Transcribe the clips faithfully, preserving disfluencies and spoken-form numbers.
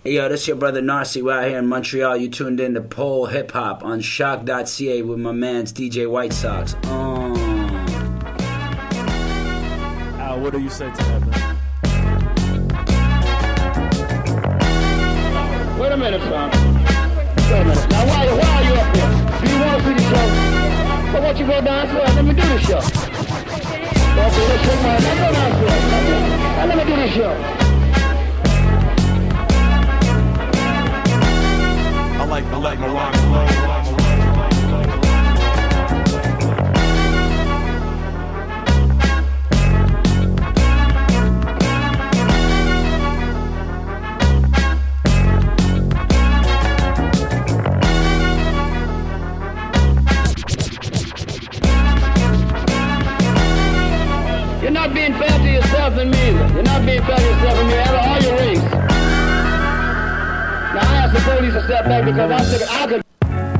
Hey, yo, this is your brother Narcy. We're out here in Montreal. You tuned in to Pole Hip Hop on shock dot c a with my man's D J White Sox. Oh. Al, what do you say to that, man? Wait a minute, son. Wait a minute. Now, why, why are you up here? Do you want to see the show? Well, why don't you go downstairs? Let me do the show. Okay, let's shake my hand. Now, go downstairs. Now, let me do the show. I like, I like my rock slow. You're not being fair to yourself and me either. You're not being fair to yourself and me out of all your rings. Now I asked the police to step back because I'm thinking I could.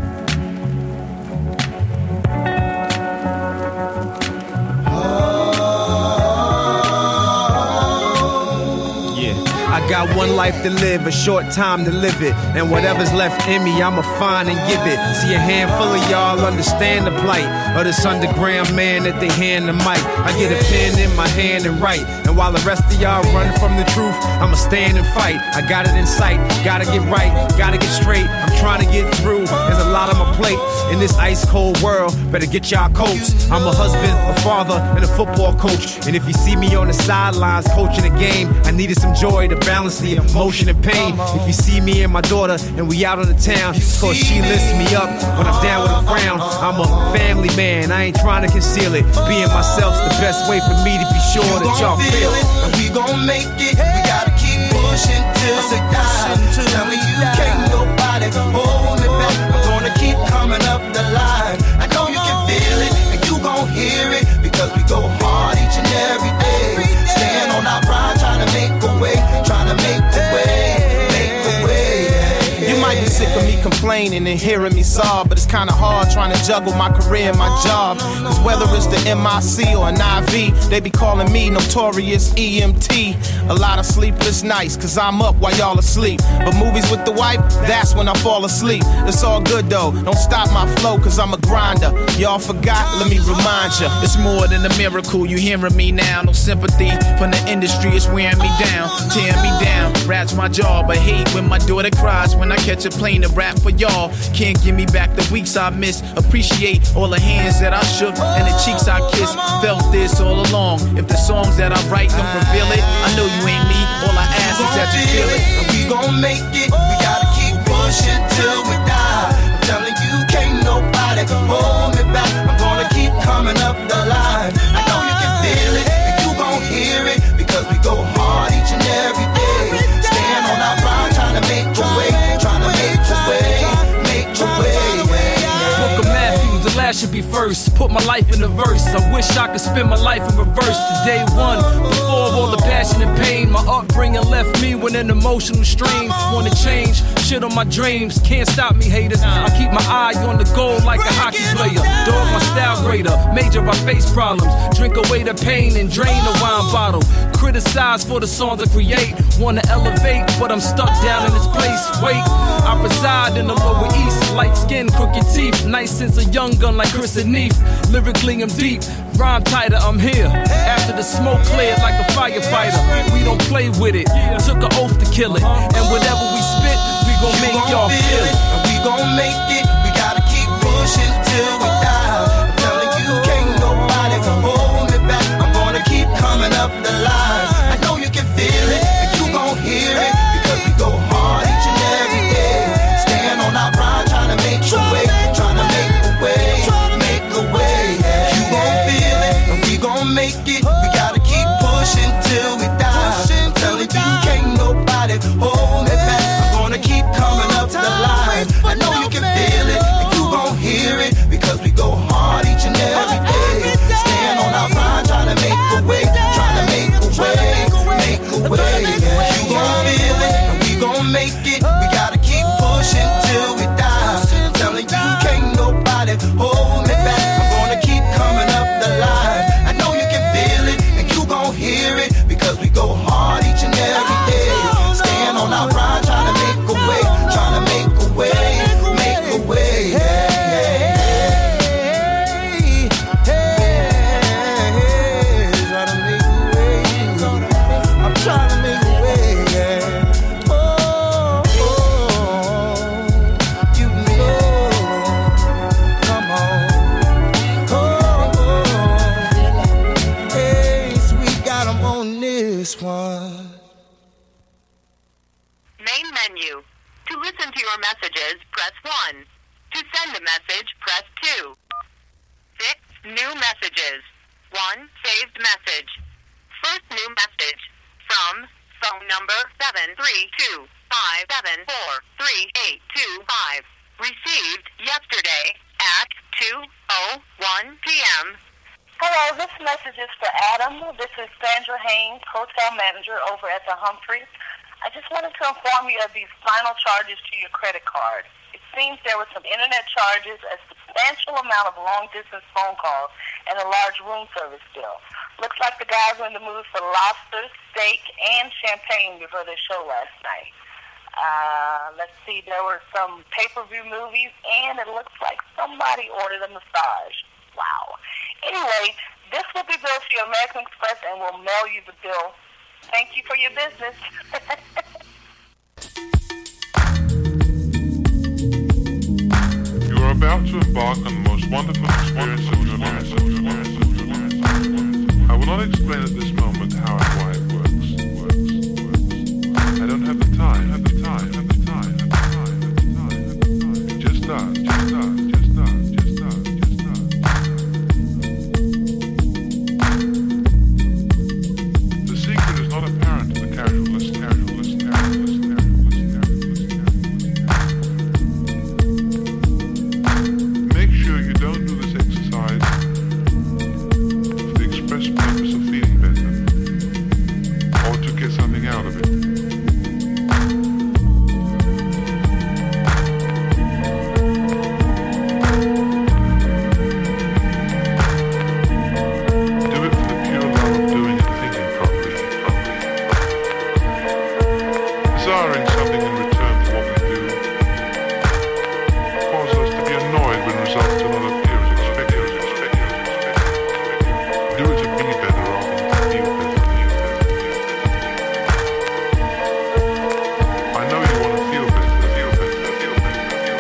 I got one life to live, a short time to live it. And whatever's left in me, I'ma find and give it. See, a handful of y'all understand the plight of this underground man that they hand the mic. I get a pen in my hand and write. And while the rest of y'all run from the truth, I'ma stand and fight. I got it in sight, gotta get right, gotta get straight. I'm trying to get through, there's a lot on my plate. In this ice cold world, better get y'all coats. I'm a husband, a father, and a football coach. And if you see me on the sidelines coaching a game, I needed some joy to balance the emotion and pain. If you see me and my daughter and we out on the town, cause she lifts me up when I'm down with a frown. I'm a family man, I ain't trying to conceal it. Being myself's the best way for me to be sure you that y'all feel it. And we gon' make it, we gotta keep pushing till we die. Tell me you can't nobody hold me back. I'm gonna keep coming up the line. I know you can feel it, and you gon' hear it, because we go hard each and every day. Stand on our pride, trying to make a way, trying to make a way, make a way. You might be sick of me complaining and hearing me sob, but it's kinda hard trying to juggle my career and my job. Cause whether it's the M I C or an I V, they be calling me Notorious E M T. A lot of sleepless nights, cause I'm up while y'all asleep. But movies with the wife, that's when I fall asleep. It's all good though, don't stop my flow, cause I'm a grinder. Y'all forgot, let me remind ya. It's more than a miracle, you hearing me now. No sympathy from the industry, it's wearing me down, tearing me down. Rat's my job, I hate when my daughter cries when I catch a plane to rap for y'all. Can't give me back the weeks I missed. Appreciate all the hands that I shook and the cheeks I kissed. Felt this all along. If the songs that I write don't reveal it, I know you ain't me. All I ask is that you feel it. And we gon' make it. We gotta keep pushing till we die. I'm telling you, can't nobody hold me back. I'm gonna keep coming up the line. I know you can feel it, and you gon' hear it, because we go hard each and every day. Stand on our ground, trying to make a way, trying to make a way, make a way. Book of Matthew, the last should be first. Put my life in the verse. I wish I could spend my life in reverse to day one. Before all the passion and pain, my upbringing left me with an emotional strain. Wanna change, shit on my dreams. Can't stop me, haters. I keep my eye on the goal like a hockey player. Dog my style greater. Major I face problems. Drink away the pain and drain the wine bottle. Criticize for the songs I create. Wanna elevate, but I'm stuck down in this place. Wait, I reside in the Lower East. Light skin, crooked teeth. Nice sense of young gun like Chris and Neef. Lyrically I'm deep, rhyme tighter, I'm here. After the smoke cleared like a firefighter. We don't play with it, took an oath to kill it. And whatever we spit, we gon' make y'all feel it. And we gon' make it, we gotta keep pushing till we die. I'm telling you, can't nobody hold me back. I'm gonna keep coming up the line. I know you can feel it, and you gon' hear it, because we go hard each and every day. Stand on our pride, trying to make a way, trying to make a way, make a way. You gon' feel it, and we gon' make it. We gotta keep pushing till we die. I'm telling you, can't nobody hold me back. I'm gonna keep coming up the line. I know you can feel it, and you gon' hear it, because we your messages, press one. To send a message, press two. Six new messages. One saved message. First new message from phone number seven three two five seven four three eight two five. Received yesterday at two oh one p.m. Hello, this message is for Adam. This is Sandra Haynes, hotel manager over at the Humphrey. I just wanted to inform you of these final charges to your credit card. It seems there were some internet charges, a substantial amount of long-distance phone calls, and a large room service bill. Looks like the guys were in the mood for lobster, steak, and champagne before their show last night. Uh, let's see, there were some pay-per-view movies, and it looks like somebody ordered a massage. Wow. Anyway, this will be billed to your American Express, and we'll mail you the bill. Thank you for your business. You are about to embark on the most wonderful experience of your life. I will not explain at this moment how and why it works. I don't have the time, have the time, have the time, have the time, have the time, have the time. It just does, just does, just does, just does, just does. The secret is not apparent to the casual listener, casual listener, casual listener, casual listener, casual listener. Make sure you don't do this exercise for the express purpose of feeling better or to get something out of it. Desiring something in return for what we do causes us to be annoyed when results do not appear as expected. Do it to be better rather than to feel better. I know you want to feel better, feel better, feel better, feel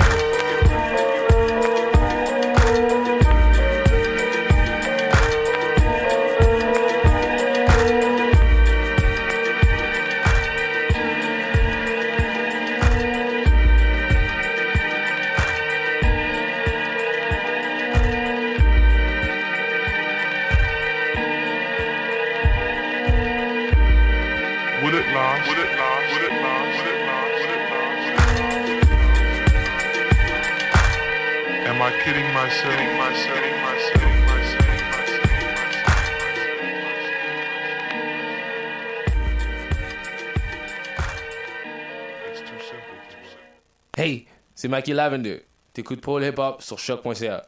Will it last? Will it last? Will it last? Will it last? Will it last? Am I kidding myself? Kidding myself? Kidding myself? Kidding myself? It's too simple. Too simple. Hey, c'est Mikey Lavender. T'écoutes Paul Hip Hop sur choc point c a.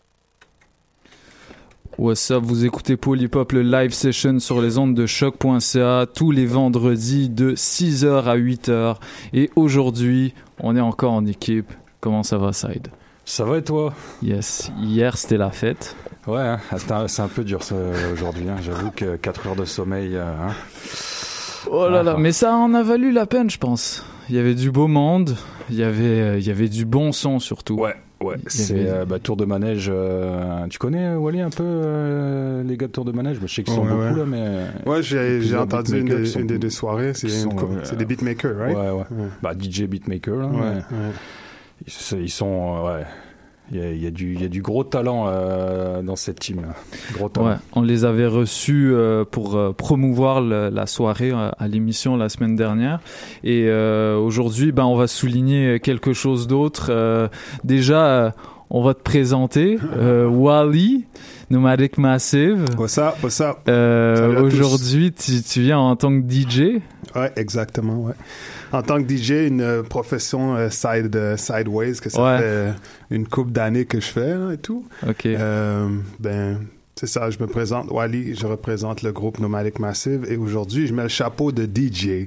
What's up, vous écoutez Paul Hip Hop, le live session sur les ondes de choc point c a tous les vendredis de six heures à huit heures. Et aujourd'hui, on est encore en équipe. Comment ça va, Side? Ça va et toi? Yes, hier c'était la fête. Ouais, hein, c'est, un, c'est un peu dur ça, aujourd'hui. Hein. J'avoue que quatre heures de sommeil. Euh, hein. Oh là là, mais ça en a valu la peine, je pense. Il y avait du beau monde, il y avait, il y avait du bon son surtout. Ouais. Ouais, c'est avait... euh, bah, Tour de Manège. Euh, tu connais, Wally, un peu euh, les gars de Tour de Manège? Bah, je sais qu'ils sont oh, ouais, beaucoup ouais. là, mais. Ouais, j'ai, j'ai entendu une, des, sont, une des, des soirées. C'est, sont, une, euh, c'est des beatmakers, right? Ouais, ouais. ouais. Bah, D J beatmaker, là. Ouais, mais... ouais. Ils, ils sont. Euh, ouais. Il y, a, il, y a du, il y a du gros talent euh, dans cette team. Là. Gros talent. Ouais, on les avait reçus euh, pour euh, promouvoir le, la soirée euh, à l'émission la semaine dernière. Et euh, aujourd'hui, ben, on va souligner quelque chose d'autre. Euh, déjà, euh, on va te présenter euh, Wally, Nomadic Massive. What's up, what's up? Euh, aujourd'hui, tu, tu viens en tant que D J. Ouais, exactement, ouais. En tant que D J, une euh, profession euh, side, euh, sideways, que ça ouais. fait euh, une couple d'années que je fais hein, et tout. OK. Euh, ben, c'est ça, je me présente, Wally, je représente le groupe Nomadic Massive et aujourd'hui, je mets le chapeau de D J. Yes.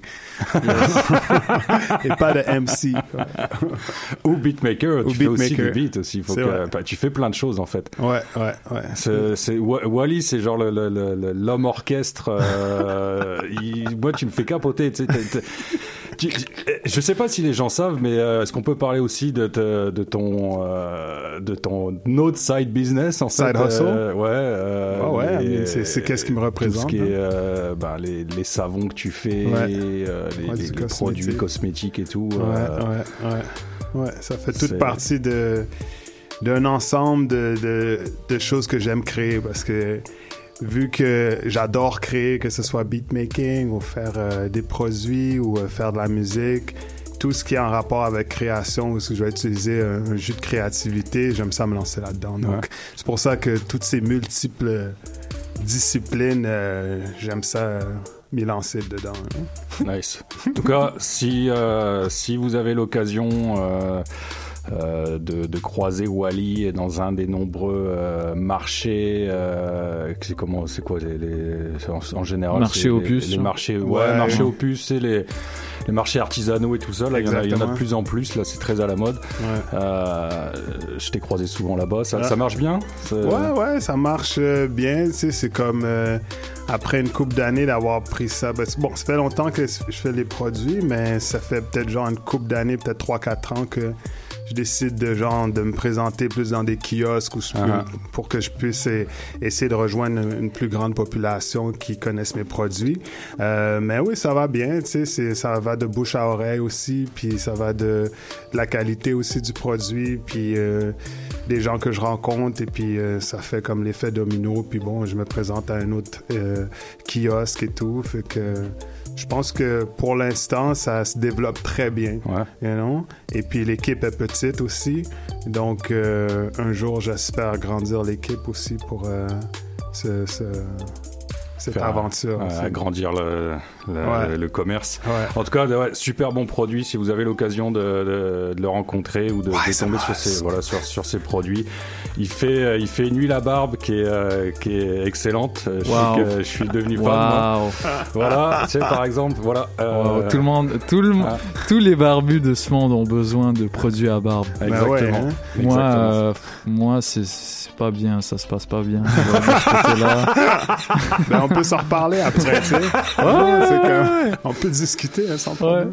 Et pas de M C. Ou beatmaker, Ou tu beatmaker. fais aussi du beat aussi. Faut que, bah, tu fais plein de choses en fait. Ouais, ouais, ouais. C'est, c'est, Wally, c'est genre le, le, le, l'homme orchestre. Euh, il, moi, tu me fais capoter. Tu sais, t'es, t'es, tu, je sais pas si les gens savent, mais euh, est-ce qu'on peut parler aussi de, te, de ton euh, de ton autre side business en side fait, hustle? Euh, ouais. Euh, oh ouais. les, c'est, c'est qu'est-ce qui me représente? Tout ce qui est euh, ben, les, les savons que tu fais, ouais. euh, les, ouais, les, les produits cosmétiques et tout. Ouais, euh, ouais, ouais. Ouais, ça fait toute C'est- partie de d'un ensemble de, de, de choses que j'aime créer parce que vu que j'adore créer, que ce soit beatmaking ou faire euh, des produits ou euh, faire de la musique, tout ce qui est en rapport avec création ou ce que je vais utiliser un, un jus de créativité, j'aime ça me lancer là-dedans. Donc, Ouais. c'est pour ça que toutes ces multiples disciplines, euh, j'aime ça euh, m'y lancer dedans. hein. Nice. En tout cas, si, euh, si vous avez l'occasion euh, euh, de, de croiser Wally dans un des nombreux euh, marchés, euh, c'est comment, c'est quoi les, les- en, en général Marché c'est opus, les, les hein. marchés, ouais, Ouais. marchés opus, c'est les les marchés artisanaux et tout ça. Là, il y, en a, il y en a de Exactement. plus en plus. Là, c'est très à la mode. Ouais. Euh, je t'ai croisé souvent là-bas. Ça, Ouais. ça marche bien. Ça- Ouais, ouais, ça marche euh, bien. Tu sais, c'est comme euh, après une couple d'années d'avoir pris ça. Ben, c'est- bon, ça fait longtemps que je fais les produits, mais ça fait peut-être genre une couple d'années, peut-être trois quatre ans que je décide de genre de me présenter plus dans des kiosques ou Uh-huh. pour que je puisse eh, essayer de rejoindre une, une plus grande population qui connaissent mes produits. Euh, mais oui, ça va bien, tu sais, c'est- ça va de bouche à oreille aussi, puis ça va de, de la qualité aussi du produit, puis euh, des gens que je rencontre, et puis euh, ça fait comme l'effet domino, puis bon, je me présente à un autre euh, kiosque et tout, fait que je pense que pour l'instant, ça se développe très bien, Ouais. you know? Et puis l'équipe est petite aussi, donc euh, un jour, j'espère grandir l'équipe aussi pour euh, ce, ce- cette Faire, aventure. euh, aussi. agrandir le, le, Ouais. le commerce. Ouais. En tout cas, ouais, super bon produit. Si vous avez l'occasion de, de, de le rencontrer ou de, Ouais, de ça tomber va, sur ses, ça- voilà, sur, sur ses produits, il fait, euh, il fait une huile à barbe qui est, euh, qui est excellente. Euh, Je, Wow. sais que je suis devenu fan. moi. Waouh. Voilà, tu sais, par exemple, voilà. euh, Wow, tout le monde, tout le, ah. tous les barbus de ce monde ont besoin de produits à barbe. Exactement. ouais, hein. Moi, Exactement. euh, moi, c'est, c'est pas bien, ça se passe pas bien. de ce côté-là. Ben, on peut s'en reparler après, tu sais. Ouais, c'est comme- on peut discuter hein, sans problème.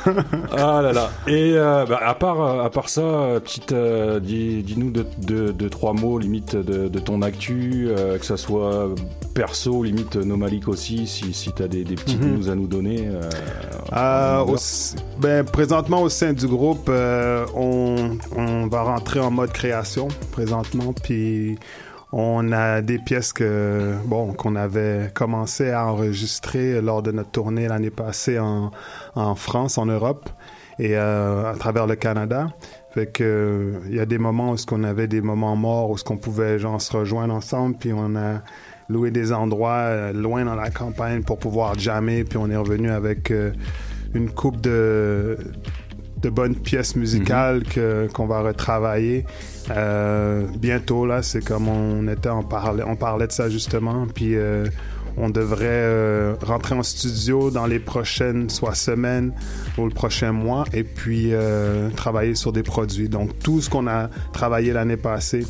Ah là là. Et euh, bah, à part euh, à part ça, euh, petite, euh, dis, dis-nous deux, deux, deux, trois mots limite de, de ton actu, euh, que ça soit perso, limite Nomalic aussi, si si t'as des, des petites Mhm. news à nous donner. Euh, Euh, on va au- ben, présentement, au sein du groupe, euh, on, on va rentrer en mode création présentement, puis on a des pièces que bon qu'on avait commencé à enregistrer lors de notre tournée l'année passée en, en France, en Europe et euh, à travers le Canada. Fait que il y a des moments où ce qu'on avait des moments morts où ce qu'on pouvait genre se rejoindre ensemble, puis on a loué des endroits euh, loin dans la campagne pour pouvoir jammer, puis on est revenu avec euh, une coupe de de bonnes pièces musicales que qu'on va retravailler euh, bientôt là. C'est comme on était en parlait on parlait de ça justement, puis euh, on devrait euh, rentrer en studio dans les prochaines soit semaines ou le prochain mois, et puis euh, travailler sur des produits. Donc tout ce qu'on a travaillé l'année passée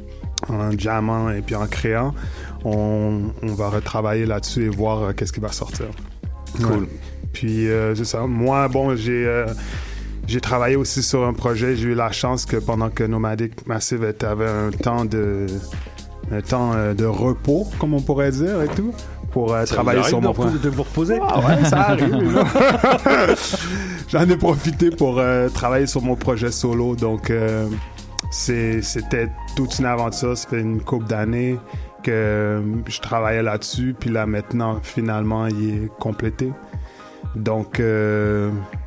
en jammant et puis en créant, on, on va retravailler là-dessus et voir euh, qu'est-ce qui va sortir. Cool. Ouais. Puis euh, c'est ça. Moi, bon, j'ai euh, j'ai travaillé aussi sur un projet. J'ai eu la chance que pendant que Nomadic Massive était- avait un temps de un temps euh, de repos, comme on pourrait dire, et tout, pour euh, Ça travailler vous sur arrive mon de point. repos- de vous reposer. Ah ouais, ça arrive. là. J'en ai profité pour euh, travailler sur mon projet solo. Donc, euh, c'est- c'était toute une aventure. Ça fait une couple d'années que euh, je travaillais là-dessus. Puis là, maintenant, finalement, il est complété. Donc, euh,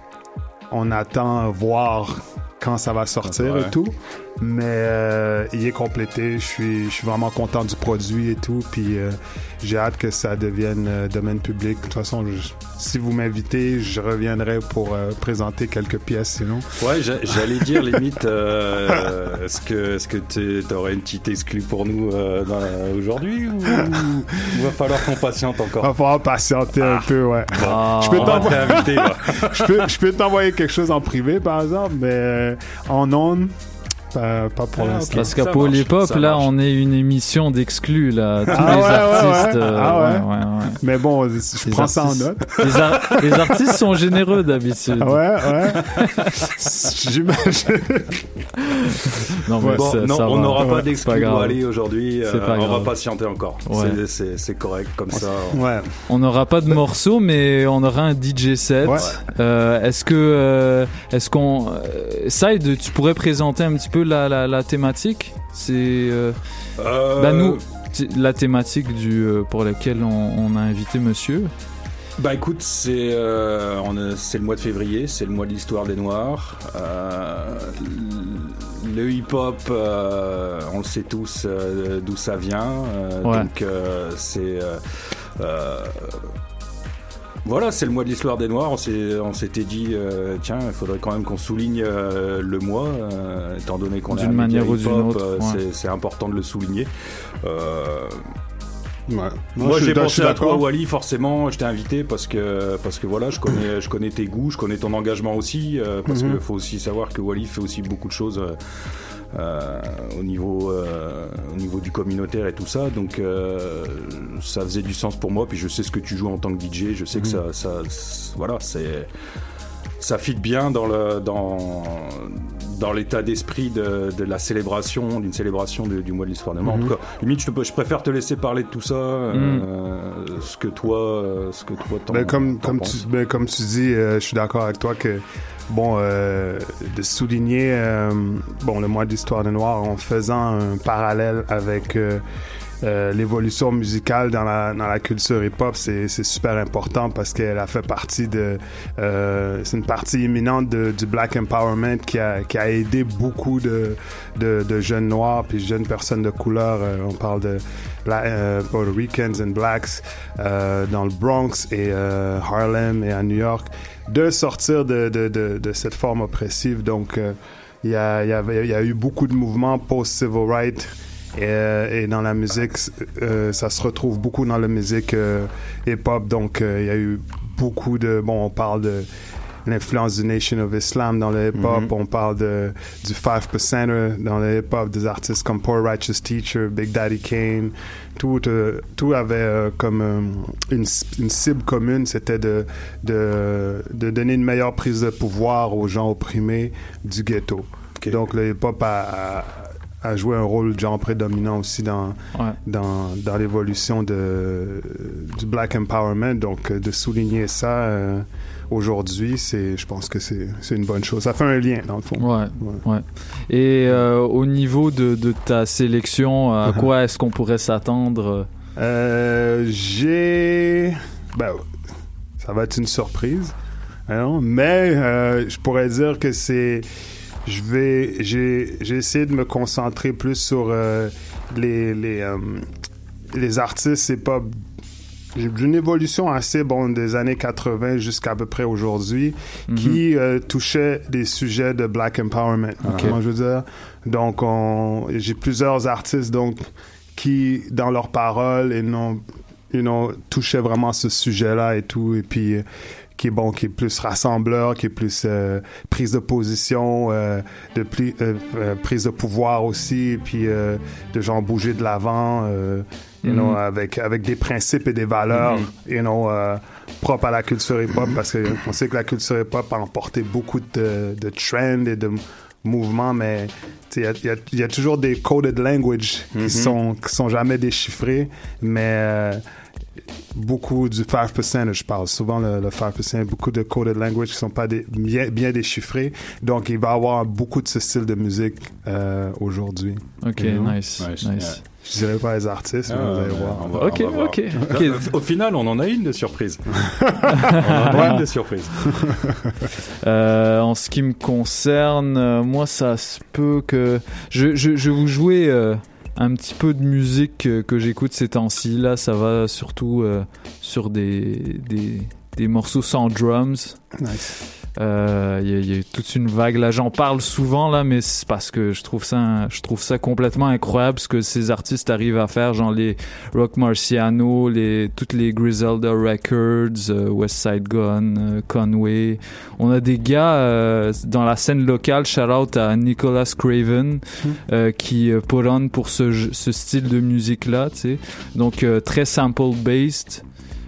on attend voir quand ça va sortir Ouais. et tout. Mais euh, il est complété. Je suis, je suis vraiment content du produit et tout. Puis euh, j'ai hâte que ça devienne euh, domaine public. De toute façon, je- si vous m'invitez, je reviendrai pour euh, présenter quelques pièces sinon. Ouais, j'a- j'allais dire limite, euh, est-ce que est-ce que tu aurais une petite exclue pour nous euh, dans- aujourd'hui ou il va falloir qu'on patiente encore? Va falloir patienter un peu, ouais. Bon, je peux on va t'envoyer- t'inviter, là. je peux, je peux t'envoyer quelque chose en privé, par exemple, mais euh, en ondes, Pas, pas pour Ah, l'instant. ok. Parce qu'à Ça Pôle marche, Hip-Hop, ça là, marche. on est une émission d'exclus, là. Tous Ah les ouais, ouais, artistes. ouais. euh, Ah ouais. ouais, ouais, ouais. Mais bon, je Les prends ça en artistes- note. Les, ar- les artistes sont généreux d'habitude. Ouais, ouais. J'imagine. Non, mais Bon, ça, non, ça on va. n'aura Ouais, pas c'est d'exclus grave. Wally aujourd'hui. C'est euh, pas on va grave. patienter encore. Ouais. C'est- C'est c'est correct comme ça. Ouais. On n'aura pas de morceaux, mais on aura un D J set. Ouais. Euh, est-ce que, euh, est-ce qu'on, euh, Saïd, tu pourrais présenter un petit peu la, la, la thématique? C'est, euh, Euh, bah nous, t- la thématique du, euh, pour laquelle on, on a invité Monsieur. Bah écoute, c'est euh, on a- c'est le mois de février, c'est le mois de l'histoire des Noirs. Euh, le hip-hop, euh, on le sait tous euh, d'où ça vient. euh, Ouais. Donc euh, c'est euh, euh, voilà, c'est le mois de l'histoire des Noirs. On s'est, on s'était dit, euh, tiens, il faudrait quand même qu'on souligne euh, le mois, euh, étant donné qu'on est D'une un média manière ou d'une hip-hop, autre, euh, ouais. c'est, c'est important de le souligner. Euh, Ouais. Non, Moi je suis- j'ai je pensé suis à d'accord. toi Wally, forcément je t'ai invité parce que parce que voilà je connais je connais tes goûts, je connais ton engagement aussi euh, parce Mhm. qu'il faut aussi savoir que Wally fait aussi beaucoup de choses euh, euh, au niveau euh, au niveau du communautaire et tout ça, donc euh, ça faisait du sens pour moi, puis je sais ce que tu joues en tant que D J, je sais que Mhm. ça ça voilà, c'est ça fit bien dans le dans dans l'état d'esprit de, de la célébration, d'une célébration de- du mois de l'histoire des Noirs. Mhm. En tout cas, limite, je, te, je préfère te laisser parler de tout ça, euh, ce que toi, euh, ce que toi t'en, Ben, comme, t'en comme, penses. tu, ben, comme tu dis, euh, je suis d'accord avec toi que, bon, euh, de souligner euh, bon, le mois d'histoire des Noirs en faisant un parallèle avec euh, euh, l'évolution musicale dans la, dans la culture hip-hop, c'est, c'est super important parce qu'elle a fait partie de... Euh, c'est une partie imminente de, du Black Empowerment qui a, qui a aidé beaucoup de, de, de jeunes noirs puis jeunes personnes de couleur. Euh, on parle de Bla- euh, Puerto Ricans and Blacks euh, dans le Bronx et euh, Harlem et à New York, de sortir de, de, de, de cette forme oppressive. Donc, euh, il y, a, il y, avait, il y a eu beaucoup de mouvements post-civil rights. Et, euh, et dans la musique, euh, ça se retrouve beaucoup dans la musique euh, hip-hop. Donc, euh, il y a eu beaucoup de... Bon, on parle de l'influence du Nation of Islam dans le hip-hop. Mm-hmm. On parle de, du five percenter dans le hip-hop, des artistes comme Poor Righteous Teacher, Big Daddy Kane. Tout, euh, tout avait euh, comme euh, une, une cible commune, c'était de, de, de donner une meilleure prise de pouvoir aux gens opprimés du ghetto. Okay. Donc, le hip-hop a... a a joué un rôle genre prédominant aussi dans, Ouais. dans, dans l'évolution de, du Black Empowerment. Donc, euh, de souligner ça euh, aujourd'hui, c'est, je pense que c'est, c'est une bonne chose. Ça fait un lien, dans le fond. Ouais, ouais. Et euh, au niveau de, de ta sélection, à quoi est-ce qu'on pourrait s'attendre? Euh, j'ai... Ben, ça va être une surprise. Hein, mais euh, je pourrais dire que c'est... Je vais, j'ai, j'ai essayé de me concentrer plus sur euh, les les euh, les artistes. C'est pas j'ai une évolution assez bon des années quatre-vingts jusqu'à à peu près aujourd'hui, Mhm. qui euh, touchait des sujets de Black Empowerment. Ok. Comment je veux dire. Donc on, j'ai plusieurs artistes donc qui dans leurs paroles et non, you know, touchaient vraiment ce sujet-là et tout, et puis qui est bon, qui est plus rassembleur, qui est plus euh, prise de position, euh, de pli, euh, euh, prise de pouvoir aussi, et puis euh, de genre bouger de l'avant, euh, you Mhm. know, avec avec des principes et des valeurs, you know, euh, propres à la culture hip-hop, parce que on sait que la culture hip-hop a emporté beaucoup de, de trends et de mouvements, mais il y a, y, a, y a toujours des coded language Mhm. qui sont qui sont jamais déchiffrés, mais euh, beaucoup du five percent, je parle souvent le, le five percent, beaucoup de coded language qui sont pas des, bien, bien déchiffrés. Donc, il va y avoir beaucoup de ce style de musique euh, aujourd'hui. Ok, You know? nice, Nice, nice. Je dirais pas les artistes, mais Ah, vous allez ouais, voir. on va- Ok, on va voir. ok, ok. Là, Au final, on en a une de surprise. on en a une de surprise. Euh, en ce qui me concerne, euh, moi, ça se peut que... Je, je, je vais vous jouer euh, un petit peu de musique euh, que j'écoute ces temps-ci. Là, ça va surtout euh, sur des, des, des morceaux sans drums. Nice. Euh, Il y, a- il y a eu toute une vague. Là, j'en parle souvent là, mais c'est parce que je trouve ça, je trouve ça complètement incroyable ce que ces artistes arrivent à faire, genre les Rock Marciano, les toutes les Griselda Records, euh, West Side Gun, euh, Conway. On a des gars euh, dans la scène locale. Shout out à Nicholas Craven euh, qui euh, put on pour ce, j- ce style de musique là, tu sais. Donc euh, très sample based.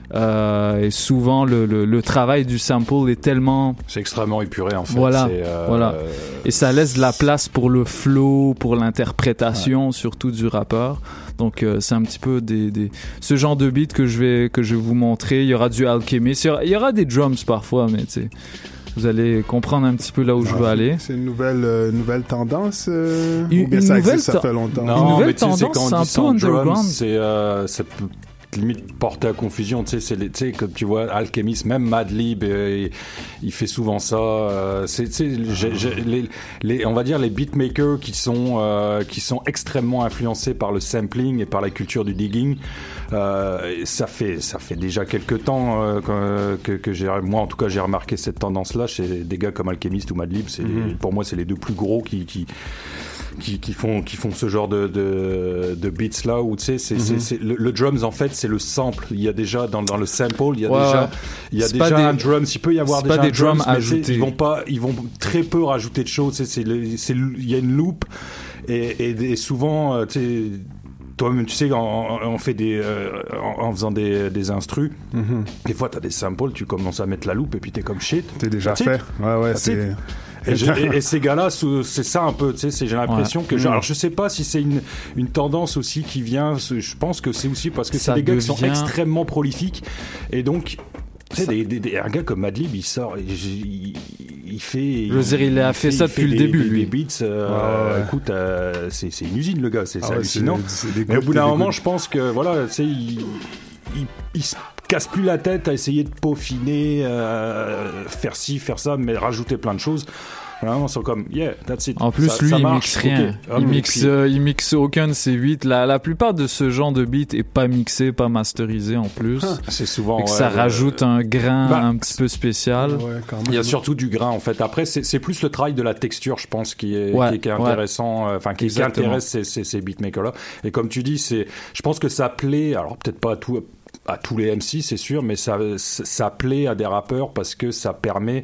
Euh, et souvent le, le, le travail du sample est tellement C'est extrêmement épuré en fait. voilà, C'est, euh, voilà. Et ça laisse de la place pour le flow, pour l'interprétation, surtout du rappeur. Donc euh, c'est un petit peu des, des ce genre de beat que je vais que je vais vous montrer. Il y aura du Alchemist, il y aura, il y aura des drums parfois, mais tu sais, vous allez comprendre un petit peu là où je veux aller. C'est une nouvelle, euh, nouvelle tendance euh, Une- ou bien une ça nouvelle existe, ça ten- fait longtemps? Non, Une nouvelle mais tu sais, c'est tendance, quand c'est on un dit sans peu drums, underground. c'est euh, ça peut limite porter à confusion, tu sais, c'est les- tu sais, comme tu vois Alchemist, même Madlib, euh, il, il fait souvent ça. Euh, c'est, tu sais, j'ai- j'ai- les, les, on va dire les beatmakers qui sont euh, qui sont extrêmement influencés par le sampling et par la culture du digging. Euh, et ça fait ça fait déjà quelques temps euh, que, que, que j'ai, moi en tout cas j'ai remarqué cette tendance-là chez des gars comme Alchemist ou Madlib. C'est Mhm. pour moi c'est les deux plus gros qui qui qui, qui font qui font ce genre de de, de beats là où tu sais c'est, c'est, Mhm. c'est le, le drums en fait c'est le sample, il y a déjà dans dans le sample il y a Ouais, déjà ouais. il y a C'est pas déjà des- un drums, il peut y avoir c'est déjà pas un des drums drums, mais tu sais, ajoutés. ils vont pas ils vont très peu rajouter de choses, tu sais, c'est le- c'est le- il y a une loop et et, et souvent euh, tu sais toi-même tu sais on, on fait des euh, en, en faisant des des instrus Mhm. des fois t'as des samples, tu commences à mettre la loupe et puis t'es comme shit, T'es déjà That's it. fait. Ouais, ouais, That's c'est. it. Et, je- et- et ces gars-là, sous- c'est ça un peu, tu sais, c'est- j'ai l'impression Ouais. que, genre, Mm. alors je sais pas si c'est une, une tendance aussi qui vient, je pense que c'est aussi parce que Ça c'est des gars qui sont devient- extrêmement prolifiques, et donc, tu sais, des, des- des- un gars comme Madlib, il sort, il, il, il fait... Je veux dire, il a fait ça il depuis le des- début, des, lui. des beats, euh, Ouais, ouais. écoute, euh, c'est, c'est une usine, le gars, c'est, Ah c'est ouais, hallucinant. c'est- c'est des Mais au gouttes bout et d'un des moment, gouttes. je pense que, voilà, tu sais, il, il, il se casse plus la tête à essayer de peaufiner, euh, faire ci, faire ça, mais rajouter plein de choses. Vraiment, ils sont comme, yeah, that's it. En plus, Ça- lui, ça il marche, mixe rien. ok. Ah, il mais mixe, puis- euh, il mixe aucun de ses huit. La, la plupart de ce genre de beat est pas mixé, pas masterisé en plus. C'est souvent. Et que ouais, ça ouais, rajoute un grain Bah, un petit peu spécial. Ouais, quand même. Il y a surtout du grain en fait. Après, c'est, c'est plus le travail de la texture, je pense, qui est, Ouais, qui est, qui est ouais. intéressant, euh, enfin qui, qui Exactement. intéresse ces, ces, ces beatmakers-là. Et comme tu dis, c'est, je pense que ça plaît. Alors peut-être pas à tout. À tous les M C, c'est sûr, mais ça, ça plaît à des rappeurs parce que ça permet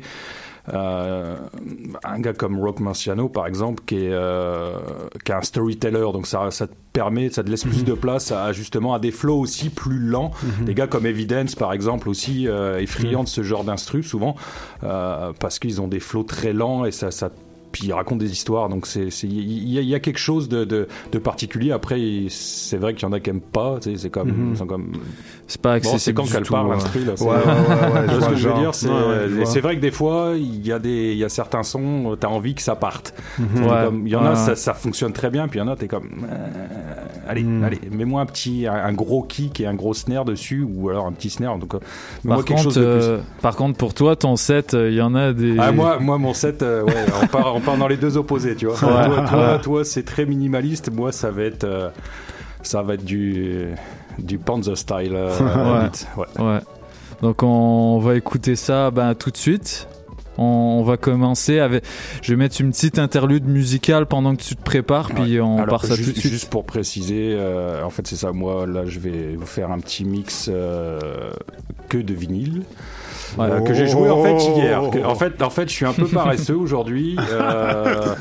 euh, un gars comme Rock Marciano, par exemple, qui est, euh, qui est un storyteller, donc ça, ça te permet, ça te laisse plus de place à justement à des flows aussi plus lents. Mhm. Des gars comme Evidence, par exemple, aussi euh, est friand de ce genre d'instru souvent euh, parce qu'ils ont des flows très lents et ça, ça puis ils racontent des histoires, donc c'est, c'est, il y, a- il y a quelque chose de, de, de particulier. Après, il- c'est vrai qu'il y en a qui aiment pas, tu sais, c'est comme, Mhm. ils sont comme. C'est pas Bon, c'est accessible quand du qu'elle tout. parle ouais. l'instru là. c'est- Ouais, ouais, ouais, ouais, Tu je vois ce vois que le je veux genre. dire, c'est, Ouais, ouais, je vois. c'est vrai que des fois, il y a des, il y a certains sons, t'as envie que ça parte. Mhm. T'es Ouais, comme- Il y en a, ouais. ça, ça fonctionne très bien, puis il y en a, t'es comme, euh, allez, Mhm. allez, mets-moi un petit, un, un gros kick et un gros snare dessus, ou alors un petit snare. Donc, euh, mets-moi Par quelque contre, chose de plus. euh, par contre, pour toi, ton set, il y en a des. Ah, moi, moi, mon set, euh, ouais, on part, on part dans les deux opposés, tu vois. Ouais, toi, toi, ouais. toi, c'est très minimaliste. Moi, ça va être, euh, ça va être du, du Panzer style. euh, Ouais. beat. Ouais. Ouais. Donc on va écouter ça ben, tout de suite. On, on va commencer avec. Je vais mettre une petite interlude musicale pendant que tu te prépares, puis on Alors, part ça juste, tout de suite. Juste pour préciser, euh, en fait, c'est ça. Moi, là, je vais vous faire un petit mix euh, que de vinyle. Ouais. euh, que j'ai joué en fait Oh. hier. Que- en fait, en fait, je suis un peu paresseux aujourd'hui. Euh,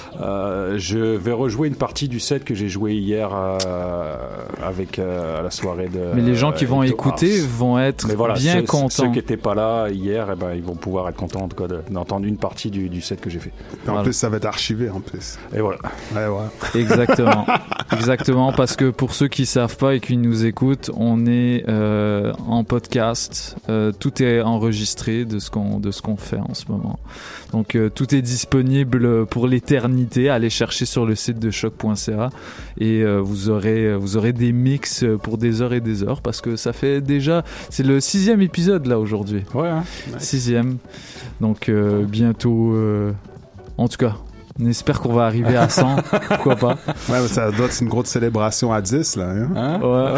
euh, je vais rejouer une partie du set que j'ai joué hier euh, avec euh, à la soirée de. Mais les gens qui vont euh, écouter Mars. vont être Mais voilà, bien ceux, contents. Ceux qui n'étaient pas là hier, eh ben, ils vont pouvoir être contents en tout cas de- d'entendre une partie du, du set que j'ai fait. En Voilà. plus, ça va être archivé en plus. Et voilà. Ouais, ouais. Exactement, exactement, parce que pour ceux qui savent pas et qui nous écoutent, on est euh, en podcast, euh, tout est enregistré de ce qu'on de ce qu'on fait en ce moment. Donc euh, tout est disponible pour l'éternité. Allez chercher sur le site de choc point c a et euh, vous aurez vous aurez des mix pour des heures et des heures parce que ça fait déjà c'est le sixième épisode là aujourd'hui. Ouais. Hein. Sixième. Donc euh, bientôt. euh, En tout cas. On espère qu'on va arriver à cent. Pourquoi pas? Ouais, mais ça doit être une grosse célébration à dix, là. Hein? Hein? Ouais.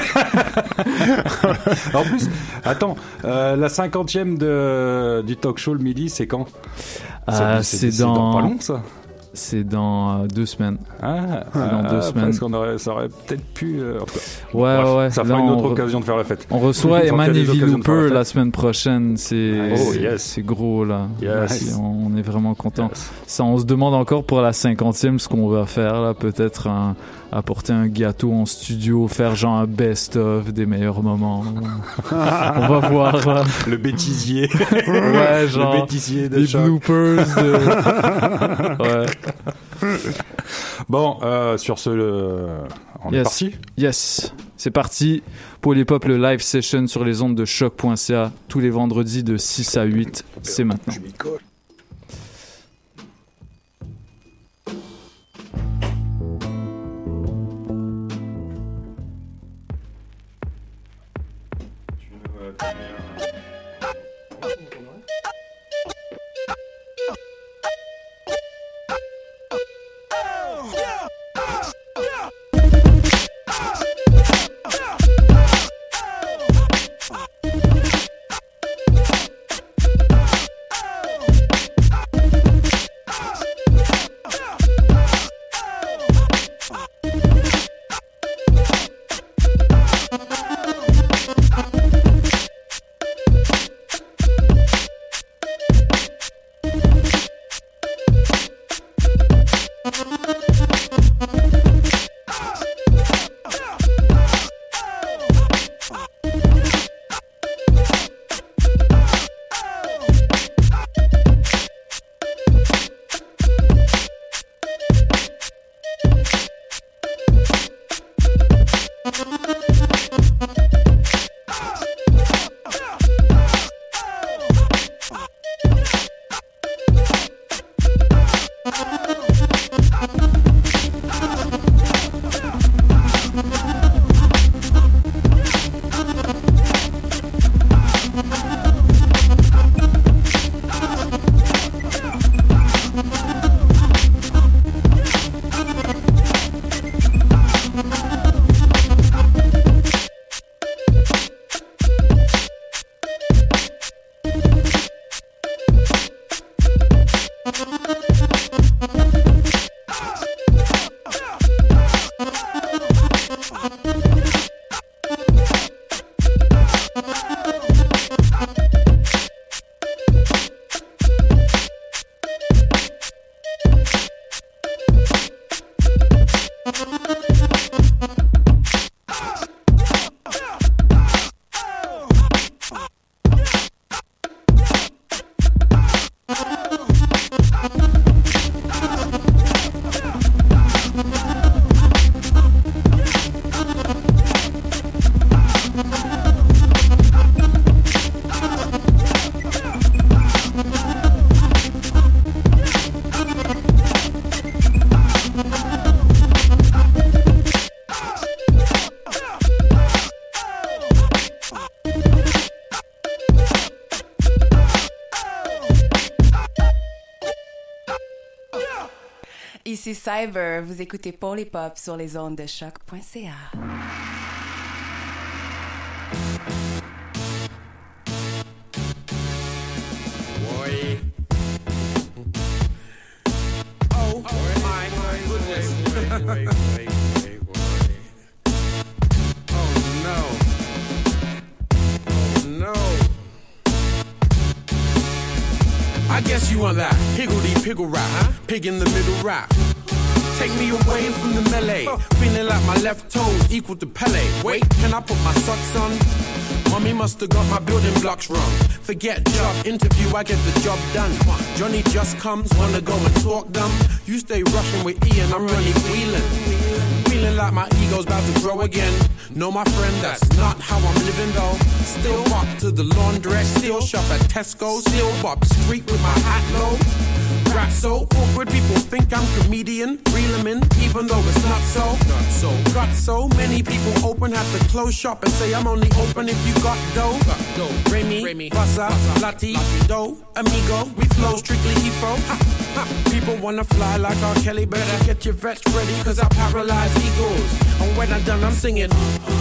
En plus, attends, euh, la cinquantième de, du talk show le midi, c'est quand? Euh, c'est, c'est, c'est dans... dans pas long, ça. C'est dans euh, deux semaines. Ah, c'est dans ah, deux semaines. Parce qu'on aurait, ça aurait peut-être pu. Euh, en tout cas. Ouais, Bref, ouais. Ça fera Là, une autre re... occasion de faire la fête. On reçoit Eman et Looper la, la semaine prochaine. C'est, oh, yes. c'est gros, là. Yes. C'est, on est vraiment content. Yes. Ça, on se demande encore pour la cinquantième ce qu'on va faire, là. Peut-être un, apporter un gâteau en studio, faire genre un best-of des meilleurs moments. On va voir, là. Le bêtisier. Ouais, genre. Le bêtisier de les choc. bloopers. De... ouais. Bon, euh, sur ce, le... on yes. est parti. Yes, c'est parti pour les pop, le live session sur les ondes de choc point c a tous les vendredis de six à huit. C'est maintenant. Ici Cyber, vous écoutez Paul et Pop sur les ondes de choc point c a. Boy. Oh, my goodness. Wait, wait, wait, wait, wait. Oh, no. Oh, no. I guess you want that higgledy-piggle rap, huh? Pig in the middle rap. Take me away from the melee. Feeling like my left toes equal to Pele. Wait, can I put my socks on? Mommy must have got my building blocks wrong. Forget job interview, I get the job done. Johnny just comes, wanna go and talk dumb. You stay rushing with Ian, I'm really wheeling. Feeling like my ego's about to grow again. No, my friend, that's not how I'm living though. Still walk to the laundrette, still shop at Tesco, still walk the street with my hat low. Rap so awkward, people think I'm comedian. Reel 'em in, even though it's not so. Not so. Got so many people open, have to close shop and say I'm only open if you got dough. Got dough. Remy, Remy, Vasa, Lati, Do, Amigo. We flow strictly E F O. People wanna fly like R. Kelly, better get your vets ready, cause I paralyze egos. And when I'm done, I'm singing.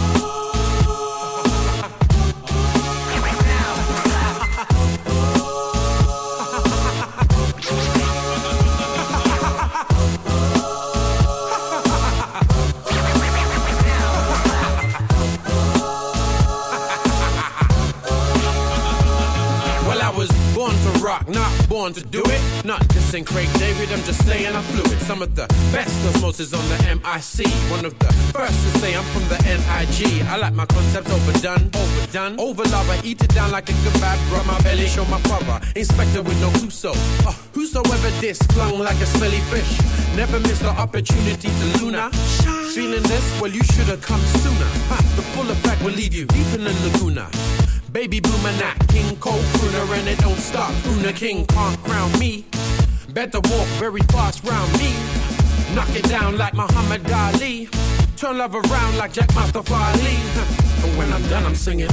Not born to do it, not just in Craig David, I'm just saying I'm fluid. Some of the best osmosis on the M I C. One of the first to say I'm from the N I G. I like my concepts overdone, overdone. Over love, I eat it down like a kebab. Rub my belly, show my father. Inspector with no Clouseau. Uh, whosoever this, flung like a smelly fish. Never missed the opportunity to Luna. Feeling this? Well, you should have come sooner. Ha, the full effect will leave you deep in the Laguna. Baby bloomer, not King Cole crooner, and it don't stop. Una King can't crown me. Better walk very fast round me. Knock it down like Muhammad Ali. Turn love around like Jack Mustafa Ali. And when I'm done, I'm singing.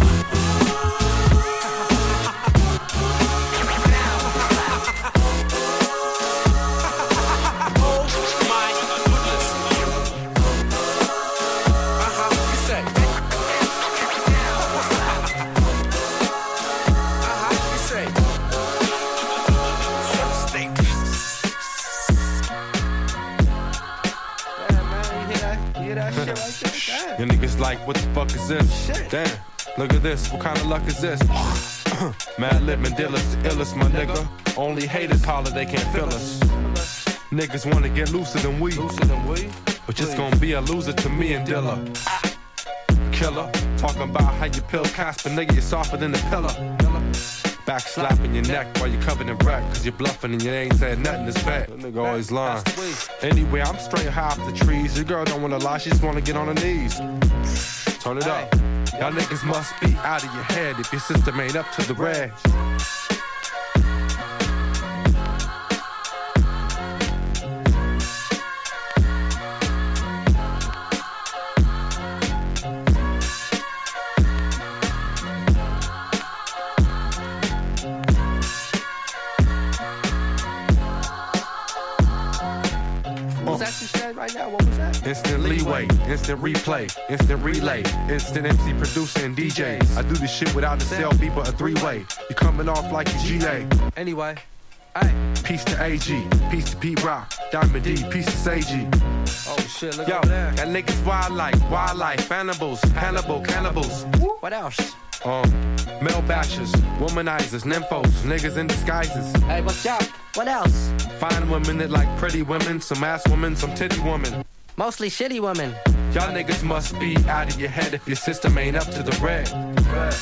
Your niggas like, what the fuck is this? Shit. Damn, look at this, what kind of luck is this? Mad Lip Mandilla's the illest, my nigga. Only haters holler, they can't feel us. Niggas wanna get looser than we, but just gonna be a loser to me and Dilla. Killer, talking about how you pill Casper, nigga, you're softer than a pillar. Back slapping your neck while you're covered in wreck, cause you're bluffing and you ain't said nothing this bad. That nigga always lying. Anyway, I'm straight high off the trees. Your girl don't wanna lie, she just wanna get on her knees. Turn it up. Y'all niggas must be out of your head if your system ain't up to the red. Right now, what was that? Instant leeway, instant replay, instant relay, instant M C producer and D Js. I do this shit without a cell beat but a three-way. You coming off like you G A. Anyway, hey, peace to A G, peace to Pete Rock, Diamond D, peace to Seiji. Oh shit, look over there. Got niggas wild like, wildlife, cannibals, Hannibal, cannibals. What else? Um, male bashers, womanizers, nymphos, niggas in disguises. Hey, what's up? What else? Fine women that like pretty women, some ass women, some titty women. Mostly shitty women. Y'all niggas must be out of your head if your system ain't up to the red. red.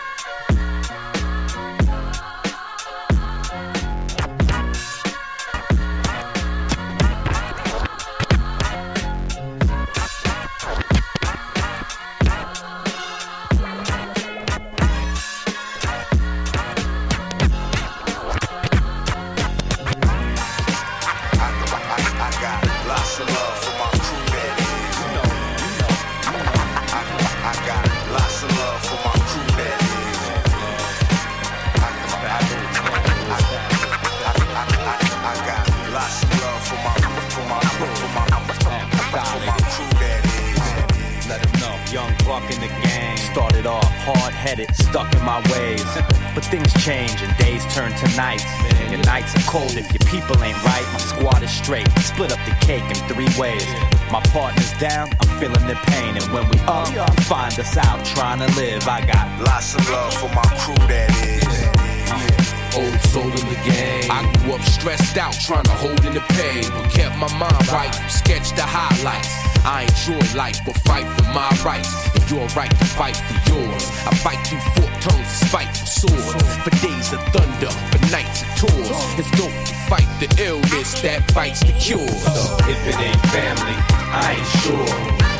Stuck in my ways, but things change and days turn to nights. Your nights are cold if your people ain't right. My squad is straight, split up the cake in three ways. My partner's down, I'm feeling the pain, and when we up, find us out trying to live. I got lots of love for my crew, that is. Old soul in the game. I grew up stressed out, trying to hold in the pain, but kept my mind right from sketch to highlights. I enjoy life, but fight for my rights, and you're right to fight for yours. I fight through forked tongues, spiteful swords, for days of thunder, for nights of tours. It's dope to fight the illness that fights the cure. So if it ain't family, I ain't sure.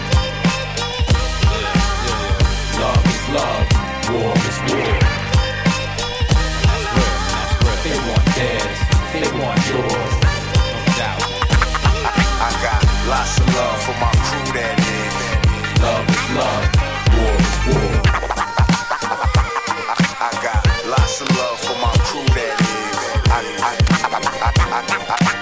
Love is love, war is war. They want theirs, they want yours, no doubt. I, I got lots of love for my crew, that is. Love is love, war is war. I, I got lots of love for my crew, that is. I, I, I, I, I, I, I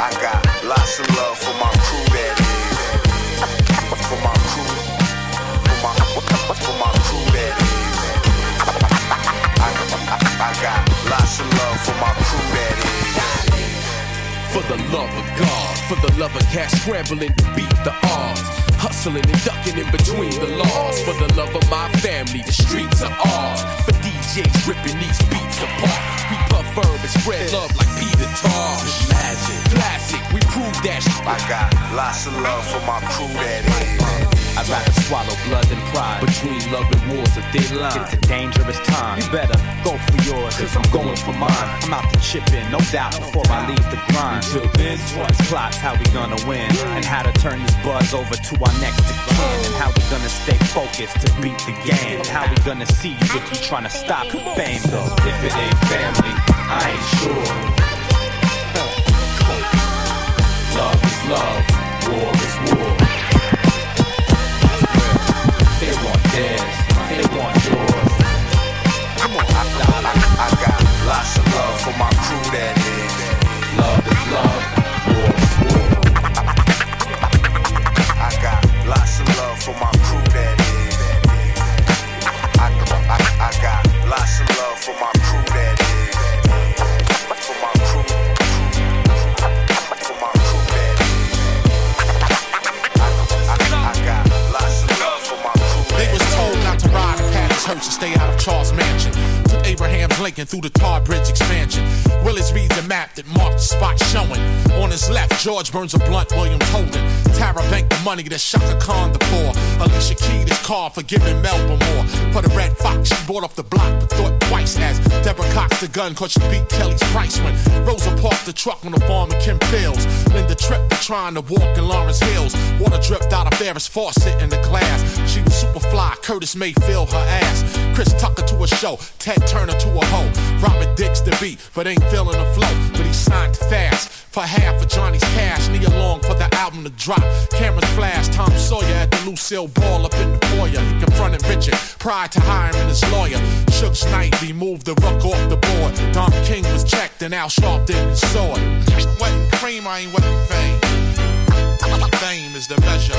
the love of God, for the love of cash scrambling to beat the odds, hustling and ducking in between the laws, for the love of my family, the streets are ours, for D Js ripping these beats apart. We puff herb and spread love like Peter Tosh. Magic, classic, we prove that shit. I got lots of love for my crew that is. I'd rather swallow blood than pride. Between love and war's a thin line. It's a dangerous time. You better go for yours, cause I'm going for mine. I'm out to chip in, no doubt, before I leave the grind. Until then, this plot's how we gonna win, and how to turn this buzz over to our next of kin, and how we gonna stay focused to beat the game, and how we gonna see you if you tryna stop the fame. So if it ain't family, I ain't sure. Love is love, war is war. They want theirs, they want yours. Come on, I, I, I got lots of love for my crew that is. Love is love, war is war. I got lots of love for my crew that is. I, I, I got lots of love for my crew that is. For my crew, for my crew that is. I, I, I got lots of love for my crew. They was told not to ride in Patty's Hearst and stay out of Charles Mansion. Took Abraham Lincoln through the Tar Bridge expansion. Willis reads the map that marked the spot showing. On his left, George burns a blunt, Williams holding. Tara banked the money that Shaka Khan the poor. Alicia Keyed his car for giving Melba more. For the Red Fox, she bought off the block but thought twice as Deborah cocked the gun cause she beat Kelly's price when Rosa parked the truck on the farm in Kim Fields. Linda tripped for trying to walk in Lawrence Hills. Water dripped out of Ferris faucet in the glass. She was super fly, Curtis Mayfield her ass. Chris Tucker to a show, Ted Turner to a hoe. Robert Dix the beat, but ain't feeling the flow. But he signed fast for half of Johnny's cash. Nia Long for the album to drop. Cameras flash, Tom Sawyer at the Lucille Ball up in the foyer. He confronted Richard prior to hiring his lawyer. Suge Knight removed the ruck off the board. Don King was checked and Al Sharpton saw it. Wetting cream, I ain't wetting fame. Fame is the measure.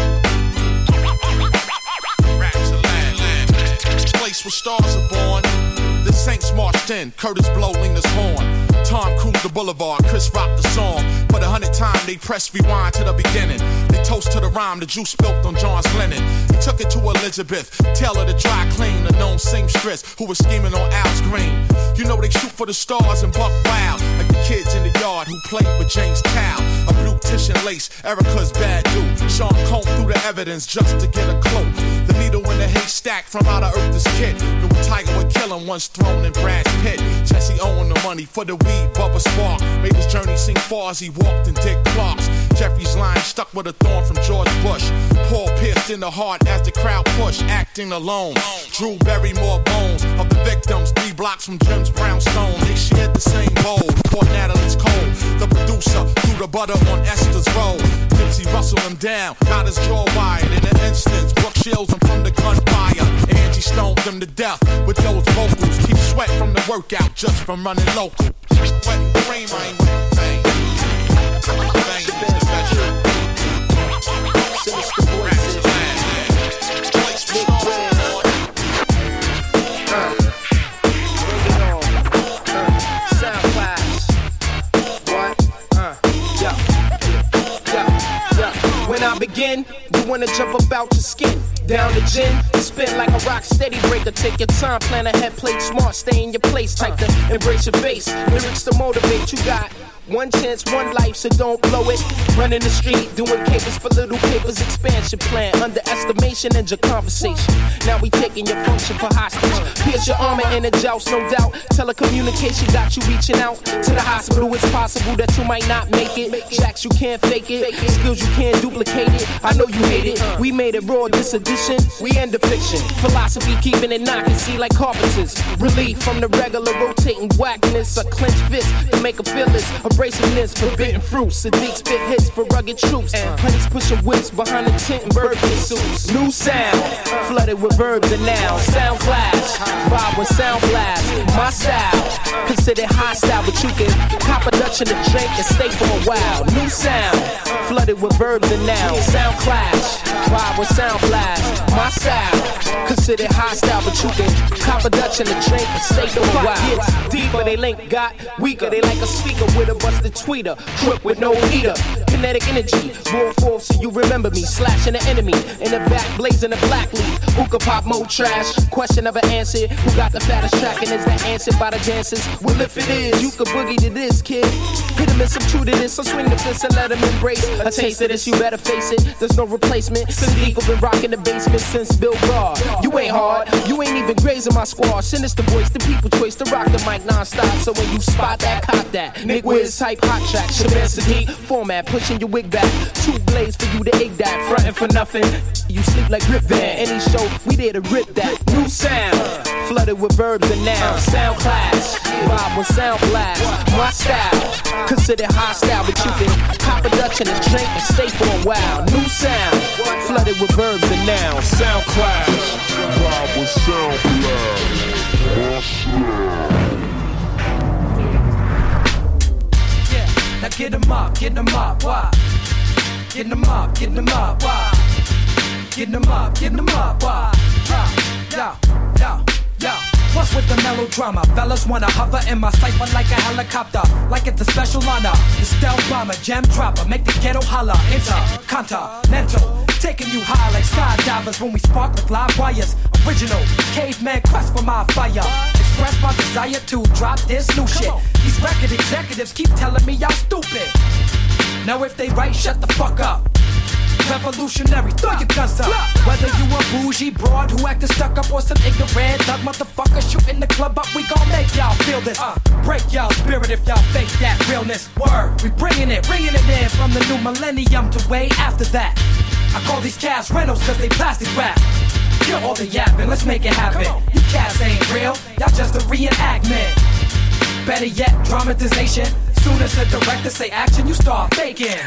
Raps and land, land. Place where stars are born. The Saints marched in, Curtis Blow leaned his horn. Tom cruised the boulevard, Chris rocked the song. For the hundredth time, they pressed rewind to the beginning. They toast to the rhyme the juice spilt on John's linen. He took it to Elizabeth, Taylor the dry clean, a known seamstress who was scheming on Al's Green. You know they shoot for the stars and buck wild, like the kids in the yard who played with James Town. A blue tissue lace, Erica's bad dude. Sean combed through the evidence just to get a clue. The needle in the haystack from out of Earth is kid. Knew a tiger would kill him once thrown in Brad's pit. Jesse owned the money for the weed, Bubba Spark made his journey seem far as he walked in Dick Clark's. Jeffrey's line stuck with a thorn from George Bush. Paul pierced in the heart as the crowd pushed, acting alone. Drew buried more bones of the victims three blocks from Jim's brownstone. They shared the same bowl, caught Natalie's cold. The producer threw the butter on Esther's roll. Nipsey rustled him down, got his jaw wired. In an instance, Brooke shields him from the gunfire. Angie stoned him to death with those vocals. Keep sweat from the workout just from running local. Wetting cream, I ain't wetting fame. Fame is the measure. Sinister voices. Place for stars. Sound class. What? Uh. Yeah. Yeah. Yeah. When I begin, you wanna jump about your skin. Down the gin, spin like a rock steady breaker. Take your time, plan ahead, play smart, stay in your place. Type to embrace your face, lyrics to motivate. You got one chance, one life, so don't blow it. Running the street, doing capers for little papers. Expansion plan, underestimation and your conversation. Now we taking your function for hostage. Pierce your armor in a joust, no doubt. Telecommunication got you reaching out to the hospital. It's possible that you might not make it. Jacks, you can't fake it. Skills, you can't duplicate it. I know you hate it. We made it raw, this edition. We end the fiction. Philosophy keeping it knocking, see like carpenters. Relief from the regular rotating whackness. A clenched fist to make a fearless. Abrasiveness, forbidden fruits. Sadiq spit hits for rugged troops. And honeys pushing whips behind the tent and birthday suits. New sound, flooded with verbs and nouns. Sound flash, vibe with sound blast. My style, considered hostile, but you can cop a Dutch in the drink and stay for a while. New sound, flooded with verbs and nouns. Sound clash, vibe with sound blast. My style, considered hostile, but you can cop a Dutch in the drink and stay for a while. Deeper they link, got weaker. They like a speaker with a busted tweeter, trip with no heater. Kinetic energy, roll forth so you remember me. Slashing the enemy in the back, blazing the black leaf. Who could pop more trash? Question of an answer. Who got the fattest track and is that answered by the dancers? Well, if it is, you could boogie to this, kid. Hit him and some true to this, so swing the fist and let him embrace a taste of this. You better face it. There's no replacement. Since Eagle been rocking the basement since Bill Barr. You ain't hard. You ain't even grazing my squad. Sinister voice, the people choice to rock the mic non-stop. So when you spot that, cop that. Nick Wiz type hot track. Shabazz Sadiq format, pushing your wig back. Two blades for you to egg that. Frontin' for nothing. You sleep like Rip Van. Any show, we there to rip that. New sound, flooded with verbs and nouns. Sound class, vibe with sound blast. My style, considered hostile, but you can pop a Dutch in a drink and stay for a while. New sound, flooded with verbs and nouns. Sound class, vibe with sound blast. Yeah, now get 'em up, get 'em up, why? Get 'em up, get 'em up, why? Get 'em up, get 'em up, why? Yo, yo, yo. What's with the melodrama? Fellas wanna hover in my cipher like a helicopter, like it's a special honor. The stealth bomber, gem dropper, make the ghetto holler. Intercontinental, taking you high like skydivers when we spark with live wires. Original caveman quest for my fire. Express my desire to drop this new shit. These record executives keep telling me y'all stupid. Now if they right, shut the fuck up. Revolutionary, throw your guns up. Whether you a bougie broad who actin' stuck up or some ignorant thug motherfucker shooting the club up, we gon' make y'all feel this. Uh, break y'all spirit if y'all fake that realness. Word, we bringing it, bringing it in from the new millennium to way after that. I call these cats rentals cause they plastic wrap. Kill all the yapping, let's make it happen. You cats ain't real, y'all just a reenactment. Better yet, dramatization. Soon as the director say action, you start faking.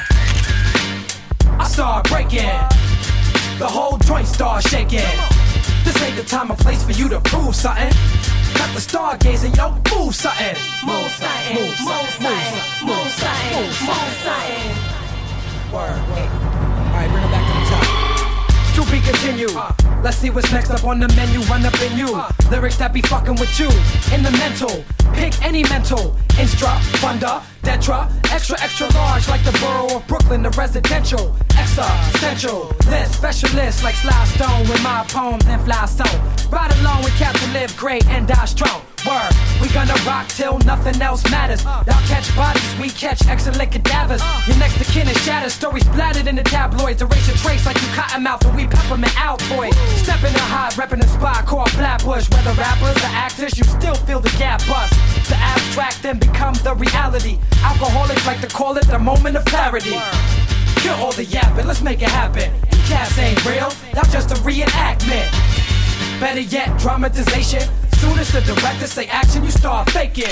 I start breaking, the whole joint start shaking. This ain't the time or place for you to prove something. Cut the stargazing, yo, move something. Move something, move something, move something, move something. Word, word. Alright, bring it back to the top. To be continued. Uh, let's see what's next up on the menu. Run up in you. Uh, Lyrics that be fucking with you. In the mental. Pick any mental. Instra, funda, detra. Extra, extra large like the borough of Brooklyn. The residential. Existential. List, specialist like Sly Stone with my poems and fly stone. Ride along with Captain Live Great and die strong. Word, we gonna rock till nothing else matters. Y'all catch bodies, we catch excellent cadavers. Your next to kin is shattered, stories splattered in the tabloids. Erase your trace like you cottonmouth and we peppermint Altoid. Stepping in high, repping a spot called Flatbush. Whether rappers or actors, you still feel the gap bust. The abstract then become the reality. Alcoholics like to call it the moment of clarity. Kill all the yapping, let's make it happen. You cats ain't real, y'all just a reenactment. Better yet, dramatization. Soon as the director say action, you start faking.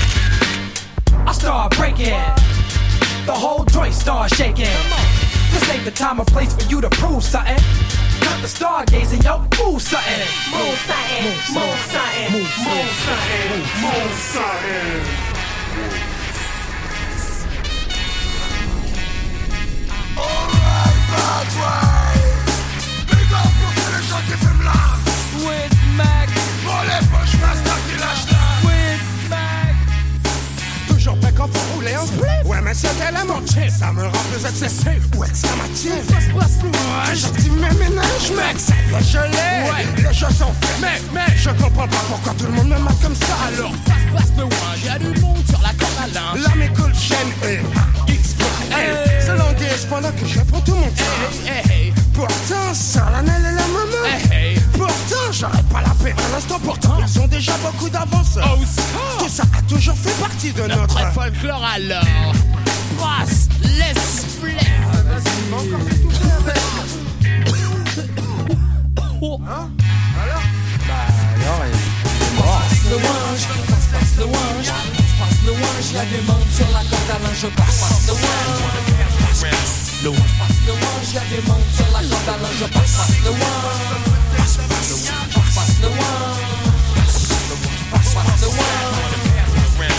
I start breaking. The whole joint start shaking. This ain't the time or place for you to prove something. Cut the stargazing, yo, move something. Move something, move something, move something, move something. Alright, bad boy. Big up pour tous les gens qui fument là. With Mac. Pour les poches, rasta qui lâche là. With Mac. Toujours prêt quand faut rouler en split. Ouais, mais c'était la moitié, ça me rend plus excessif. Ou exclamatif. Ouais, j'active mes ménages, mec, ça doit geler. Ouais, les jeux sont faits. Mec, mec, je comprends pas pourquoi tout le monde me marque comme ça. Alors, passe, passe le one, y'a du monde sur la corde à linge. Là, mes cool chaînes et X L. C'est l'anguille pendant que je prends tout mon temps. Hey, hey. Pourtant, ça, l'année et la maman. Hey, hey. Pourtant, j'aurais pas la paix à l'instant. Pourtant, ils ont déjà beaucoup d'avance. Oh, tout ça a toujours fait partie de notre, notre folklore alors. Passe, laisse plaire. Ah, vas-y, mais encore fait tout faire. Hein? Alors? Bah, alors, il est mort. Passe le wange, passe, passe le wange. Passe le wange, y'a des mondes sur la corde à linge. Passe, passe le wange. Le one. Passe le wange, y'a des mondes sur la corde à linge. Passe, passe le wange. Passe, passe le wange. Passe le wange. Passe, passe le wange.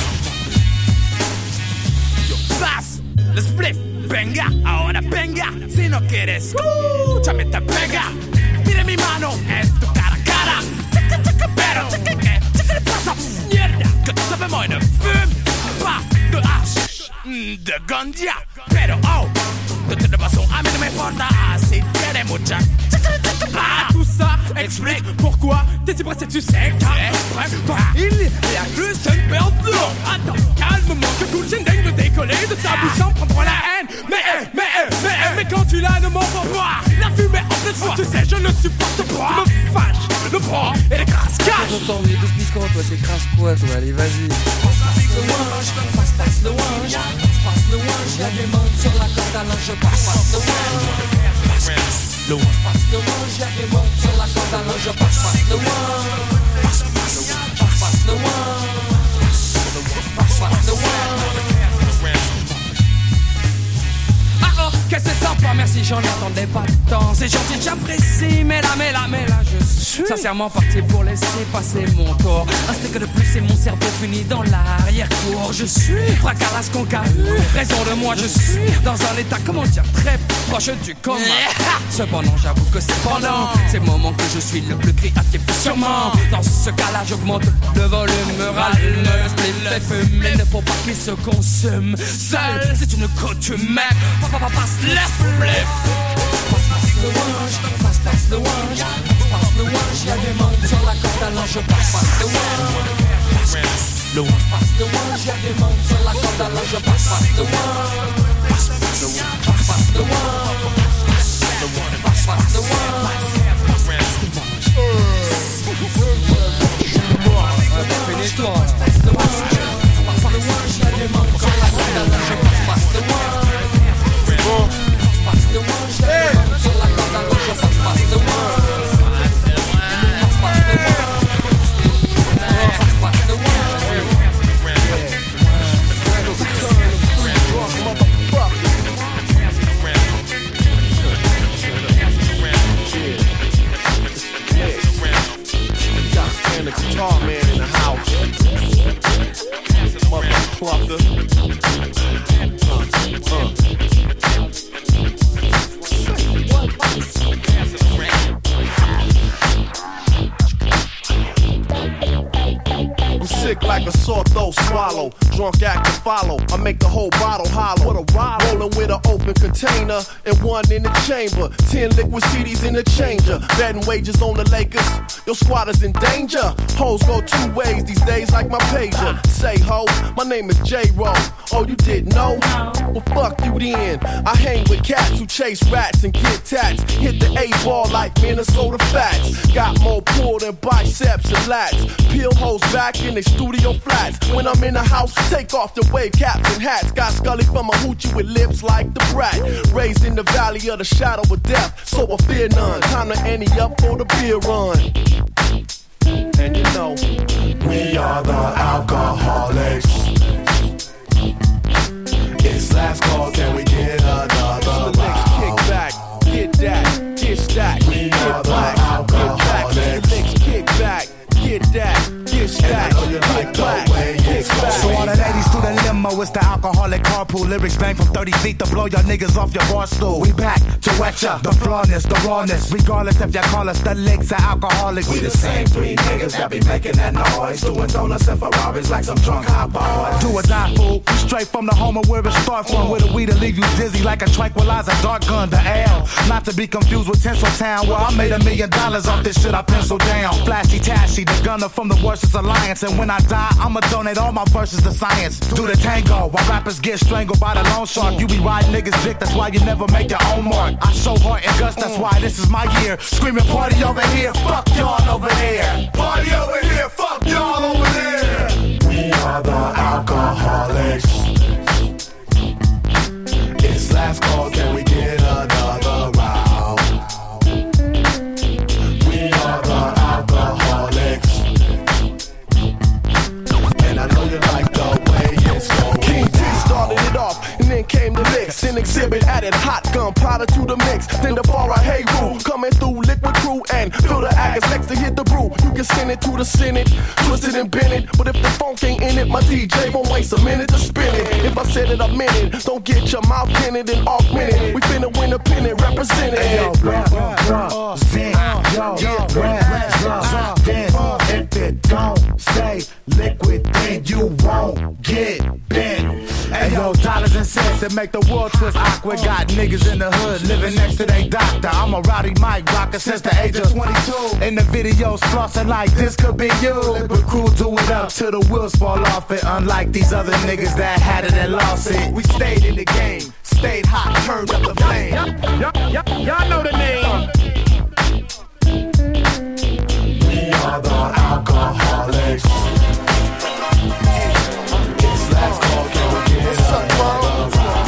Yo, pass, le split, venga, ahora venga. Si no quieres, escúchame, te pega. Mire mi mano, es tu cara a cara. Chica, chica, pero, chica, ¿qué? Chica, le pasa, mierda. Que tú sabes, moi, ne fume pas de hache. le gandia. Pero oh, de toute façon, a mí no me importa si tiene mucha. Ah, tout ça explique pourquoi t'es si pressé, tu sais car toi, il y a juste une perte de l'eau. Attends, calmement que tout le chindeng de décoller de sa bouche en prendra la haine. Mais, mais, mais, mais quand tu l'as, ne m'en veux pas. La fumée en pleine foi, tu sais, je ne supporte pas. Tu me fâches, le bras et les crasses caches. J'entends, il est tout piquant, toi, c'est crasse quoi, toi, allez, vas-y. Passe, passe le wange, passe, passe le wange, passe le wange, y'a des modes sur la corde à linge, passe, passe le wange, passe, passe le wange, passe le wange, y'a des modes sur la corde à linge, passe, passe le wange, passe, passe, passe le wange, passe, passe le wange. Ah oh, que c'est sympa, merci, j'en attendais pas tant. C'est gentil, j'apprécie, mais là, mais là, mais là, je suis sincèrement parti pour laisser passer mon tour. Un stick de plus et mon cerveau finit dans l'arrière-cour. Je suis fracasse concahu, raison de moi, je suis dans un état, comment dire, très proche du coma. Cependant, j'avoue que c'est pendant ces moments que je suis le plus créatif, sûrement. Dans ce cas-là, j'augmente le volume, râle, le split fait fumer. Ne faut pas qu'il se consume seul, c'est une coutume. Papa, passe le split. Passe, passe le wange, passe, passe le wange, passe le wange, y'a des mondes sur la corde à linge, passe, passe le wange, passe, passe le wange, passe le wange, y'a des mondes sur la corde à linge, passe, passe le wange, passe, passe le wange, passe, passe le wange, passe, passe le wange, finis-toi. Passe le wange, passe le wange, y'a des mondes sur la corde à linge, passe, passe le wange. Passe the one, shut hey. Up, so like I'm not gonna pass, pass the one. Pass the one. Pass the one. And the guitar man in the house. Mother plucker. Uh, uh. I'm sick like a sore throat swallow. Drunk act to follow. I make the whole bottle hollow. What a ride. Rolling with an open container and one in the chamber. Ten liquid C Ds in the changer. Betting wages on the Lakers. Your squad is in danger. Hoes go two ways these days like my pager. Say ho, my name is J-Ro. Oh, you didn't know? Well, fuck you then. I hang with cats who chase rats and get tats. Hit the A-ball like Minnesota Fats. Got more pull than biceps and lats. Peel hoes back in their studio flats. When I'm in the house, take off the wave caps and hats. Got Scully from a hoochie with lips like the brat. Raised in the valley of the shadow of death, so I fear none. Time to ante up for the beer run. And you know, we are the alcoholics. It's last call, can we get another round? Kick back, get that, get stacked. We get are black, the alcoholics. Get back, the kick back, get that, get stacked. And I know you like the way it's going. So all the ladies through the limo, it's the alcoholic carpool. Lyrics bang from thirty feet to blow your niggas off your bar stool. We back to wet ya, the flawness, the rawness. Regardless if you call us the licks or alcoholics. We the same three niggas that be making that noise. Doing donuts and Ferraris like some drunk hot boys. Do or die fool, straight from the home of where it start from. With a weed to leave you dizzy like a tranquilizer, dark gun, the L. Not to be confused with Tinseltown, where I made a million dollars off this shit I penciled down. Flashy Tashy, the gunner from the Worcester Alliance. And when I die, I'ma donate all my verses to science. Do the tango, while rappers get strangled by the loan shark. You be riding niggas dick, that's why you never make your own mark. I show heart and guts, that's why this is my year. Screaming party over here, fuck y'all over there. Party over here, fuck y'all over there. We are the alcoholics. It's last call, can we get another round? We are the alcoholics. And I know you like the way it's going. King T started it off, and then came the licks. An exhibit added hot gunpowder to the mix. Then the bar I hey rule, coming through liquid crew and fill the Agas next to hit the brew. You can send it to the Senate, twist it and bend it. But if the funk ain't in it, my D J won't waste a minute to spin it. If I said it, I meant it. Don't get your mouth pinned and augmented. We finna win a pennant, represented. Hey, yo, represent, yo, represent. If it don't say liquid, then you won't get bent. Hey Yo, dollars and cents that make the world twist awkward. Got niggas in the hood living next to their doctor. I'm a rowdy mic rocker since the age of twenty-two. In the videos flossing like this could be you. But crew do it up till the wheels fall off it. Unlike these other niggas that had it and lost it. We stayed in the game, stayed hot, turned up the flame. Y'all know the name. We are the alcoholics. It's last call, can we get What's up, bro?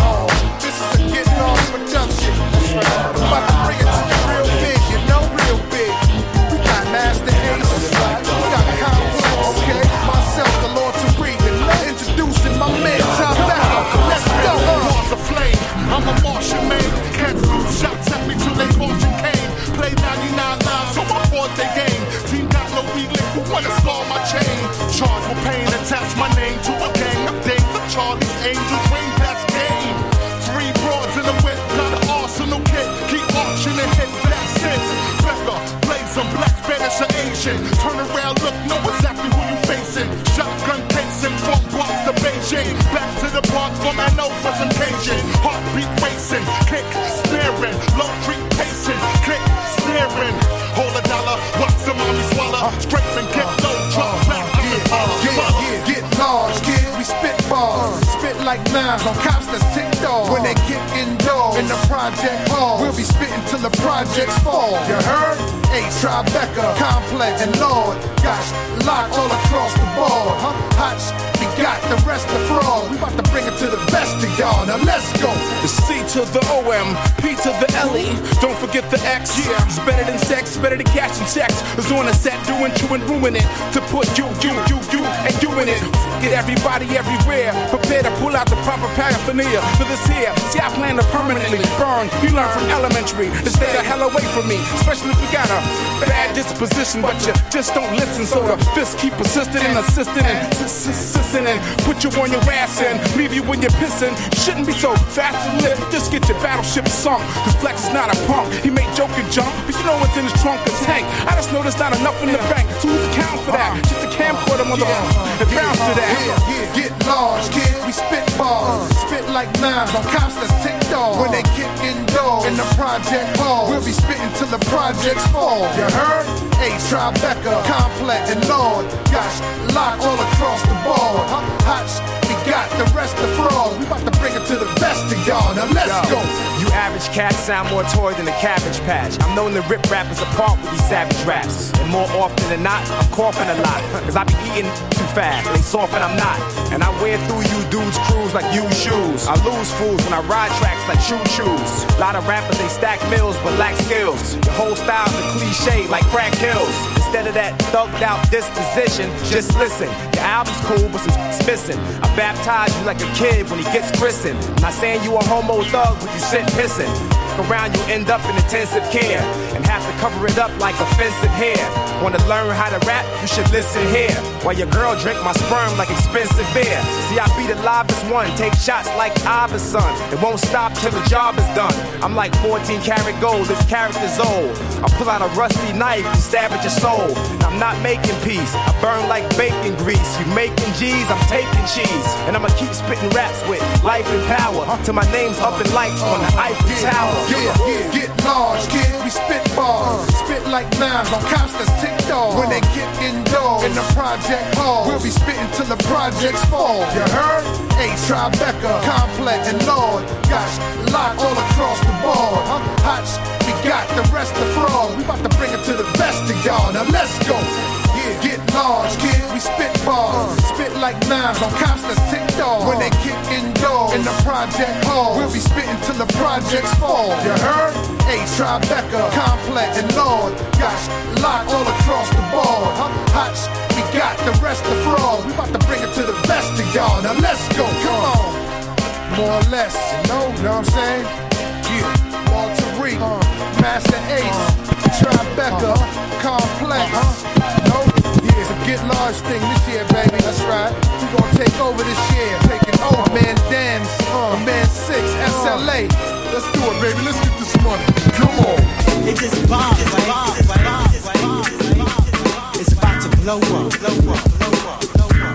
This is a Getting Off production. That's right. I'm about to bring it to you real big, you know, real big. We got Master Ace, we got Complex, okay? Myself, the Lord Tariq, and introducing my man, Tom Becker. Let's go. Wars of flame, I'm a Martian man. Cats threw shots at me till they Martian came. Play ninety-nine lives, so I fought their game. Team got low, we lick, who wanna scar my chain? Charged with pain, attach my name to a gang of dames of Charlie's Angels, rain past game. Three broads in the whip, got an arsenal kit. Keep marching and hit, that's it. Becker, blaze some black, Spanish or Asian. Turn around, look, know exactly who you facing. Shotgun casing from Bronx to Beijing. Back to the Bronx from N O for some Cajun. Heartbeat racing, kick, snaring, low creep pacing, click, snaring. Hold a dollar, watch the mommy swallow. Straight and get low, drop back. Yeah, yeah, get large, kid. We spit bars, spit like knives on cops that's ticked off. When they kick indoors in the project hall, we'll be spitting till the projects fall. You heard? A Tribeca, Complex, and Lord got locked all across the board. Huh? Hot sh- we got the rest of fraud. We about to bring it to the best of y'all. Now let's go. The C to the O M, P to the L E. Don't forget the X. Yeah. It's better than sex, better than cash and checks. It's on the set, doing you and ruin it. To put you, you, you, you, and you in it. Get everybody everywhere. Prepare to pull out the proper paraphernalia for this here. See, I plan to permanently burn. You learn from elementary to stay the hell away from me. Especially if you got a bad disposition, but you just don't listen. So the fists keep persisting and assisting and assisting and put you on your ass and leave you when you're pissing. You shouldn't be so fast to live. Just get your battleship sunk. Cause Flex is not a punk. He may joke and jump, but you know what's in his trunk, a tank. I just know there's not enough in the bank. So who's accounting for that? Just a camcorder on the yeah. and bounce to that. Yeah, yeah. Get large, kid. We spit bars, spit like knives on cops that's ticked off. When they kick indoors in the project hall, we'll be spitting till the projects fall. You heard? A Tribeca, Complex, and Lord got locked all across the board. Huh? Hot sh- we got the rest of fraud. We about to bring it to the best of y'all. Now let's Yo, go. You average cats sound more toy than a cabbage patch. I'm known to rip rappers apart with these savage raps. And more often than not, I'm coughing a lot. Cause I be eating too fast. They soft and I'm not. And I wear through you dudes' crews like you shoes. I lose fools when I ride tracks like choo-choos. Lot of rappers, they stack mills but lack skills. Your whole style's a cliche like crack kills. Instead of that thugged out disposition, just listen. Your album's cool, but some shit's missing. I baptize you like a kid when he gets christened. I'm not saying you a homo thug, but you sit pissing. Around you end up in intensive care and have to cover it up like offensive hair. Wanna learn how to rap? You should listen here. While your girl drink my sperm like expensive beer. See, I be the livest one, take shots like Iverson. It won't stop till the job is done. I'm like fourteen karat gold, this character's old. I pull out a rusty knife and stab at your soul. And I'm not making peace, I burn like bacon grease. You making G's, I'm taking cheese. And I'ma keep spitting raps with life and power till my name's up in lights on the Eiffel Tower. Yeah, yeah, get large, kid. We spit bars, spit like knives on cops that's ticked off. When they get indoors in the project hall, we'll be spitting till the projects fall. You heard? A Tribeca, Complex, and Lord got locked all across the board. Huh? Hot sh- we got the rest of fraud. We about to bring it to the best of y'all. Now let's go. Yeah, get large, kid. We spit bars, spit like knives on cops that's ticked off. When they kick indoors in the project hall, we'll be spitting till the projects fall. You heard? A Tribeca, Complex, and Lord got locked all across the board. Huh? Hot sh- we got the rest of fraud. We about to bring it to the best of y'all. Now let's go. Come on. More or less, you know, you know what I'm saying? Yeah. Walter Reed, uh, Master Ace, uh, Tribeca, uh, Complex. Uh-huh. No, yeah, it's a get large thing this year, baby. That's right. We gonna take over this year. Taking over, man. Dan's, uh, man six, S L A. Let's do it, baby. Let's get this money. Come on. It just bombs, it's right? Bombs, it's, right? Bombs, it's, right? It's about to blow up. Blow up, blow up, blow up.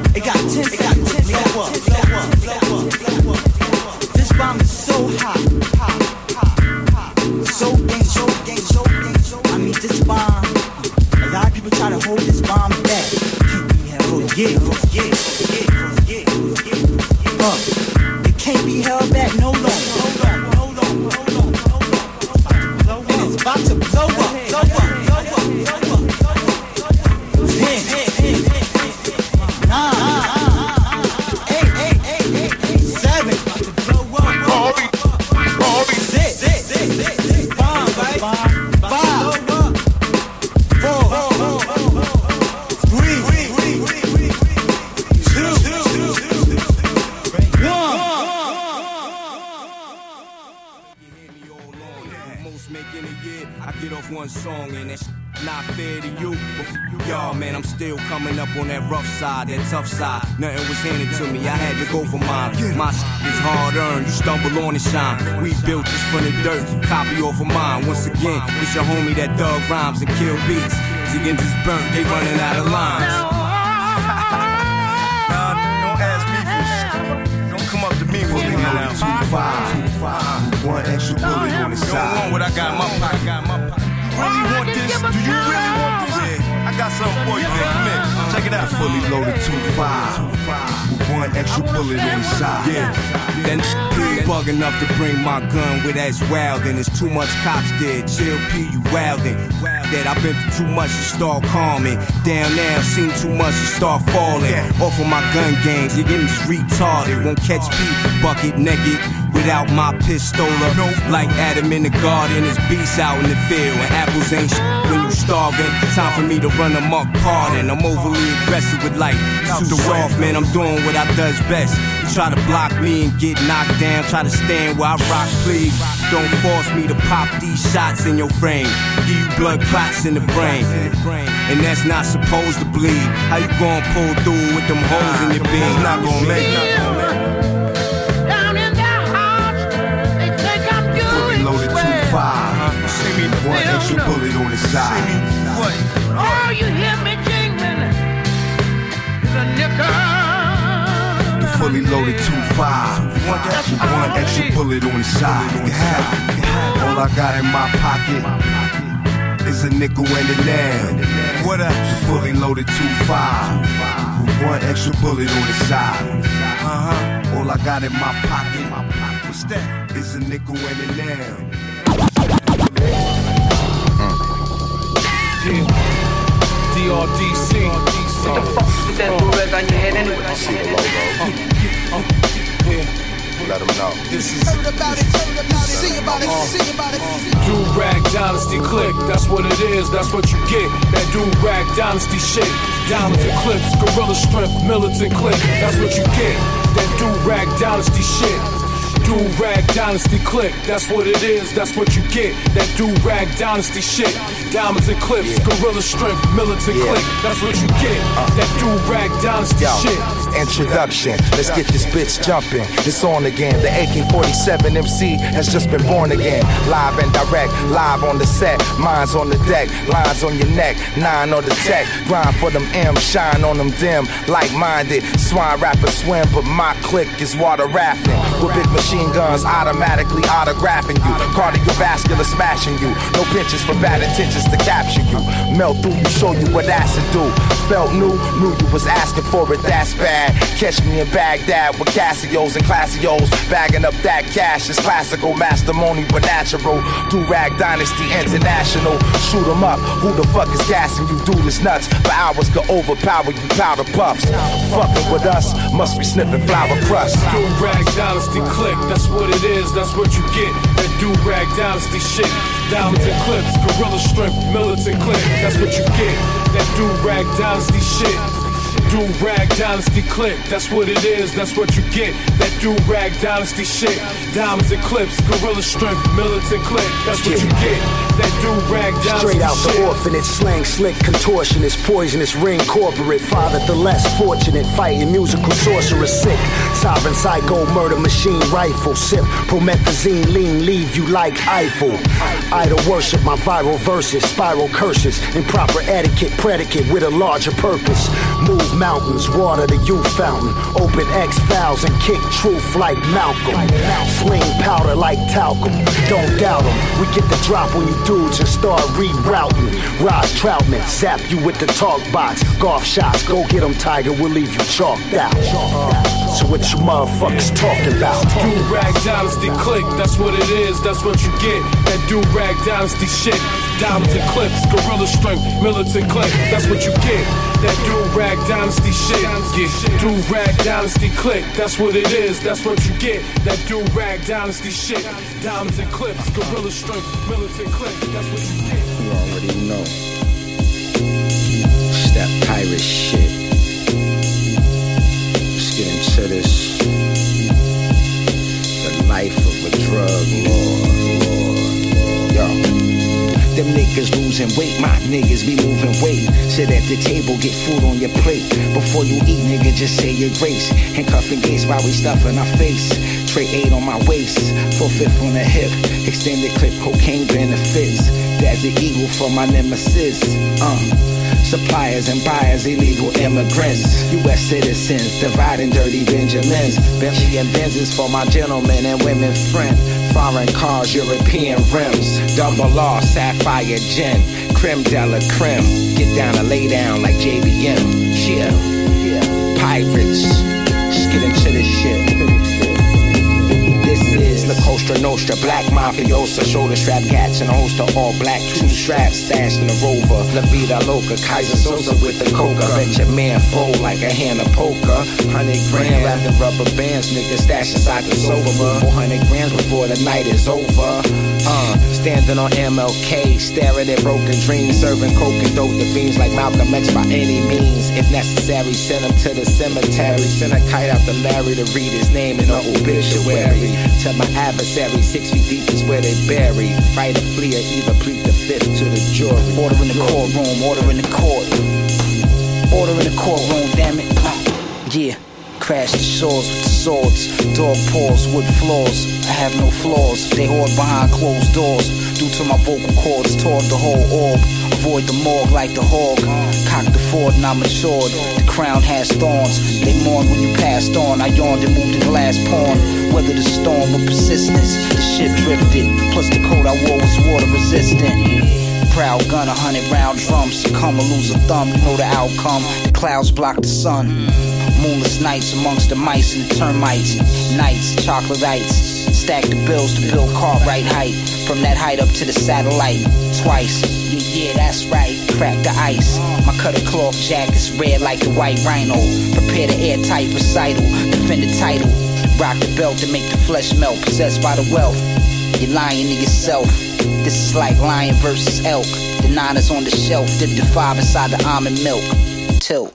It got ten seconds to blow up, blow up, blow up, blow up. This bomb is so hot, hot, hot, hot. So dangerous, so dangerous. I mean, this bomb. A lot of people try to hold this bomb back. Can't be held, yeah, yeah, yeah, yeah, yeah. Uh, it can't be held back no longer. Hold on, hold on, hold on, hold on. And it's about to blow up, blow up, blow up, blow up. Ten, nine, eight, eight, eight, eight, eight, seven. About to blow up. Six, six, six, six, six. Five, right? Five, four, three, two, one. Most making a year, I get off one song and that's not fair to you. But f- y'all, man, I'm still coming up on that rough side, that tough side. Nothing was handed to me, I had to go for mine. My shit is hard earned, you stumble on and shine. We built this from the dirt, copy off of mine. Once again, it's your homie that dug rhymes and kill beats. Ziggin just burnt, they running out of lines. Nah, don't ask me for shit. Don't come up to me for being out. Two five, one extra bullet on the side. You don't want what I got in my pocket. Got in my pocket. You really want this? Do you really want this? Yeah, I got something for you, man. Come here, check it out. Fully loaded two five, one extra bullet on the side. Yeah, that n- bug enough to bring my gun with that's wild, and it's too much cops there. Chill, P, you wildin'. That I've been through too much to start calming. Down now, seen too much to start falling. Off of my gun games, you're getting just retarded. Won't catch P, bucket naked. Without my pistola, nope. Like Adam in the garden, it's beasts out in the field. And apples ain't shit when you starving. Time for me to run amok, pardon. I'm overly aggressive with life. Too soft, man, I'm doing what I does best. You try to block me and get knocked down. Try to stand where I rock, please. Don't force me to pop these shots in your frame. Give you blood clots in the brain. And that's not supposed to bleed. How you gonna pull through with them holes in your beam? It's not gonna make it. One extra bullet on the side. What? Oh, you hear me jingling? It's a nickel. The fully loaded two five. One extra, one extra bullet on the side. You can have it. You can have it. All I got in my pocket is a nickel and a nail. What up? The fully loaded two five. One extra bullet on the side. Uh huh. All I got in my pocket, what's that? Is a nickel and a nail. D R D C. What the fuck is that blue red on your head anyway? I see the logo. Let them know. This is. Do-Rag Dynasty Click, that's what it is, that's what you get. That Do-Rag Dynasty shit. Diamonds and clips, gorilla strength, militant click, that's what you get. That Do-Rag Dynasty shit. Do-Rag Dynasty Click, that's what it is, that's what you get. That Do-Rag Dynasty shit. Diamonds and clips, yeah. Gorilla strength, militant yeah. Click, that's what you get. Uh, that Do-Rag Dynasty yo, shit. Introduction, let's get this bitch jumping. It's on again, the A K forty-seven M C has just been born again. Live and direct, live on the set. Minds on the deck, lines on your neck. Nine on the tech, grind for them M's, shine on them dim. Like-minded, swine rappers swim, but my click is water rafting. With big machine guns automatically autographing you. Cardiovascular smashing you. No pinches for bad intentions to capture you. Melt through you, show you what acid do. Felt new, knew you was asking for it, that's bad. Catch me in Baghdad with Casios and Classios. Bagging up that cash is classical, mastermony but natural. Do-Rag Dynasty International. Shoot 'em up, who the fuck is gassing you? Do this nuts, for hours could overpower you powder puffs. Fucking with us, must be sniffing flour crust. Do-Rag Dynasty Click, that's what it is, that's what you get. That Do-Rag Dynasty shit. Diamonds and clips, gorilla strength, militant click, that's what you get. That Do-Rag Dynasty shit. Do-Rag Dynasty Click, that's what it is, that's what you get. That Do-Rag Dynasty shit. Diamonds and clips, gorilla strength, militant click, that's what you get. That Do-Rag Dynasty Straight out shit. the orphanage, slang slick, contortionist, poisonous, ring corporate. Father the less fortunate, fighting musical sorcerer sick. Sovereign psycho, murder machine rifle. Sip promethazine, lean, leave you like Eiffel. Idol worship, my viral verses, spiral curses. Improper etiquette, predicate with a larger purpose. Move mountains, water the youth fountain. Open X-Files and kick truth like Malcolm. Sling powder like talcum. Don't doubt them. We get the drop when you dudes and start rerouting. Raj Troutman, zap you with the talk box. Golf shots, go get them, Tiger. We'll leave you chalked out. So what you motherfuckers talking about? Do-rag dynasty click, that's what it is, that's what you get. That do-rag dynasty shit. Diamonds and clips, gorilla strength, militant click, that's what you get. That do-rag dynasty shit. Get do-rag dynasty click, that's what it is, that's what you get. That do-rag dynasty shit. Diamonds and clips, gorilla strength, militant click, that's what you get. You already know. It's that pirate shit. Let's get into this. The life of a drug lord, lord, yo. Them niggas losing weight, my niggas be moving weight. Sit at the table, get food on your plate. Before you eat, nigga, just say your grace. Handcuffing gates while we stuffing our face. Tray eight on my waist, full fifth on the hip. Extended clip, cocaine benefits. That's the eagle for my nemesis. Uh. Suppliers and buyers, illegal immigrants. U S citizens, dividing dirty Benjamins. Bentley and Benzes for my gentlemen and women friend. Foreign cars, European rims. Double R, sapphire gin. Creme de la creme. Get down and lay down like J B M. Yeah, yeah. Pirates. Just get into this shit. This is La Costa Nostra, black mafiosa, shoulder strap cats and a host of all black two straps stashed in a Rover. La Vida Loca, Kaiser Sosa with the coca. Bet your man fold like a hand of poker. Hundred grand wrapped in rubber bands, nigga stash inside the sofa. Four hundred grams before the night is over. Uh, standing on M L K, staring at broken dreams, serving coke and dope to fiends like Malcolm X by any means. If necessary, send him to the cemetery. Send a kite out to Larry to read his name in an obituary. To my adversary, six feet deep is where they bury. Fight or flee or either plead the fifth to the jury. Order in the courtroom, order in the court. Order in the courtroom, damn it. Uh, yeah. Crash the shores with the swords. Dog paws, wood floors. I have no flaws. They hoard behind closed doors. Due to my vocal cords, toward the whole orb. Avoid the morgue like the hog. Cock the ford and I matured. The crown has thorns. They mourn when you passed on. I yawned and moved the glass pawn. Weather the storm with persistence. The ship drifted. Plus the coat I wore was water resistant. Proud gun, a hundred round drums. Come or lose a thumb, you know the outcome. The clouds block the sun. Moonless nights amongst the mice and the termites. Nights, chocolate-ites. Stack the bills to build Cartwright height. From that height up to the satellite. Twice, yeah, yeah, that's right. Crack the ice. My cutter cloth jacket's red like the white rhino. Prepare the airtight recital. Defend the title. Rock the belt to make the flesh melt. Possessed by the wealth. You're lying to yourself. This is like lion versus elk. The nine is on the shelf. Dip the five inside the almond milk. Tilt.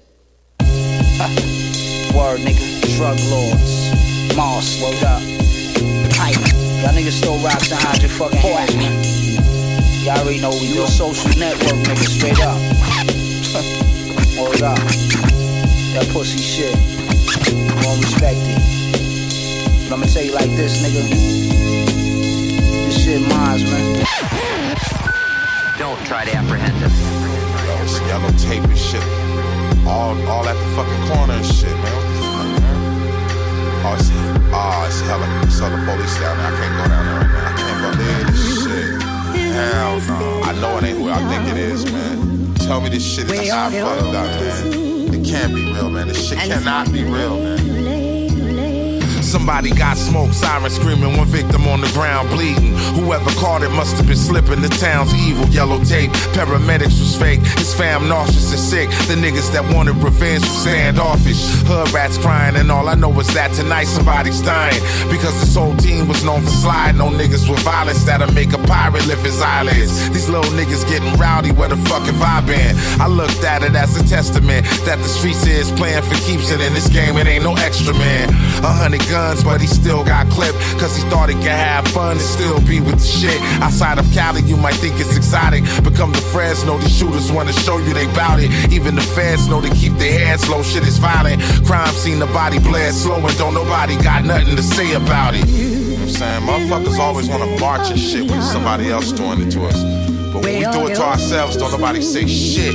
Word, nigga. Drug lords. Moss, word up. Hype. Y'all niggas still rock the hundred fucking hands, man. Y'all already know we do a social network, nigga. Straight up. Word up. That pussy shit. Won't respect it. But I'ma tell you like this, nigga. This shit mines, man. Don't try to apprehend him. Yo, it's yellow tape and shit. All, all at the fucking corner and shit, man. What the fuck, man? Oh, it's, oh, it's hella, it's hella police down there. I can't go down there right now. I can't believe this shit. Hell no. I know it ain't who I think it is, man. Tell me this shit is not fucked up, man. It can't be real, man. This shit cannot be real, man. Somebody got smoke, siren screaming, one victim on the ground bleeding. Whoever caught it must have been slipping. The town's evil, yellow tape. Paramedics was fake. His fam nauseous and sick. The niggas that wanted revenge were standoffish. Hood rats crying, and all I know is that tonight somebody's dying. Because this whole team was known for sliding on niggas with violence that'll make a pirate lift his eyelids. These little niggas getting rowdy, where the fucking vibe been? I looked at it as a testament that the streets is playing for keeps, and in this game it ain't no extra, man. A hundred guns, but he still got clipped, cause he thought he could have fun and still be with the shit. Outside of Cali, you might think it's exotic. Become the Fresno, these shooters wanna show you they bout it. Even the feds know to keep their heads low, shit is violent. Crime seen the body bled slow, and don't nobody got nothing to say about it. You know what I'm saying? Motherfuckers always wanna march and shit when somebody else doing it to us. But when we do it to ourselves, don't nobody say shit.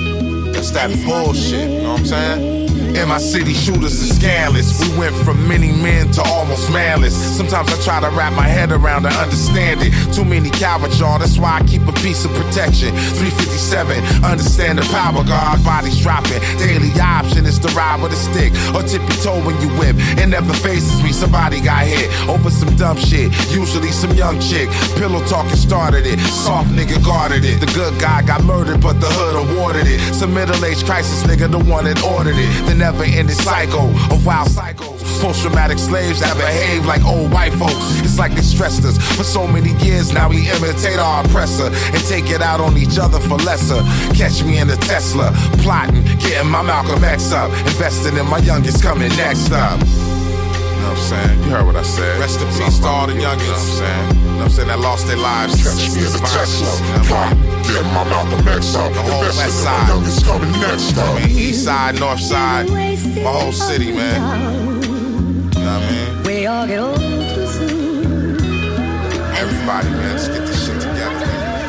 That's that bullshit, you know what I'm saying? In my city, shooters are scandalous. We went from many men to almost manless. Sometimes I try to wrap my head around and understand it. Too many cowards, y'all, that's why I keep a piece of protection. three fifty-seven, understand the power, God, bodies dropping. Daily option is to ride with a stick or tippy toe when you whip. It never phases me, somebody got hit over some dumb shit. Usually some young chick, pillow talking started it. Soft nigga guarded it. The good guy got murdered, but the hood awarded it. Some middle-aged crisis nigga, the one that ordered it. The never-ending cycle of wild cycles. Post-traumatic slaves that behave like old white folks. It's like they stressed us for so many years. Now we imitate our oppressor and take it out on each other for lesser. Catch me in a Tesla, plotting, getting my Malcolm X up, investing in my youngest coming next up. You know what I'm saying? You heard what I said. Rest in peace to all the youngins. You know what I'm saying? You know what I'm saying? That lost their lives. Catch me in the Tesla, plot, get my Malcolm X up. The whole west side. My youngest coming next up. I mean, east side, north side, my whole city, man. You know what I mean? We all get old too soon. Everybody, man, let's get this shit together.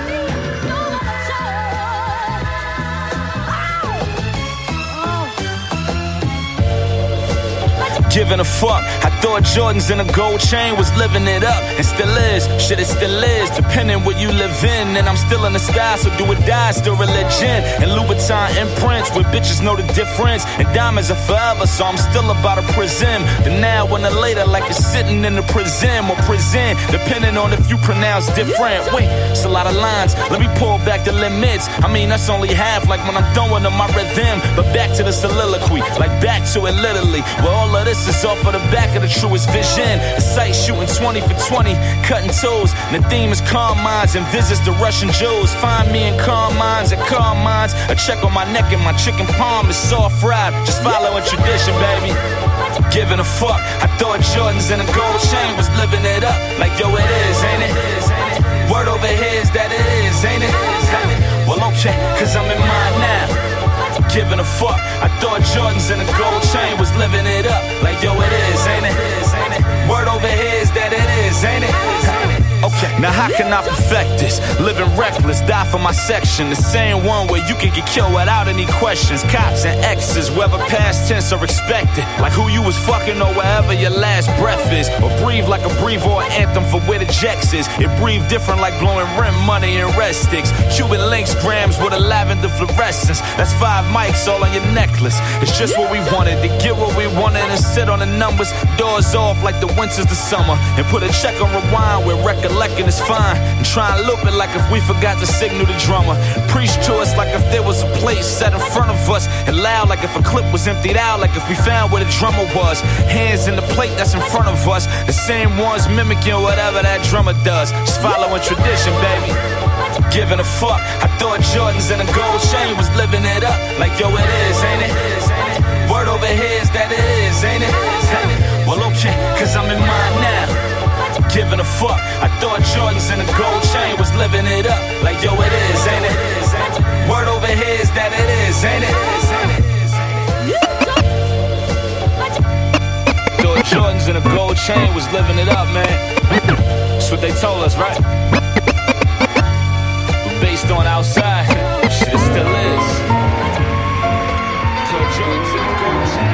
Giving a fuck. I thought Jordans in a gold chain was living it up, and still is. Shit, it still is. Depending where you live in, and I'm still in the style, so do or die, still religion. And Louboutin imprints, where bitches know the difference. And diamonds are forever, so I'm still about a prison. The now and the later, like you're sitting in the prison or prison, depending on if you pronounce different. Wait, it's a lot of lines. Let me pull back the limits. I mean, that's only half, like when I'm throwing on my rhythm. But back to the soliloquy, like back to it literally. Where all of this is off of the back of the truest vision. The sight shooting twenty for twenty, cutting toes. And the theme is calm minds and visits to Russian Jews. Find me in calm minds at calm minds. A check on my neck and my chicken palm is soft fried. Just following tradition, baby. Giving a fuck. I thought Jordans in a gold chain was living it up. Like yo, it is, ain't it? Word over here is that it is, ain't it? Well, okay, cause I'm in mine now. Giving a fuck. I thought Jordans in a gold chain was living it up. Like yo, it is, ain't it? Word over here is that it is, ain't it? Okay, now how can I perfect this? Living reckless, die for my section. The same one where you can get killed without any questions. Cops and exes, whether past tense or expected. Like who you was fucking or wherever your last breath is. Or breathe like a breathe or anthem for where the jacks is. It breathe different like blowing rim money and rest sticks. Cuban links grams with a lavender fluorescence. That's five mics all on your necklace. It's just what we wanted, to get what we wanted and sit on the numbers. Doors off like the winters to summer. And put a check on rewind with record. Recollecting is fine, and try and loop it like if we forgot to signal the drummer. Preach to us like if there was a place set in front of us, and loud like if a clip was emptied out, like if we found where the drummer was. Hands in the plate that's in front of us, the same ones mimicking whatever that drummer does. Just following tradition, baby. Giving a fuck. I thought Jordans in a gold chain was living it up. Like yo, it is, ain't it? Word over here is that it is, ain't it? Well, okay, cause I'm in mine now. Giving a fuck. I thought Jordans in a gold chain was living it up. Like yo, it is, ain't it? Word over here is that it is, ain't it? Thought Jordans in a gold chain was living it up, man. That's what they told us, right? But based on outside, shit, it still is. Thought Jordans in a gold chain.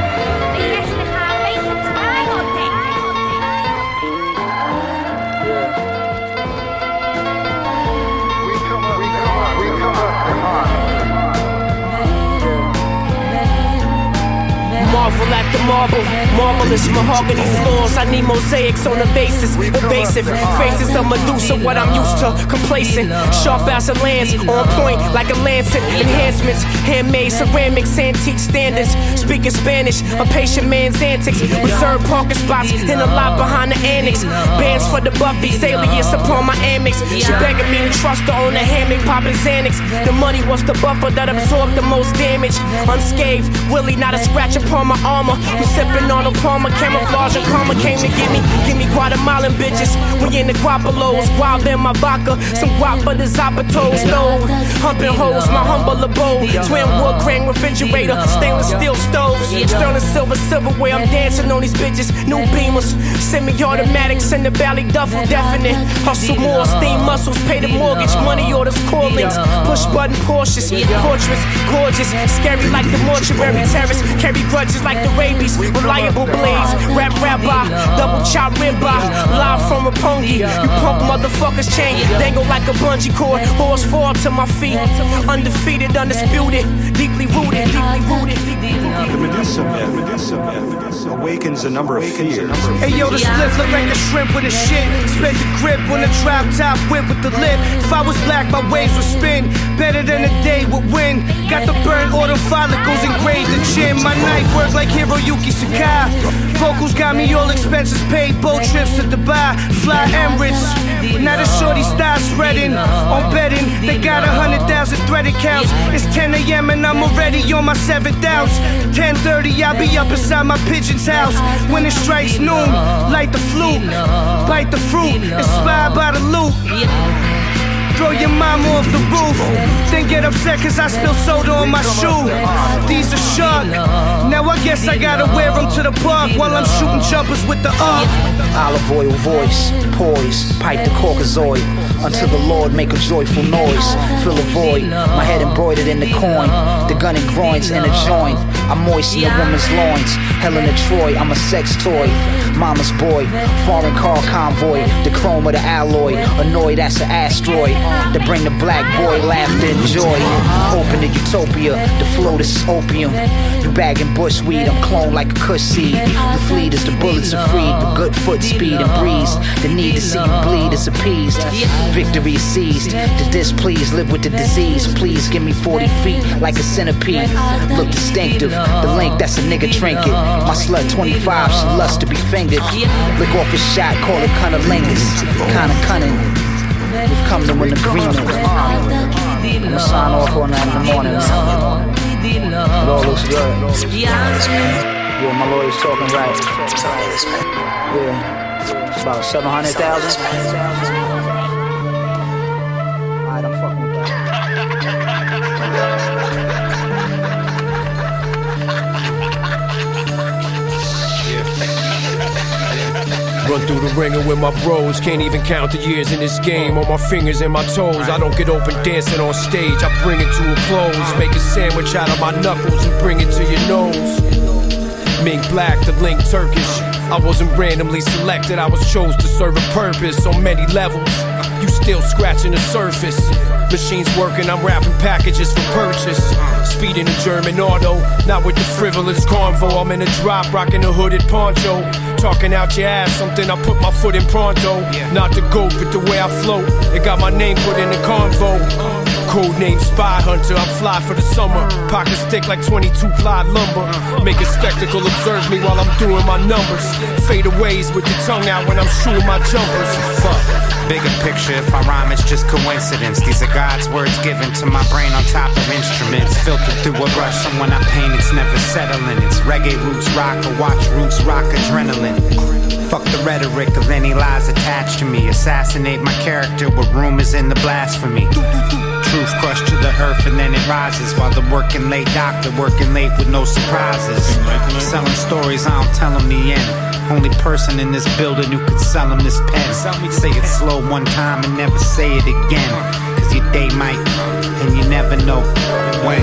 Marvel at the marble, marvelous mahogany floors. I need mosaics on the basis, evasive faces of Medusa, what I'm used to, complacent. Sharp as a lance, on point like a lancet. Enhancements, handmade ceramics, antique standards. Speaking Spanish, a patient man's antics. Reserved parking spots in the lot behind the annex. Bands for the Buffy's, alias upon my Amex. She begging me to trust her on the hammock, popping Xanax. The money was the buffer that absorbed the most damage. Unscathed, Willie, not a scratch upon my armor. I'm sipping on a Palmer, camouflage and karma came to get me. Give me Guatemalan bitches. We in the Guapalos, wild in my vodka. Some guap for the Zapato stove. Humping hoes, my humble abode. Twin wood grain refrigerator, stainless steel stoves. Beamers. Sterling silver, silverware, I'm dancing on these bitches. New Beamers, semi-automatics in the Bally Duffel, definite. Hustle more, steam muscles, pay the mortgage, money orders, callings, push button Porsches, portraits, gorgeous, scary like the mortuary terrace. Carry grudges like the rabies, reliable blades. Rap rabbi, double chop ribeye, live from Rapongi. You punk motherfuckers chain, dangle like a bungee cord. Horse fall to my feet, undefeated, undisputed, deeply rooted, deeply rooted. The Medusa myth, Medusa myth awakens a number of fears. Hey yo, the split look like a shrimp with a shit. Spent the grip on the drop top whip with the lip. If I was black, my waves would spin. Better than a day would win. Got the burnt auto follicles engraved in chin. My knife work like Hiroyuki Sakai. Vocals got me all expenses paid. Boat trips to Dubai, fly Emirates. Now the shorty style spreading on betting. They got a hundred thousand threaded counts. It's ten a.m. and I'm already on my seventh ounce. ten thirty, I'll be up inside my pigeon's house. When it strikes noon, light the flute, bite the fruit, inspired by the loot. Throw your mama off the roof, then get upset cause I spill soda on my shoe. These are sharp, now I guess I gotta wear them to the park while I'm shooting jumpers with the arc. Olive oil voice, poise, pipe the Caucasoid, until the Lord make a joyful noise. Fill a void, my head embroidered in the coin, the gun and groins in a joint. I moisten a woman's loins, Helen of Troy, I'm a sex toy. Mama's boy, foreign car convoy, the chrome of the alloy, annoyed that's an asteroid. To bring the black boy laughter and joy. Open to utopia, the flow this is opium. You bagging bushweed, I'm cloned like a kush seed. You fleet as the bullets are freed, with good foot speed and breeze. The need to see you bleed is appeased. Victory is seized, the displeased live with the disease. Please give me forty feet like a centipede. Look distinctive, the link that's a nigga trinket. My slut twenty-five, she loves to be fingered. Lick off his shot, call it cunnilingus. Kinda cunning. We've come to an agreement. I'ma sign off on that in the morning. It all looks good. Yeah, my lawyer's talking right. Yeah, it's about seven hundred thousand. Alright, I'm fucking with that. Run through the ringer with my bros. Can't even count the years in this game. On my fingers and my toes, I don't get open dancing on stage. I bring it to a close. Make a sandwich out of my knuckles and bring it to your nose. Mink black, the link Turkish. I wasn't randomly selected, I was chose to serve a purpose on many levels. You still scratching the surface. Machines working, I'm wrapping packages for purchase. Speeding a German auto, not with the frivolous convo. I'm in a drop, rocking a hooded poncho. Talking out your ass, something I put my foot in pronto. Not the goat, but the way I float. It got my name put in the convo. Code name Spy Hunter, I'm fly for the summer. Pocket stick like twenty-two ply lumber. Make a spectacle, observe me while I'm doing my numbers. Fadeaways with the tongue out when I'm shooting my jumpers. Fuck. Bigger picture, if I rhyme, it's just coincidence. These are God's words given to my brain on top of instruments. Filtered through a brush, and when I paint, it's never settling. It's reggae roots rock, or watch roots rock adrenaline. Fuck the rhetoric of any lies attached to me. Assassinate my character with rumors in the blasphemy. Truth crushed to the earth and then it rises. While the working late doctor working late with no surprises. Selling stories, I don't tell them the end. Only person in this building who could sell him this pen. Say it slow one time and never say it again. Cause your day might, and you never know when.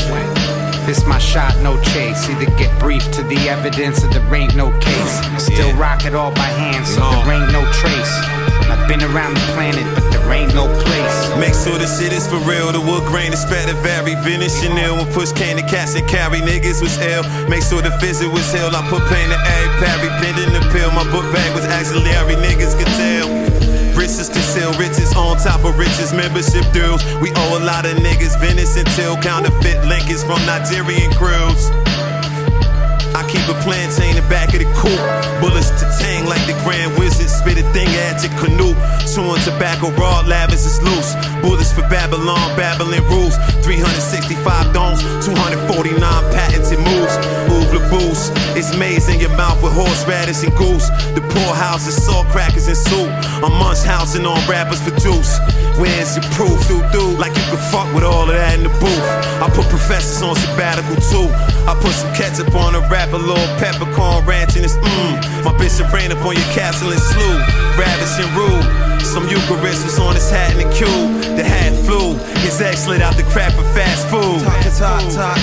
This my shot, no chase. Either get brief to the evidence or there ain't no case. Still rock it all by hand, so there ain't no trace. I've been around the planet, but there ain't no place. Make sure the shit is for real. The wood grain is spread to vary. Vintage Chanel when push came to cash and carry. Niggas was ill. Make sure the visit was hell. I put pain to every parry. Bending the pill. My book bag was auxiliary. Niggas could tell. Riches to sell riches on top of riches. Membership dues. We owe a lot of niggas. Venice until counterfeit Lincolns from Nigerian crews. I keep a plantain in the back of the coupe. Bullets to tang like the Grand Wizard. Spit a thing at your canoe. Chewing tobacco raw, lavish is loose. Bullets for Babylon, babbling rules. three hundred sixty-five domes, two hundred forty-nine patented moves. Ouvre le boost. It's maize in your mouth with horseradish and goose. The poorhouse is salt crackers and soup. I'm munch housing on rappers for juice. Where's your proof? Do do like you can fuck with all of that in the booth. I put professors on sabbatical too. I put some ketchup on a wrap, a little peppercorn ranch and it's mmm. My bishop ran up on your castle and slew, ravish and rude. Some Eucharist was on his hat in the cube. The hat flew, his ex slid out the crap of fast food. Top, top, top.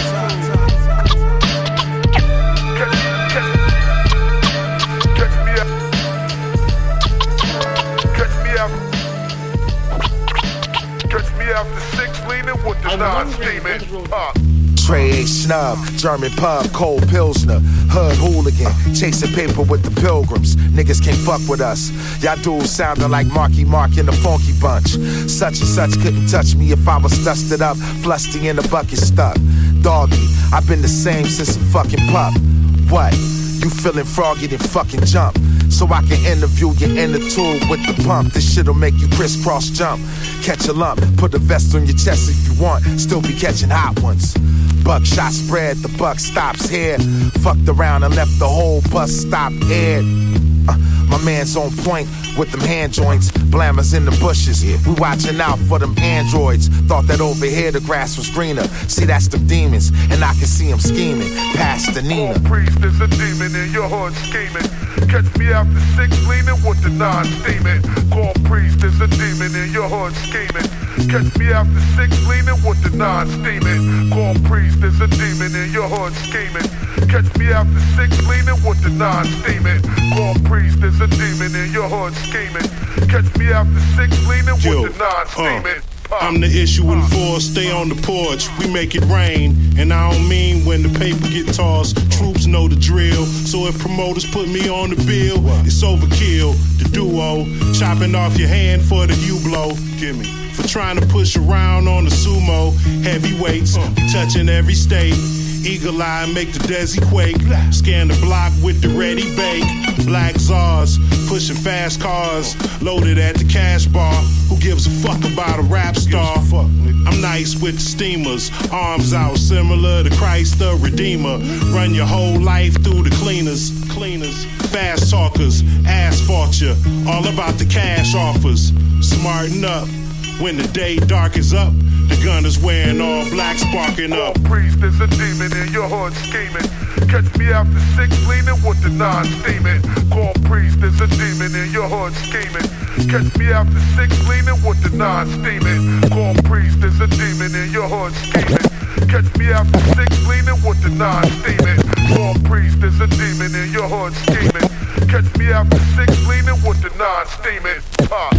After six, leaning with the non-steaming. Uh. Trey A. Snub, German pub, cold Pilsner, hood hooligan, chasing paper with the pilgrims. Niggas can't fuck with us. Y'all dudes sounding like Marky Mark in the Funky Bunch. Such and such couldn't touch me if I was dusted up, flusty in the bucket stuck. Doggy, I've been the same since a fucking pup. What? You feeling froggy, then fucking jump. So I can interview your inner tube with the pump. This shit'll make you crisscross jump. Catch a lump, put a vest on your chest if you want. Still be catching hot ones. Buckshot spread, the buck stops here. Fucked around and left the whole bus stop aired. Uh, my man's on point with them hand joints. Blammers in the bushes. We watching out for them androids. Thought that over here the grass was greener. See, that's the demons, and I can see them scheming. Past the Nina. Oh, priest, there's a demon in your hood scheming. Catch me after six, leaning with the non-steaming. Call priest, there's a demon in your hood scheming. Catch me after six, leaning with the non-steaming. Call priest, there's a demon in your hood scheming. Catch me after six, leaning with the non-steaming. Call priest, there's a demon in your hood scheming. Catch me after six, leaning Yo, with the non-steaming. Uh, I'm the issue in force, stay on the porch, we make it rain. And I don't mean when the paper get tossed, troops know the drill. So if promoters put me on the bill, it's overkill. The duo, chopping off your hand for the U-blow. Give me. For trying to push around on the sumo, heavyweights, touching every state. Eagle eye make the Desi quake. Scan the block with the ready bake. Black Zars, pushing fast cars. Loaded at the cash bar. Who gives a fuck about a rap star? I'm nice with the steamers. Arms out similar to Christ the Redeemer. Run your whole life through the cleaners. Cleaners, fast talkers, asphalt ya. All about the cash offers. Smarten up. When the day darkens up, the gun is wearing all black, sparking up. Oh, priest, there's a demon in your hood scheming. Catch me after six, leaning with the non-steaming. Call priest, there's a demon in your hood scheming. Catch me after six, leaning with the non-steaming. Call priest, there's a demon in your hood scheming. Catch me after six, leaning with the non-steaming. Call priest, there's a demon in your hood scheming. Catch me after six, leaning with the non-steaming. Uh.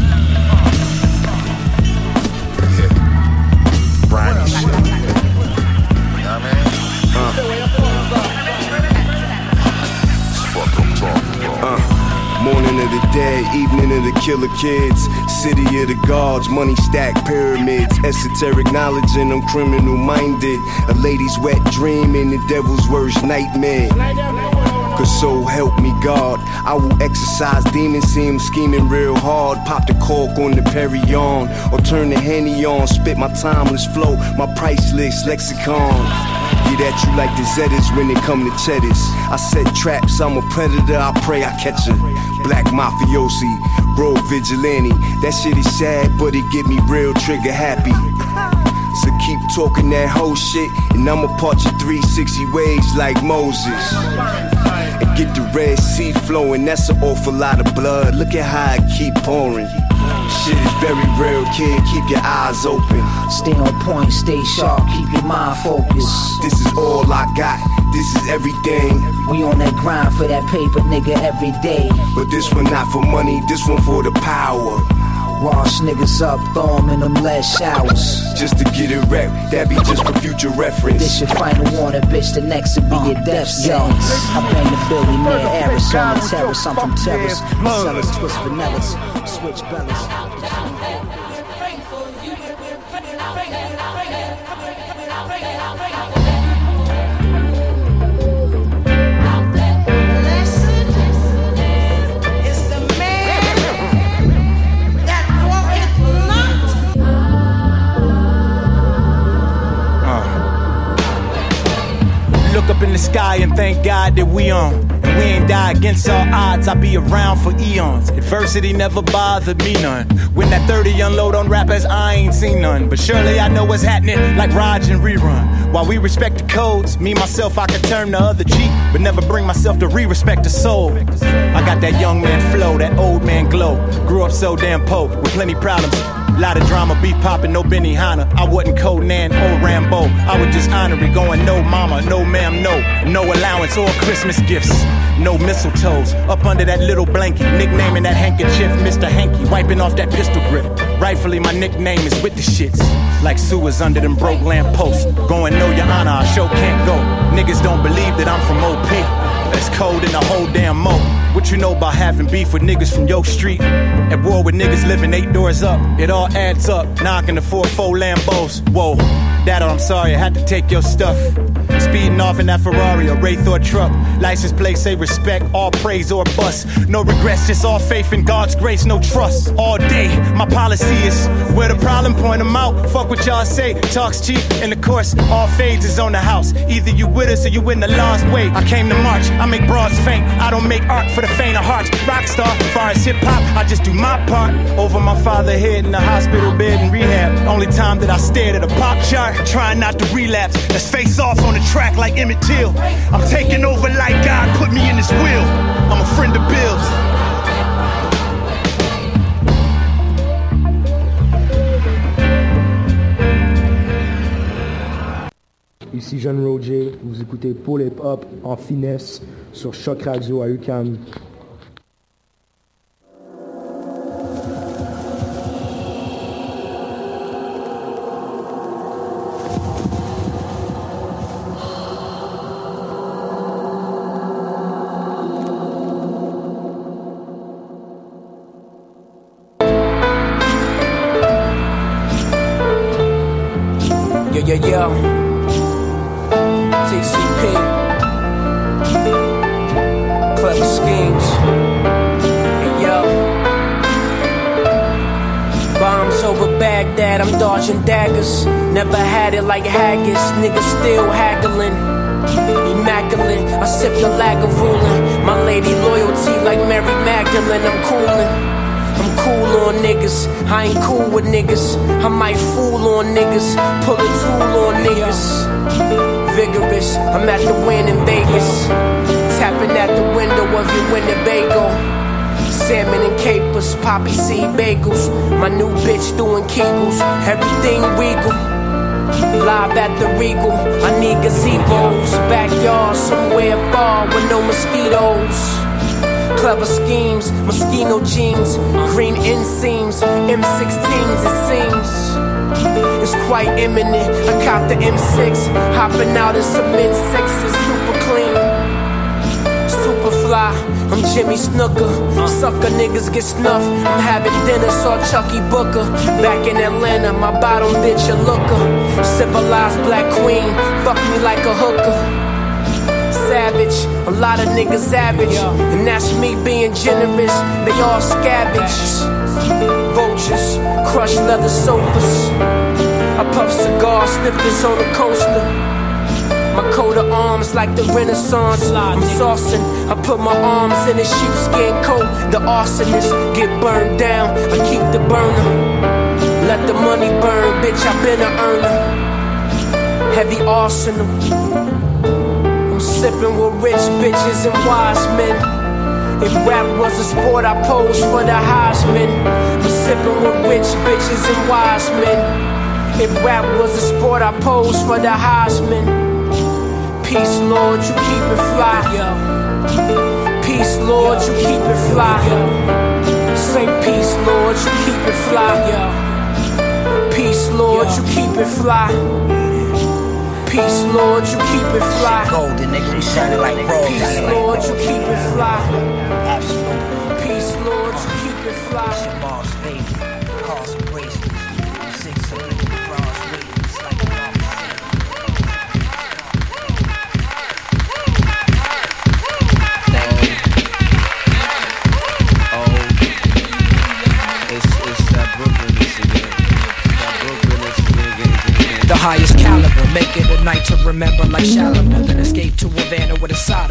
Briny shit. You know what I mean? Uh. Fuck I'm talking about. Uh. Morning of the dead, evening of the killer kids. City of the gods, money stacked pyramids. Esoteric knowledge and I'm criminal minded. A lady's wet dream and the devil's worst nightmare. Cause so help me God, I will exercise demons, see him scheming real hard. Pop the cork on the Perry on, or turn the Henny on. Spit my timeless flow, my priceless lexicon. Get at you like the Zetas when they come to cheddars. I set traps, I'm a predator, I pray I catch her. Black mafiosi, rogue vigilante. That shit is sad, but it get me real trigger happy. So keep talking that whole shit, and I'ma part you three sixty ways like Moses. And get the Red Sea flowing, that's an awful lot of blood. Look at how it keep pouring. Shit is very real, kid, keep your eyes open. Stay on point, stay sharp, keep your mind focused. This is all I got, this is everything. We on that grind for that paper, nigga, every day. But this one not for money, this one for the power. Wash niggas up, throw them in them lead showers. Just to get it rep, that be just for future reference. This your final warning, bitch, the next will be your death sentence. I bang the billionaire heiress on the terrace, I'm from terrace. Sellers, twist vanillas, switch bellies. Look up in the sky and thank God that we on. And we ain't die against all odds, I'll be around for eons. Adversity never bothered me none. When that thirty unload on rappers, I ain't seen none. But surely I know what's happening like Raj and Rerun. While we respect the codes, me myself I can turn the other cheek, but never bring myself to re-respect the soul. I got that young man flow, that old man glow. Grew up so damn po, with plenty problems. Lot of drama, beef poppin', no Benihana. I wasn't Conan or Rambo. I was just honorary, going no mama, no ma'am, no. No allowance or Christmas gifts. No mistletoes, up under that little blanket. Nicknaming that handkerchief Mister Hanky, wiping off that pistol grip. Rightfully my nickname is with the shits. Like sewers under them broke lamp posts. Going no your honor, our show can't go. Niggas don't believe that I'm from O P. That's cold in the whole damn mo. What you know about having beef with niggas from York Street? At war with niggas living eight doors up. It all adds up, knocking the four four Lambos. Whoa, Dad, I'm sorry, I had to take your stuff. Speeding off in that Ferrari or Wraith or truck. License plate say respect, all praise or bust. No regrets, just all faith in God's grace, no trust. All day, my policy is where the problem, point them out. Fuck what y'all say, talk's cheap. And of course, all fades is on the house. Either you with us or you in the lost way. I came to march, I make broads faint. I don't make art for the faint of hearts. Rockstar, far as hip hop, I just do my part. Over my father's head in the hospital bed in rehab. Only time that I stared at a pop chart, trying not to relapse. Let's face off on the track like Emmett Till. I'm taking over like God put me in his will. I'm a friend of Bill's. Ici Jeune Roger, vous écoutez Pull Hip Hop en finesse sur Choc Radio à U Q A M. Yeah, yeah, yeah. T C P. Clever schemes. Hey, yo. Bombs over Baghdad, I'm dodging daggers. Never had it like haggis, niggas still haggling. Immaculate, I sip the Lagavulin. My lady loyalty like Mary Magdalene, I'm coolin'. I'm cool on niggas, I ain't cool with niggas. I might fool on niggas, pull a tool on niggas. Vigorous, I'm at the win in Vegas. Tapping at the window of your Winnebago. Salmon and capers, poppy seed bagels. My new bitch doing kegels, everything regal. Live at the Regal, I need gazebos. Backyard somewhere far with no mosquitoes. Clever schemes, Moschino jeans, green inseams, M sixteens it seems. It's quite imminent, I caught the M six, hopping out in some mid sixes, super clean, super fly. I'm Jimmy Snooker, sucker niggas get snuffed. I'm having dinner, saw Chucky Booker. Back in Atlanta, my bottom bitch a looker. Civilized black queen, fuck me like a hooker. Savage, a lot of niggas average, and that's me being generous. They all scavenged. Vultures, crushed leather sofas. I puff cigars, snifters on the coaster. My coat of arms like the Renaissance. I'm saucing, I put my arms in a sheepskin coat. The arsonist get burned down, I keep the burner. Let the money burn, bitch, I been a earner. Heavy arsenal. I'm sipping with rich bitches and wise men. If rap was a sport, I pose for the Heisman. I'm sipping with rich bitches and wise men. If rap was a sport, I pose for the Heisman. Peace, Lord, you keep it fly. Peace, Lord, you keep it fly. Say peace, Lord, you keep it fly. Peace, Lord, you keep it fly. Peace, Lord, you keep it fly. Golden nigga, we shining like roll. Peace, Lord, you keep it fly. Absolutely. Peace, Lord, you keep it fly. It's your boss, baby. Call some bracelets. Six of them bronze wings like a mama. The highest caliber, make it a night to remember like Shalimar. Then escape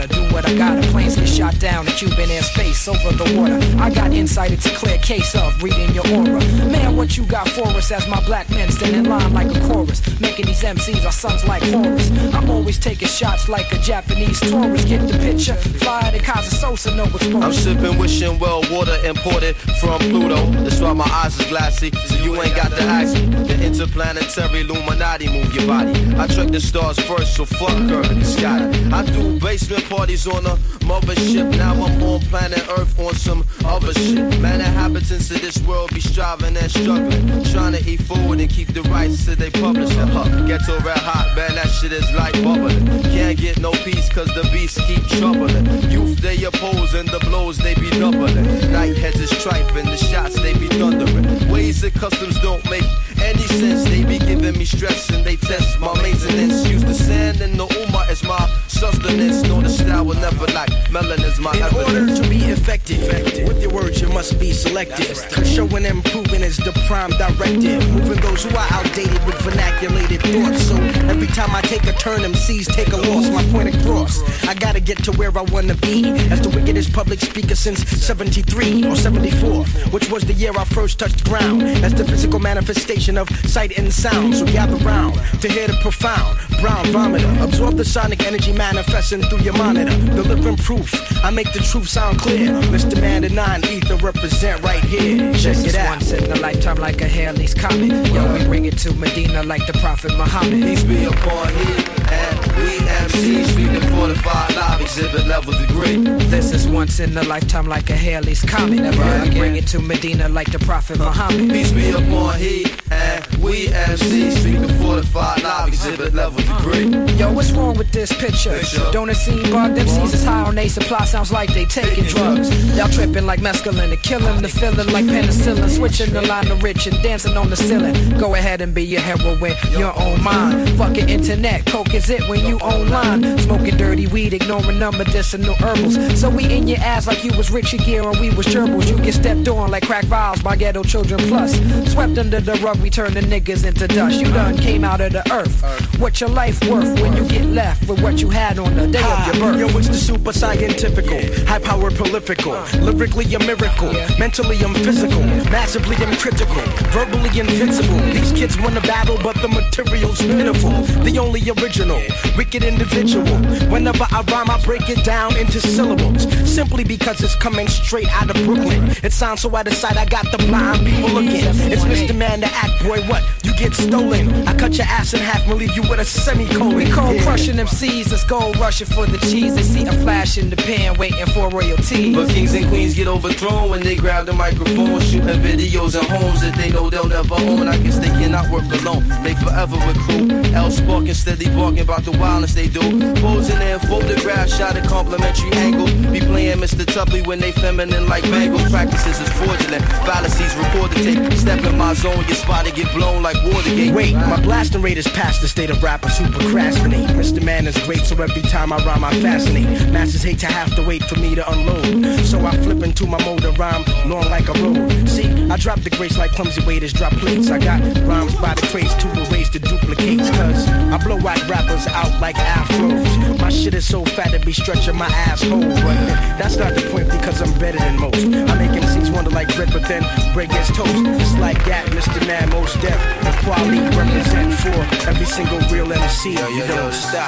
gotta do what I gotta. Planes get shot down in Cuban airspace over the water. I got insight, it's a clear case of reading your aura. Man, what you got for us as my black men stand in line like a chorus, making these M Cs our sons like Horus. I'm always taking shots like a Japanese tourist. Get the picture, fly to Casa Sosa, know what's I'm sipping, wishing well water imported from Pluto. That's why my eyes is glassy, so you ain't got to ask me. The interplanetary Illuminati move your body. I track the stars first, so fuck her in the sky. I do basement parties on a mothership. Now I'm on planet Earth on some other shit. Man, inhabitants of this world be striving and struggling, trying to eat forward and keep the rights to they publishing. Huh, ghetto red hot, man, that shit is like bubbling. Can't get no peace cause the beasts keep troubling. Youth they oppose and the blows they be doubling. Night heads is trife and the shots they be thundering. Ways and customs don't make any sense. They be giving me stress and they test my maintenance. Use the sand and the Uma as my sustenance. Know the style will never lack. Melanin is my In evidence. order to be effective, effective, with your words you must be selective. Cause showing and proving is the prime directive. Moving those who are outdated with vernaculated thoughts. So every time I take a turn, M Cs take a loss. My point across, I gotta get to where I wanna be. As the wickedest public speaker since seventy-three or seventy-four, which was the year I first touched ground. That's the physical manifestation of sight and sound. So gather round to hear the profound brown vomiter. Absorb the sonic energy manifesting through your monitor. Delivering proof, I make the truth sound clear. Mister Man the nine ether represent right here. Check This it is out. once in a lifetime like a Halley's Comet. Yo, we bring it to Medina like the Prophet Muhammad. Peace be upon he and we M Cs speaking fortified live exhibit level degree. This is once in a lifetime like a Halley's Comet. Never yeah, again. Bring it to Medina like the Prophet Muhammad. Peace be upon he and we M Cs speaking fortified live exhibit level degree. Yo, what's wrong with this picture? picture. Don't it seem bugged? M Cs is high on they supply, sounds like they taking drugs. Y'all tripping like mescaline and killing the feeling like penicillin. Switching the line to rich and dancing on the ceiling. Go ahead and be your heroine, your own mind. Fucking internet, coke is it when you online. Smoking dirty weed, ignoring number medicinal herbals. So we in your ass like you was Richard Gere and we was gerbils. You get stepped on like crack vials by ghetto children plus. Swept under the rug, we turn the niggas into dust. You done came out of the earth. What's your life worth when you get left with what you had on the day of your birth? Yo, it's the super scientifical, high power prolifical, lyrically a miracle, mentally I'm physical, massively I'm critical, verbally invincible. These kids want to battle, but the material's pitiful. The only original, wicked individual. Whenever I rhyme, I break it down into syllables, simply because it's coming straight out of Brooklyn. It sounds so out of sight, I got the blind people looking. It's Mister Man the act, boy, what? You get stolen. I cut your ass in half and leave you with a semicolon. We cold Yeah. crushing them C's, let's go rushing for the cheese. They see a flash in the pan, waiting for royalty. But kings and queens get overthrown when they grab the microphone, shooting videos in homes that they know they'll never own. I guess they cannot work alone, they forever recruit. L sparking, steady barking about the violence they do. Posing in photographs, shot at complimentary angles. Be playing Mister Tuppy when they feminine like bangles. Practices is fraudulent, fallacies recorded tape. Step in my zone, get spotted, get blown like Watergate. Wait, my blasting rate is past the state of rappers who procrastinate. Mister Man is great, so every time I rhyme I fascinate. Masters hate to have to wait for me to unload, so I flip into my mode of rhyme, long like a road. See, I drop the grace like clumsy waiters drop plates. I got rhymes by the crates to erase the duplicates, cause I blow out rappers out like afros. My shit is so fat it be stretching my asshole, but that's not the point because I'm better than most. I make M Cs wonder like bread, but then bread gets toast. It's like that, Mister Man, most deaf and quality represent for every single real M C. You don't stop.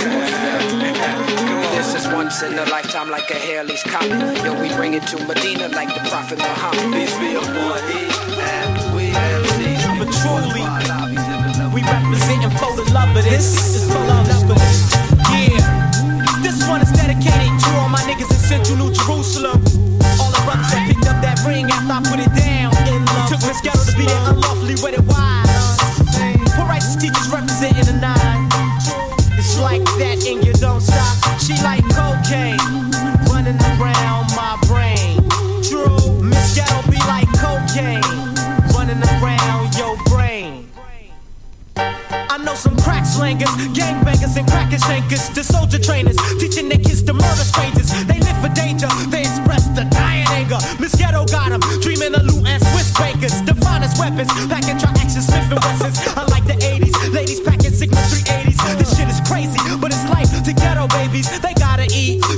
This is once in a lifetime like a Halley's Comet. Yo, we bring it to Medina like the Prophet Muhammad. Peace be upon he and we M Cs. But truly, we representing for the love of this. This is for love this. Yeah, this one is dedicated to all my niggas in Central New Jerusalem. All the brothers that picked up that ring after I put it down. Took Miss Ghetto to be there unlawfully with it wide. Poor righteous teachers representing the nine. It's like that and you don't stop. She like cocaine running around my brain. True, Miss Ghetto be like cocaine running around your brain. I know some crack slangers, gangbangers and cracker shankers, the soldier trainers, teaching their kids to murder strangers. They live for danger, they express the dying anger. Miss Ghetto got them, dreaming of loot and Swiss bankers. The finest weapons, packing tri-action Smith and Wessons. Unlike the eighties, ladies packing Sigma three eighties. This shit is crazy, but it's life to ghetto babies. They gotta eat,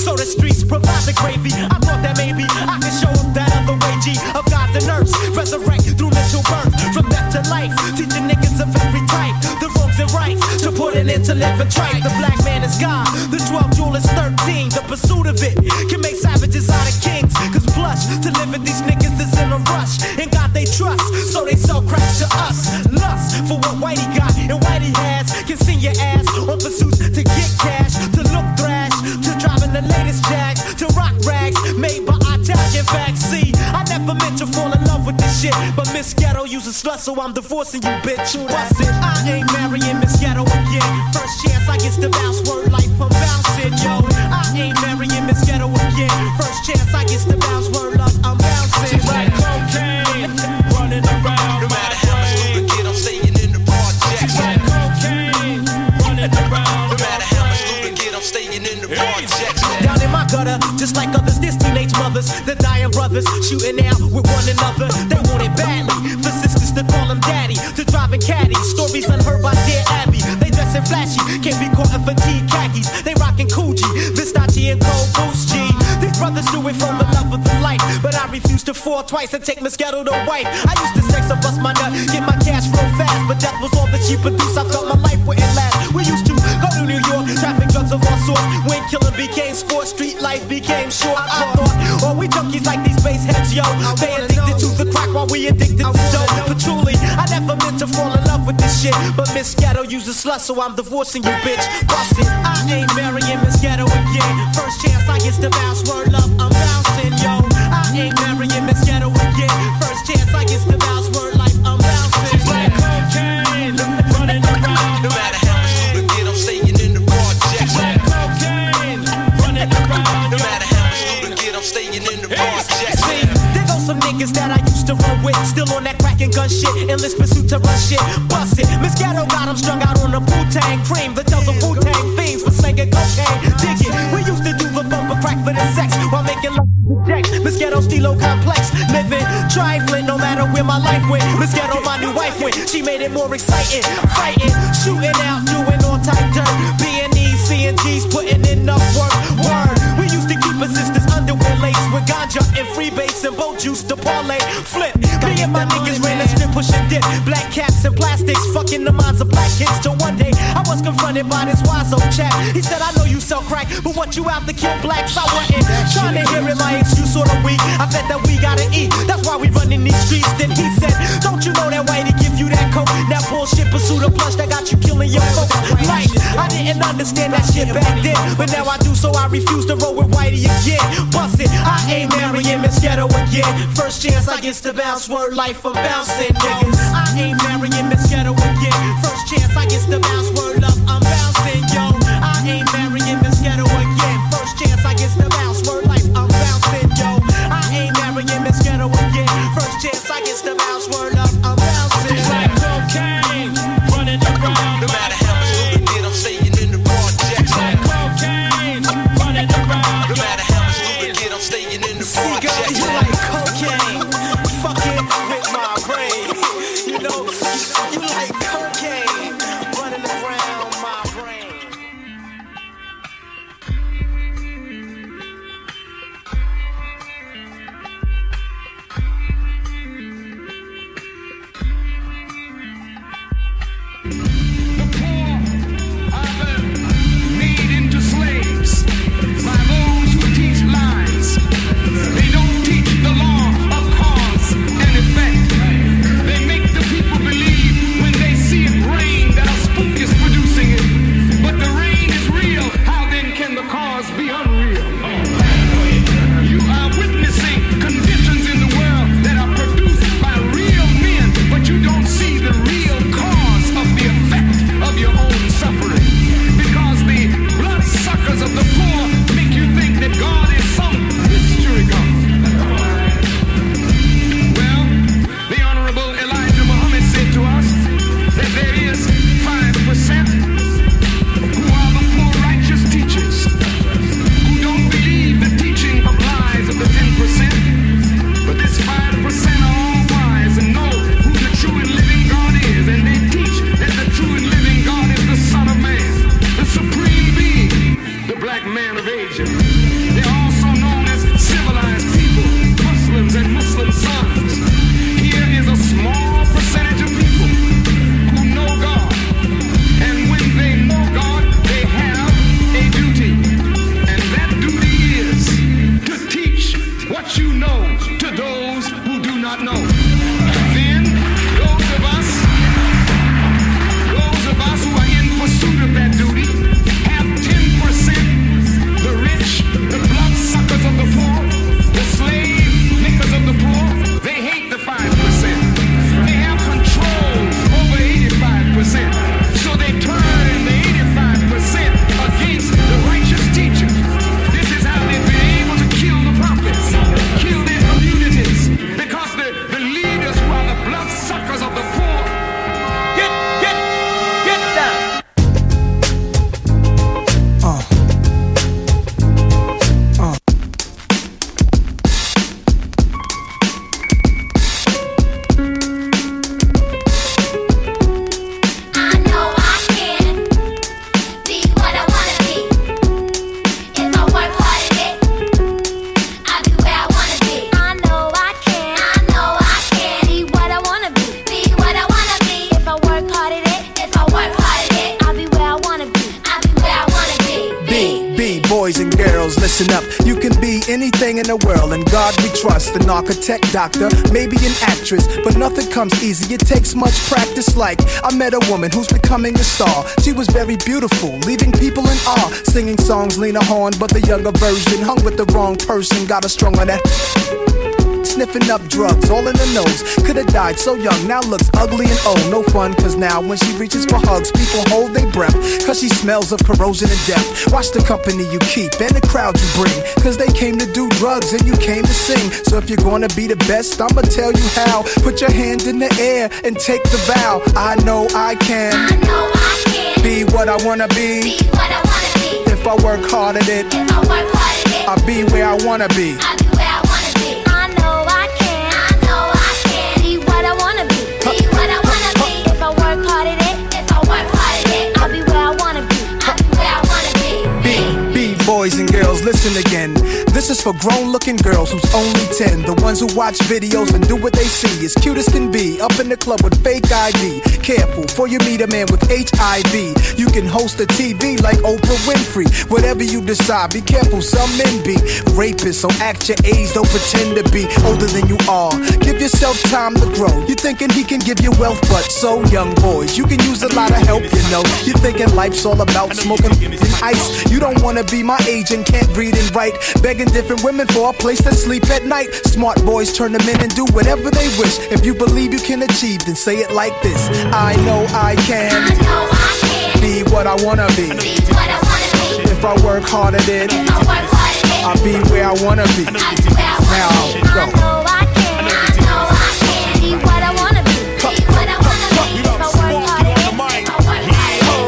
the gravy. I thought that maybe I could show them that other way, G, of gods and earths. Resurrect through mental birth, from death to life. Teaching niggas of every type, the wrongs and rights, to put an end to living tripe. The black man is God, the twelve jewel is thirteen. The pursuit of it can make savages out of kings. Cause blush to live with these niggas is in a rush. In God they trust, so they sell cracks to us. Lust for what Whitey got and Whitey has. Can send your ass on pursuits to get cash, to look thrash, to driving the latest jacks, to rock rags made by Italian facts. See, I never meant to fall in love with this shit, but Miss Ghetto uses slut, so I'm divorcing you, bitch. Bust it, I ain't marrying Miss Ghetto again. First chance I get to bounce, word life I'm bouncing, yo. I ain't marrying Miss Ghetto again. First chance I get to bounce, word up, I'm bouncing. She's like cocaine, running around. No matter how much loot I get, I'm staying in the project. She's like cocaine, running around. No matter how much loot I get, I'm staying in the project. Down in my gutter, just like others, this teenage mothers, the dying brothers, shooting out with one another. They want it badly, for sisters to call them daddy, to driving caddies, stories unheard by dear Abby. They dressing flashy, can't be caught in fatigue khakis. They rocking Coogee, Versace and Cold Boost G. These brothers do it from the love of the life, but I refuse to fall twice and take Miss Ghetto to wife. I used to sex and bust my nut, get my cash real fast, but death was all that she produced. I felt my life wouldn't last. We used to go to New York, traffic drugs of all sorts. When killing became sport, street life became short. I thought, oh, we junkies like these space heads, yo. They addicted to the crack while we addicted to dope. But truly, I never meant to fall in love with this shit, but Miss Ghetto uses slut, so I'm divorcing you, bitch. Bust it, I ain't marrying Miss Ghetto again. First chance I get to bounce, word love, I'm bouncing, yo. I ain't marrying Miss Ghetto again. First chance I get to bounce, word life, I'm bouncing. She's like cocaine, running around. No matter how much loot I get, I'm staying in the project. She's like cocaine, running around. No matter how much loot I get, I'm staying in the project. See, there go some niggas that I used to run with, still on that crack and gun shit, endless pursuit to run shit. Bust it, Miss Ghetto got them strung out on the Wu-Tang cream that tells the Wu-Tang fiends for slinging cocaine. Dig it, we used to do the bumper crack for the sex while making love to the jacks. Miss Ghetto stilo complex, living trifling no matter where my life went. Miss Ghetto my new wife went, she made it more exciting, fighting, shooting out, doing all type dirt. B and E's, C and G's, putting in enough work. Word, we used to keep assistants underwear laced with ganja and freebase and boat juice to parlay, flip. Me and my niggas ran the strip, push and dip, black caps and plastics, fucking the minds of black kids. Till one day I was confronted by this wise old chap. He said, I know you sell crack, but what you out to kill blacks? I wasn't trying to hear it, my excuse sort of weak. I said that we gotta eat, that's why we running these streets. Then he said, don't you know that Whitey give you that coke? That bullshit pursuit of plush that got you killing your folks. Like, I didn't understand that shit back then, but now I do, so I refuse to roll with Whitey again. Bust it, I ain't marrying Miss Ghetto again. First chance I get to bounce, word life I'm bouncing, niggas. I ain't marrying Miss Ghetto again. First chance I get to bounce, word up, I'm bouncing, yo. I ain't marrying Miss Ghetto again. First chance I get to bounce, word life I'm bouncing, yo. I ain't marrying Miss Ghetto again. First chance I get to bounce, word up, I'm bouncing. It's like cocaine, running around. No matter how much loot I get, I'm staying in the project. It's like cocaine, running around. No matter how much loot I get, I'm staying in the project. You like cocaine, fucking with my brain. You know, you like cocaine, running around my brain. The poor are made into slaves by those who teach lies. They don't teach the law of cause and effect. They make the people believe when they see it rain that a spook is producing it. But the rain is real. How then can the cause be unreal? You are witnessing conditions in the world that are produced by real men, but you don't see the real cause of the effect of your own suffering. Because the bloodsuckers of the poor make you think that God is some mystery God. Well, the Honorable Elijah Muhammad said to us that there is five percent who are the poor righteous teachers who don't believe the teaching of lies of the ten percent. But this five percent are all wise and know who the true and living God is, and they teach that the true and living God is the Son of Man, the supreme being, the black man of Asia. They're also known and girls, listen up. You can be anything in the world, and God we trust. An architect, doctor, maybe an actress, but nothing comes easy. It takes much practice. Like I met a woman who's becoming a star. She was very beautiful, leaving people in awe. Singing songs, Lena Horne, but the younger version. Hung with the wrong person, got her strung on that. Sniffing up drugs, all in the nose. Could've died so young, now looks ugly and old. No fun, cause now when she reaches for hugs, people hold their breath, cause she smells of corrosion and death. Watch the company you keep and the crowd you bring, cause they came to do drugs and you came to sing. So if you're gonna be the best, I'ma tell you how. Put your hand in the air and take the vow. I know I can, I know I can be what I wanna be, be what I wanna be. If I work hard at it, if I work hard at it, I'll be where I wanna be. I'll be where I wanna be. I know I can, I know I can be what I wanna be, be what I wanna be. If I work hard at it, if I work hard at it, I'll be where I wanna be, I'll be where I wanna be. Be, be boys and girls, listen again. This is for grown-looking girls who's only ten. The ones who watch videos and do what they see. As cute as can be, up in the club with fake I D. Careful, before you meet a man with H I V. You can host a T V like Oprah Winfrey. Whatever you decide, be careful, some men be rapists. So act your age, don't pretend to be older than you are. Give yourself time to grow. You're thinking he can give you wealth, but so young boys, you can use a lot of help, you know. You're thinking life's all about smoking and ice. You don't wanna be my age and can't read and write. Begging different women for a place to sleep at night. Smart boys turn them in and do whatever they wish. If you believe you can achieve, then say it like this. I know I can, I know I can be what I wanna be, be what I wanna be. If I work hard at it, if I work hard at it, I'll be where I wanna be. I'll be where I wanna now be. Go. I know I can, I know I can be what I wanna be, be what I wanna be. If I work hard at it, if I work hard at it, I'll be where I wanna be.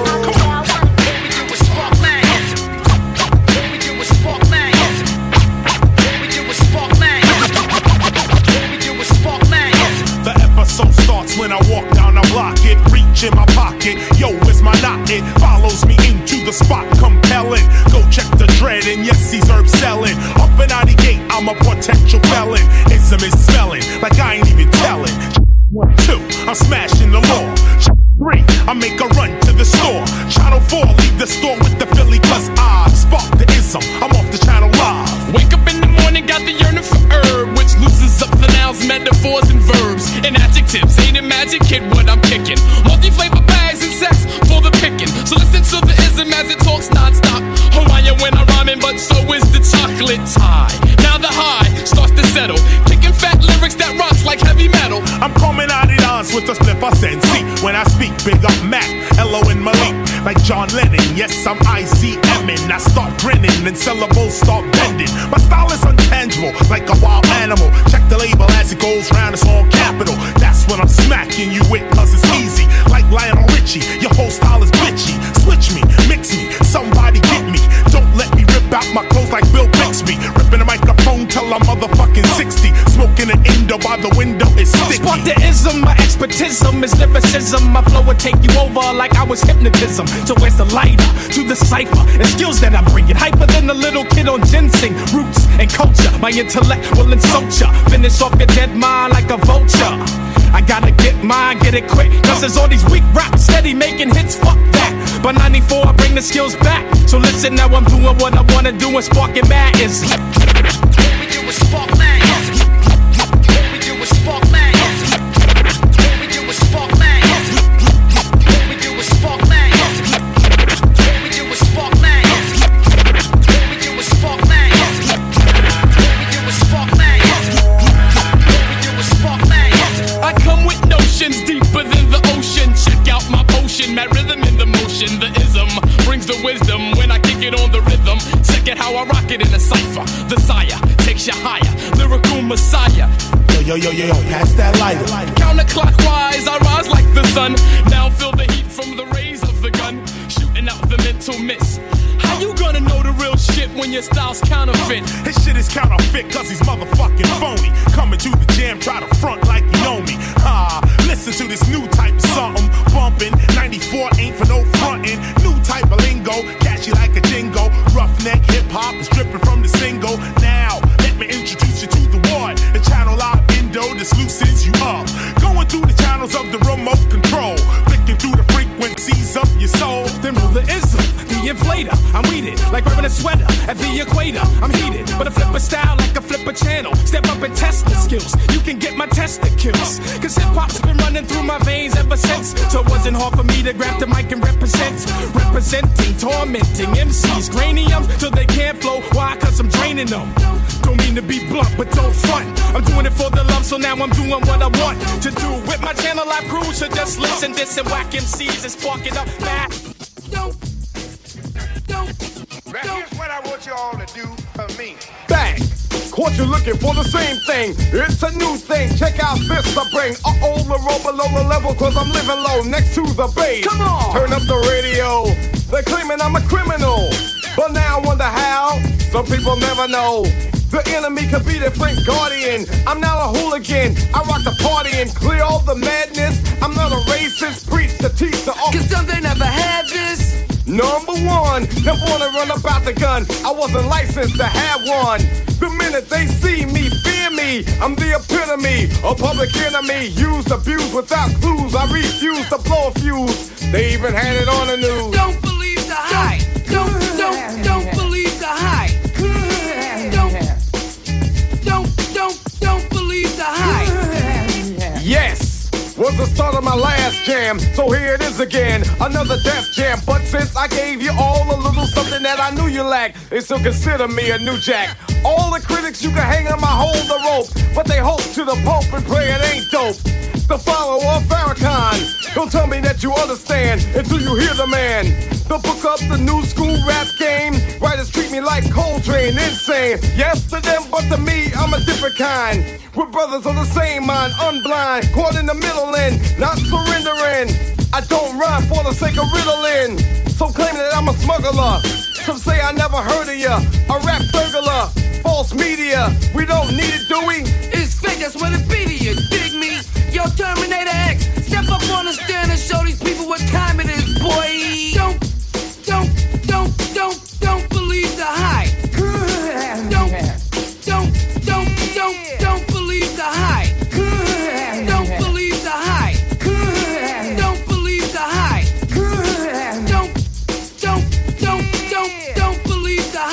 When I walk down the block, it reach in my pocket. Yo, it's my knot, it follows me into the spot, compelling. Go check the dread, and yes, he's herb selling. Up and out the gate, I'm a potential felon. Ism is smelling like I ain't even telling. One, two, I'm smashing the law. Three, I make a run to the store. Channel four, leave the store with the Philly, cause I spark the ism. I'm off the channel live. Wake up in the morning, got the yearning for herb, which loosens up the nouns, metaphors, and verbs, and adjectives. Ain't it magic, kid, what I'm kicking? Multi-flavor bags and sex for the picking. So listen to the ism as it talks non-stop. Hawaiian when I'm rhyming, but so is the chocolate tie. Now the high starts to settle, kicking fat lyrics that rocks like heavy metal. I'm coming out of dance with a slip I send. See, when I speak, big up Mac, Elo and Malik, like John Lennon. Yes, I'm I C M-ing. I start grinning and syllables start bending. My style is untangible, like a wild animal. Check the label as it goes round, it's all capital. That's what I'm smacking you with, cause it's easy. Like Lionel Richie, your whole style is bitchy. Switch me, mix me, somebody get me. Don't let me rip out my clothes like Bill Bixby. Ripping the microphone till I'm motherfucking sixty. Smoking an Indo by the window is sticky. Spark the ism, my expertism is lyricism. My flow would take you over like I was hypnotism. So where's the lighter to the cipher and skills that I bring it? Hyper than a little kid on ginseng. Roots and culture, my intellect will insult ya. Finish off your dead mind like a vulture. I gotta get mine, get it quick, cause there's all these weak raps steady making hits, fuck that. But ninety-four, I bring the skills back. So listen, now I'm doing what I wanna do and sparking mad is. What we do is spark mad. What we do is spark mad. What we do is spark mad. What we do is spark mad. What we do is spark mad. What we do is spark mad. What we do is spark mad. What we do is spark mad. I come with notions deeper than the ocean. Check out my potion, mad rhythm in the motion. The ism brings the wisdom when I kick it on the rhythm. Check it how I rock it in a cipher. The sire takes you higher, lyrical messiah. Yo, yo, yo, yo, pass that lighter. Counterclockwise, I rise like the sun. Now feel the heat from the rays of the gun, shooting out the mental mist. How you gonna know the real shit when your style's counterfeit? His shit is counterfeit cause he's motherfucking phony. Coming to the jam, try to front like you know me. Ah, listen to this new type of something. Bumping, ninety-four ain't for no frontin'. New type of lingo, catchy like a jingle. Roughneck hip-hop is dripping from the single. Now, let me introduce you to the one. The channel out Indo, this loosens you up. Going through the channels of the remote control. Flicking through the frequencies of your soul. Then rule the ism, the inflator. I'm weeded like wearing a sweater at the the equator. I'm heated, but a flipper style like a flipper channel. Step up and test the skills. You can get my testicles. Cause hip hop's been running through my veins ever since. So it wasn't hard for me to grab the mic and represent. Representing, tormenting M Cs, craniums till they can't flow. Why? Cause I'm draining them. Don't mean to be blunt, but don't front. I'm doing it for the love, so now I'm doing what I want to do. With my channel I cruise, so just listen this and whack M Cs and spark it up back. Don't, don't, now here's what I want you all to do for me. Bang! Caught you looking for the same thing. It's a new thing. Check out this I bring. Uh-oh, the roll below the level, cause I'm living low next to the base. Come on! Turn up the radio. They're claiming I'm a criminal. But now I wonder how. Some people never know. The enemy could be their friend guardian. I'm not a hooligan. I rock the party and clear all the madness. I'm not a racist. Preach to teach the all. Cause some they never had this. Number one, never wanna run about the gun. I wasn't licensed to have one. The minute they see me, fear me. I'm the epitome, a public enemy. Used, abused without clues. I refuse to blow a fuse. They even had it on the news. Don't believe the hype. Don't, don't, don't believe the hype. Don't, don't, don't, don't believe the hype. Yes. Was the start of my last jam, so here it is again, another death jam. But since I gave you all a little something that I knew you lacked, they still consider me a new jack. All the critics you can hang on my hold the rope, but they hope to the Pope and pray it ain't dope. The follower of Farrakhan, don't tell me that you understand until you hear the man. The book up the new school rap game. Writers treat me like Coltrane, insane. Yes to them, but to me, I'm a different kind. We're brothers on the same mind, unblind, caught in the middle and not surrendering. I don't rhyme for the sake of riddling. Some claim that I'm a smuggler. Some say I never heard of ya. A rap burglar, false media. We don't need it, do we? It's fake, that's what it be to you. Dig me? Yo, Terminator X, step up on the stand and show these people what time it is, boy. Don't, don't, don't, don't, don't believe the hype. Don't, don't, don't, don't, don't believe the hype. Don't believe the hype. Don't believe the hype. Don't, don't, don't, don't, don't believe the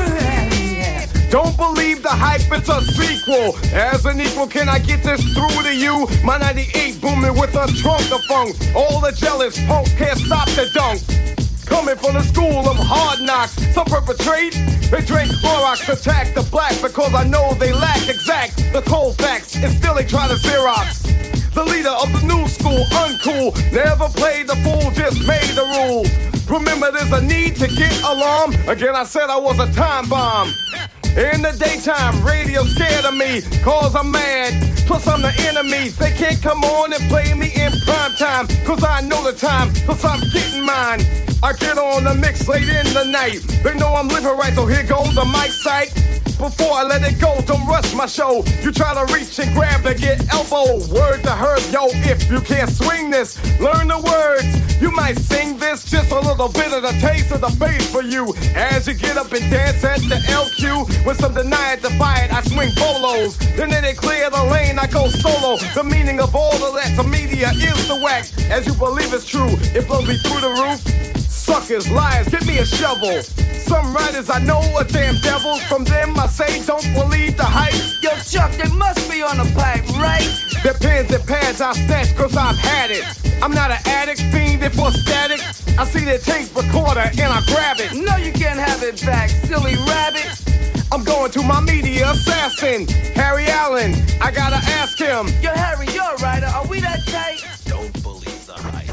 hype. Don't believe the hype, it's a sequel. As an equal, can I get this through to you? My ninety-eight booming with a trunk of funk. All the jealous punks can't stop the dunk. Coming from the school of hard knocks, some perpetrate. They drink Clorox, attack the black because I know they lack exact the cold facts, and still they try to Xerox. The leader of the new school, uncool, never played the fool, just made the rules. Remember, there's a need to get alarm. Again, I said I was a time bomb. In the daytime, radio scared of me, cause I'm mad. Plus I'm the enemy, they can't come on and play me in prime time. Cause I know the time, cause I'm getting mine. I get on the mix late in the night. They know I'm living right, so here goes the mic sight. Before I let it go, don't rush my show. You try to reach and grab and get elbow. Word to her, yo, if you can't swing this, learn the words. You might sing this, just a little bit of the taste of the bass for you. As you get up and dance at the L Q, when some deny it, defy it, I swing bolos. Then they clear the lane, I go solo. The meaning of all of that to media is the whack. As you believe it's true, it blows me through the roof. Suckers, liars, give me a shovel. Some writers I know are damn devils. From them I say don't believe the hype. Yo, Chuck, they must be on a pipe, right? Their pens and pads I snatch cause I've had it. I'm not an addict, fiending for static. I see their tape recorder and I grab it. No, you can't have it back, silly rabbit. I'm going to my media assassin, Harry Allen. I gotta ask him. Yo, Harry, you're a writer. Are we that tight? Don't believe the hype.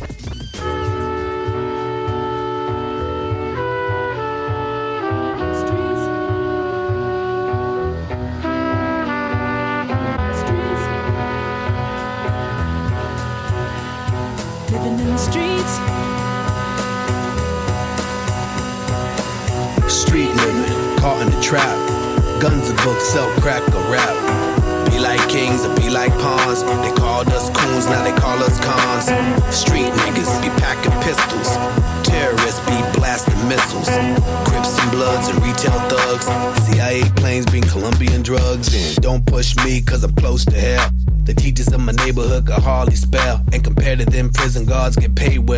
Living in the streets. Street living, caught in the trap. Guns and books, sell crack or rap. Be like kings or be like pawns. They called us coons, now they call us cons. Street niggas be packing pistols. Terrorists be blasting missiles. Crips and Bloods and retail thugs. C I A planes bring Colombian drugs in. Don't push me cause I'm close to hell. The teachers in my neighborhood could hardly spell. And compared to them, prison guards get paid well.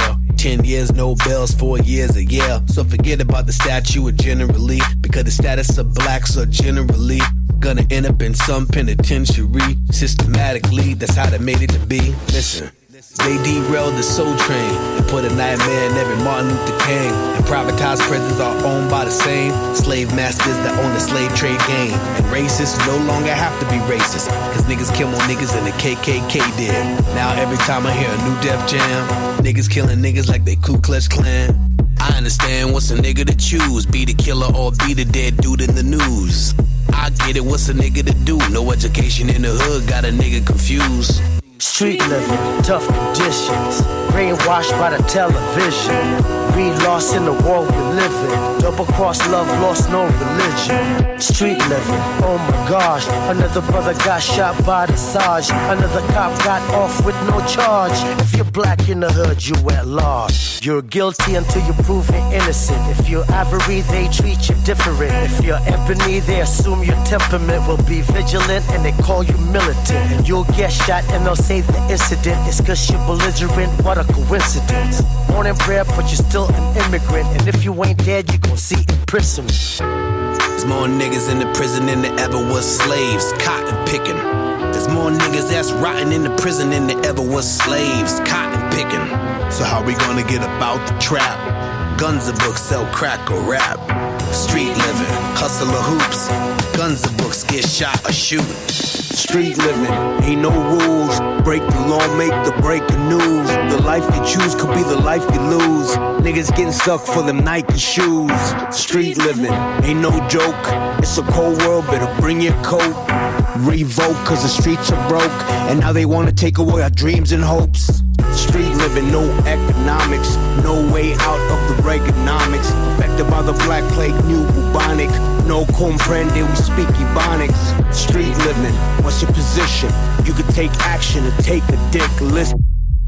Ten years, no bells, four years a year. So forget about the statue of generally, because the status of blacks are generally gonna end up in some penitentiary. Systematically, that's how they made it to be. Listen, they derailed the soul train and put a nightmare in every Martin Luther King. And privatized prisons are owned by the same slave masters that own the slave trade game. And racists no longer have to be racist, cause niggas kill more niggas than the K K K did. Now every time I hear a new Def Jam, niggas killing niggas like they Ku Klux Klan. I understand what's a nigga to choose, be the killer or be the dead dude in the news. I get it, what's a nigga to do? No education in the hood, got a nigga confused. Street living, tough conditions, brainwashed by the television. We lost in the world we live in. Double cross love, lost no religion. Street living, oh my gosh. Another brother got shot by the Sarge. Another cop got off with no charge. If you're black in the hood, you at large. You're guilty until you're proven innocent. If you're ivory, they treat you different. If you're ebony, they assume your temperament will be vigilant and they call you militant. And you'll get shot and they'll say the incident is cause you're belligerent. What a coincidence. Born and bred, but you're still an immigrant. And if you ain't dead, you gon' see imprisonment. There's more niggas in the prison than there ever was slaves, cotton picking. There's more niggas that's rotting in the prison than there ever was slaves, cotton picking. So how we gonna get about the trap? Guns a book, sell crack or rap. Street living, hustle or hoops. Guns a books, get shot or shoot. Street living, ain't no rules. Break the law, make the breaking news. The life you choose could be the life you lose. Niggas getting stuck for them Nike shoes. Street living, ain't no joke. It's a cold world, better bring your coat. Revoke, cause the streets are broke. And now they wanna take away our dreams and hopes. Street living, no economics. No way out of the Reaganomics. Affected by the black plague, new bubonic. No comprende, we speak Ebonics. Street living, what's your position? You could take action and take a dick. Listen.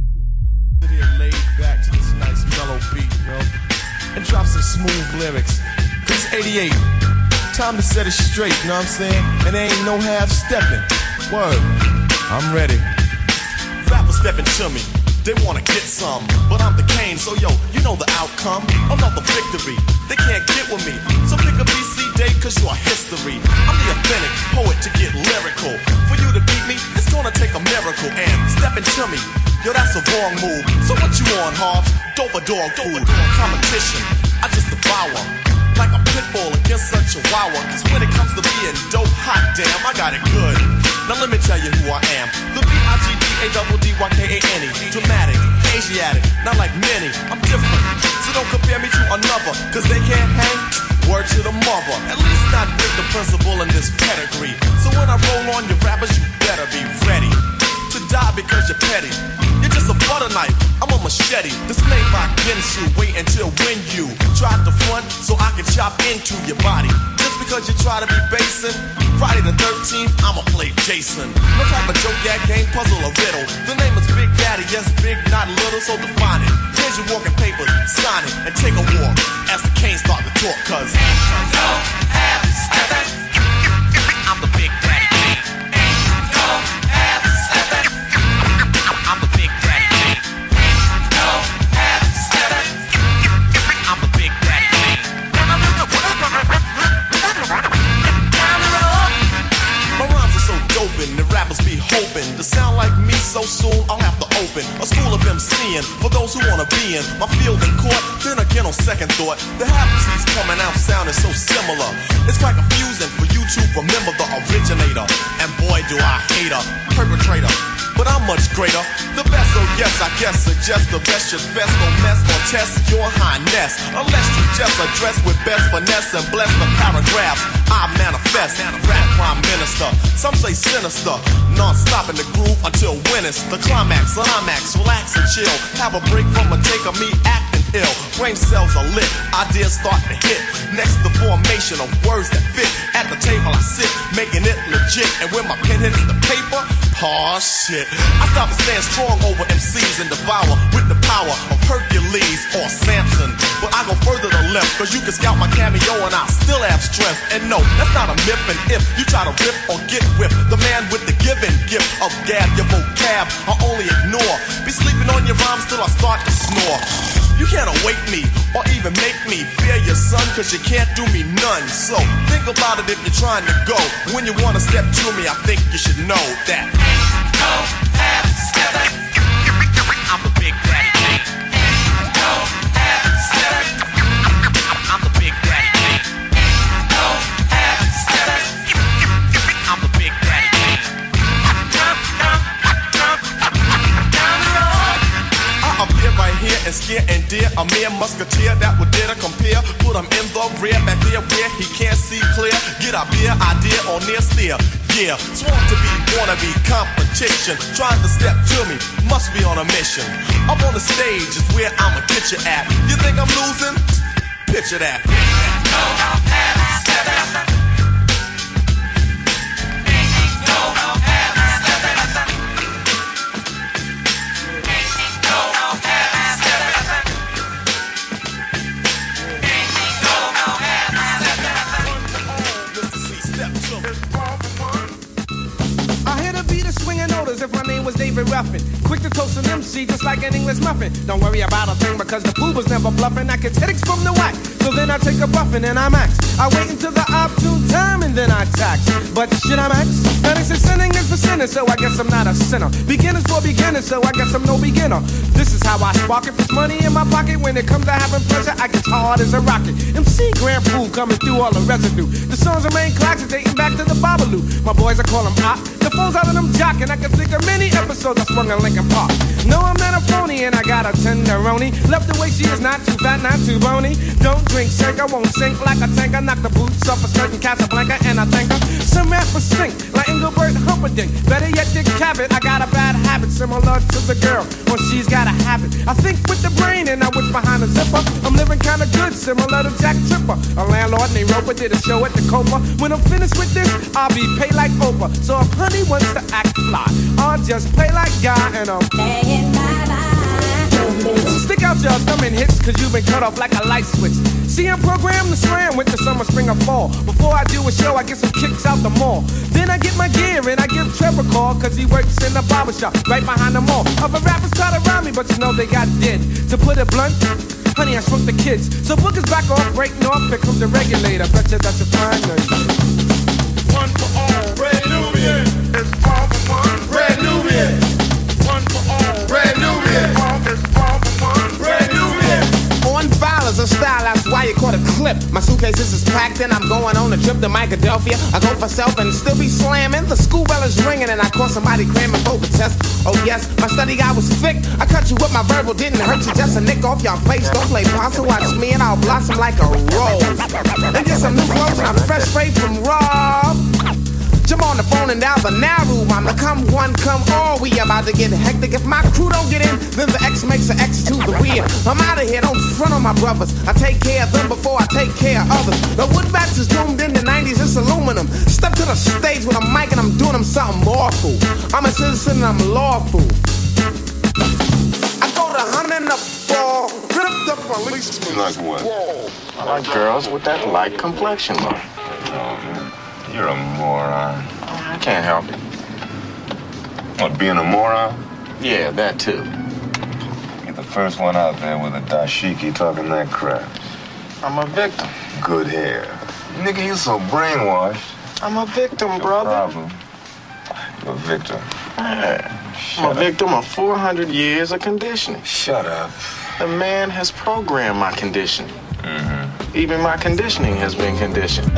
Laid back to this nice mellow beat, you know, and drop some smooth lyrics. Cause it's eighty-eight, time to set it straight, you know what I'm saying? And there ain't no half stepping. Word, I'm ready. Rappers stepping to me. They wanna get some, but I'm the Kane, so yo, you know the outcome. Another victory, they can't get with me. So pick a B C day, cause you're history. I'm the authentic poet to get lyrical. For you to beat me, it's gonna take a miracle. And stepping to me, yo, that's a wrong move. So what you on, Hobbs? Dope or dog food? Competition, I just devour. Like a pit bull against a chihuahua. Cause when it comes to being dope, hot damn, I got it good. Now let me tell you who I am. The B I G D A D D Y K A N E. Dramatic, Asiatic, not like many. I'm different, so don't compare me to another. Cause they can't hang, word to the mother. At least not with the principal in this pedigree. So when I roll on your rappers, you better be ready to die because you're petty. You're just a butter knife, I'm a machete. This made by Gensu, wait until when you try to front so I can chop into your body. Just because you try to be basing, Friday the thirteenth, I'ma play Jason. No type of joke, gag, game, puzzle, or riddle. The name is Big Daddy, yes, big, not little, so define it. Here's your walking papers, sign it, and take a walk as the Canes start to talk, cause ain't no half stepping. I'm the Big Daddy King. Ain't no half stepping. I'm the Big Daddy King. Ain't no half stepping. I'm the Big Daddy King. My rhymes are so doping, the rappers be hoping to sound like me so soon I'll have to open a school of MCing for those who wanna be in my field in court. Then again on second thought, the half-C's coming out sounding so similar. It's quite confusing for you to remember the originator. And boy do I hate a perpetrator, but I'm much greater. The best, so yes, I guess suggest the best should best no mess or test your highness. Unless you just address with best finesse and bless the paragraphs I manifest. Rap prime minister, some say sinister. Non-stop in the groove until when it's the climax. Climax, relax and chill. Have a break from a take of me acting ill. Brain cells are lit, ideas start to hit. Next the formation of words that fit. At the table I sit, making it legit. And when my pen hits the paper, aw shit, I stop and stand strong over M Cs and devour with the power of Hercules or Samson. But I go further to left, cause you can scout my cameo and I still have strength. And no, that's not a myth, and if you try to rip or get whipped, the man with the given gift of gab, your vocab I only ignore. Be sleeping on your rhymes till I start to snore. You can't awake me or even make me fear your son, cause you can't do me none. So think about it if you're trying to go. When you wanna step to me, I think you should know that ain't no half stepping. I'm the big daddy king. Ain't no half stepping. I'm the big daddy king. Ain't no half stepping. I'm the big daddy king. I appear right here and scare and dear a mere musketeer that would dare to compare. Put him in the rear, back there where he can't see clear. Get a beer idea or near steer. Yeah, sworn to be, wanna be competition. Trying to step to me, must be on a mission. Up on the stage is where I'ma get you at. You think I'm losing? Picture that. No half stepping. No half stepping. No half stepping. No half stepping. I hear the beat of swinging notice if my name was David Ruffin. Quick to toast an M C just like an English muffin. Don't worry about a thing because the fool was never bluffing. I get headaches from the whack, so then I take a buffin' and I max. I wait until the opportune time and then I tax. But should I max? Now they say sinning is for sinners, so I guess I'm not a sinner. Beginners for beginners, so I guess I'm no beginner. This is how I spark it. Put money in my pocket. When it comes to having pleasure, I get hard as a rocket. M C Grand Pool coming through all the residue. The songs remain classic, dating back to the Babalu. My boys, I call them op. The phone's out of them jockin'. I can think of many episodes I swung in Lincoln Park. No, I'm not a phony, and I got a tenderoni. Left the way she is, not too fat, not too bony. Don't drink, shake, I won't sink like a tanker. Knock the boots off a certain Casablanca, and I thank her. Some rappers stink, like Engelbert Humperdinck. Better yet, Dick Cavett. I got a bad habit, similar to the girl when she's got a habit. I think with the brain, and I wish behind the zipper. I'm living kinda good, similar to Jack Tripper. A landlord named Roper did a show at the Copa. When I'm finished with this, I'll be paid like Oprah. So if honey wants to act fly, I'll just play like Guy, and I'm playing my life. Stick out your thumb and hits, cause you've been cut off like a light switch. See, I'm programmed to slam with the summer, spring, or fall. Before I do a show, I get some kicks out the mall. Then I get my gear and I give Trevor a call, cause he works in the barbershop right behind the mall. Other rappers try to rhyme me, but you know they got dead. To put it blunt, honey, I shrunk the kids. So bookers back off, breaking off, here comes the regulator. Betcha that's a fine night. One for all, Red Nubian. It's all for one, Red Nubian. One for all, Red Nubian. It's all for one, Red Nubian. On file is a style, that's why you caught a clip. My suitcases is packed and I'm going on a trip to Philadelphia. I go for self and still be slamming. The school bell is ringing and I caught somebody cramming for the test. Oh yes, my study guy was thick. I cut you with my verbal, didn't hurt you. Just a nick off your face. Don't play possum, watch me and I'll blossom like a rose. And get some new clothes and I'm fresh straight from Rob. Jump on the phone and dial the now room. I'm the come one, come all. We about to get hectic. If my crew don't get in, then the X makes the X to the weird. I'm out of here, don't front on my brothers. I take care of them before I take care of others. The wood bats is doomed in the nineties, it's aluminum. Step to the stage with a mic and I'm doing them something awful. I'm a citizen and I'm lawful. I go to hunt in the fall. Grip the policeman. Like what? I like girls with that light complexion look. You're a moron. I can't help it. What, being a moron? Yeah, that too. You're the first one out there with a dashiki talking that crap. I'm a victim. Good hair. Nigga, you so brainwashed. I'm a victim, brother. Problem. You're a victim. Yeah. I'm a victim of four hundred years of conditioning. Shut up. The man has programmed my conditioning. Mm-hmm. Even my conditioning has been conditioned.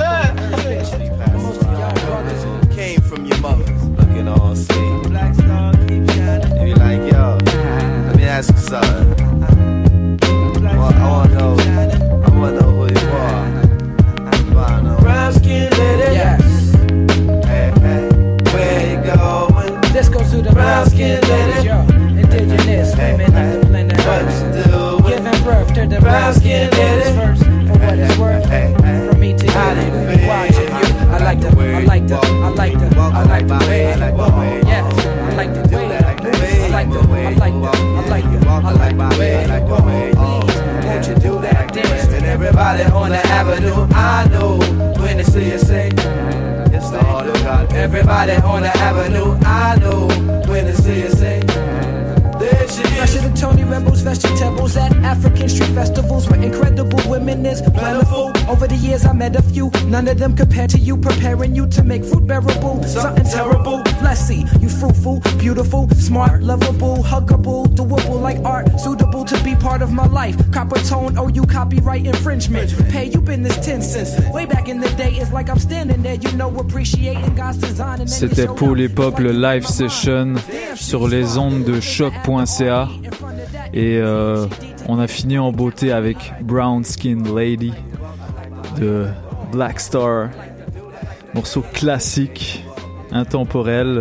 Came from your mother, looking all sweet. Black star keep shining. If you like, yo, let me ask you something. Well, I wanna know, I wanna know who you are. Brown skin lady, yes. Hey, hey, where you going? This goes to the brown skin lady, yo. Indigenous women of the planet Earth, giving birth to the brown skin ladies first. For what it's worth, from me to you, watching you. I like the, I like the, I like the, I like the way you walk. Yes, I like the way you move. I like the, I like the, I like the, I like the way you walk. Please, won't you do that dance? And everybody on the avenue, I know when they see you say, it's the all God. Everybody on the avenue, I know when they see you say, there she is. Tony Rebels, vegetables at African street festivals where incredible women is plentiful. Over the years I met a few, none of them compared to you, preparing you to make fruit bearable. Something terrible, let's see, you fruitful, beautiful, smart, lovable, huggable, doable like art, suitable to be part of my life. Copper tone, oh you copyright infringement. Pay you been this ten cents. Way back in the day, it's like I'm standing there, you know, appreciating God's design. C'était Paul et Pop, le live session sur les ondes de choc point c a. Et euh, on a fini en beauté avec Brown Skin Lady de Black Star. Morceau classique, intemporel.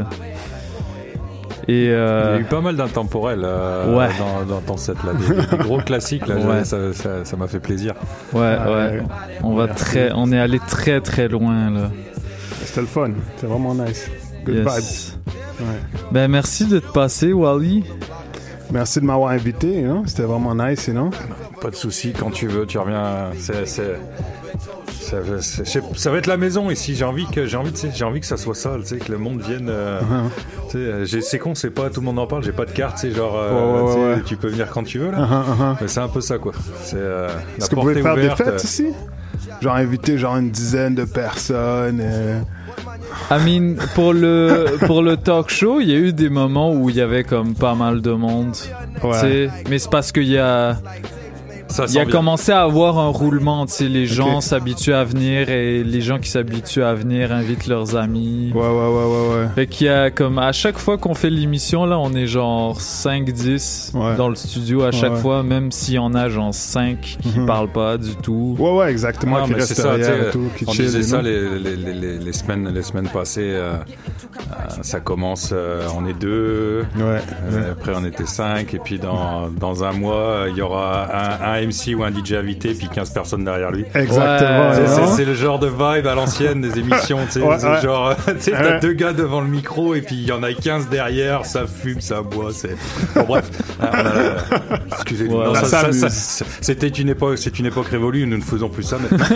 Et euh... il y a eu pas mal d'intemporels euh, ouais. dans, dans ton set là, des, des gros classiques là, ouais. ça, ça, ça m'a fait plaisir. Ouais, ouais. ouais. On va très, on est allé très très loin là. C'était le fun, c'était vraiment nice. Good yes. vibes. Ouais. Ben merci de te passer, Wally. Merci de m'avoir invité, hein? C'était vraiment nice, non? Pas de souci, quand tu veux, tu reviens. C'est, c'est, ça, c'est, ça va être la maison ici. J'ai envie que, j'ai envie, tu sais, j'ai envie que ça soit ça, tu sais, que le monde vienne. Euh, uh-huh. tu sais, j'ai, c'est con, c'est pas tout le monde en parle. J'ai pas de carte, tu sais, genre, euh, ouais, ouais, tu, sais, ouais. tu peux venir quand tu veux là. Uh-huh, uh-huh. Mais c'est un peu ça, quoi. C'est, euh, Est-ce la que vous porte pouvez est faire ouverte. des fêtes ici? Genre inviter genre une dizaine de personnes. Euh... I mean, pour le pour le talk show, il y a eu des moments où il y avait comme pas mal de monde. Ouais. Mais c'est parce qu'il y a Ça il a bien. commencé à avoir un roulement, tu sais, les gens okay. s'habituent à venir et les gens qui s'habituent à venir invitent leurs amis. Ouais, ouais, ouais, ouais, ouais. Fait qu'il y a comme, à chaque fois qu'on fait l'émission, là, on est genre cinq dix ouais. dans le studio à chaque ouais, fois, ouais. même s'il y en a genre cinq qui mm-hmm. parlent pas du tout. Ouais, ouais, exactement, non, qui restent derrière et tout, qui on chill, disait ça les, les, les, les, semaines, les semaines passées, euh, euh, ça commence, euh, on est deux, ouais, euh, ouais. après on était cinq, et puis dans, dans un mois, il y aura un, un M C ou un D J invité puis quinze personnes derrière lui. Exactement. Ouais, c'est, c'est, c'est le genre de vibe à l'ancienne des émissions, tu sais, ouais, ouais. genre tu sais t'as ouais. deux gars devant le micro et puis il y en a quinze derrière, ça fume, ça boit, c'est bon bref. Ah, on a... Excusez-moi. Ouais, non, ça, ça, ça, ça, c'était une époque, c'est une époque révolue, nous ne faisons plus ça maintenant.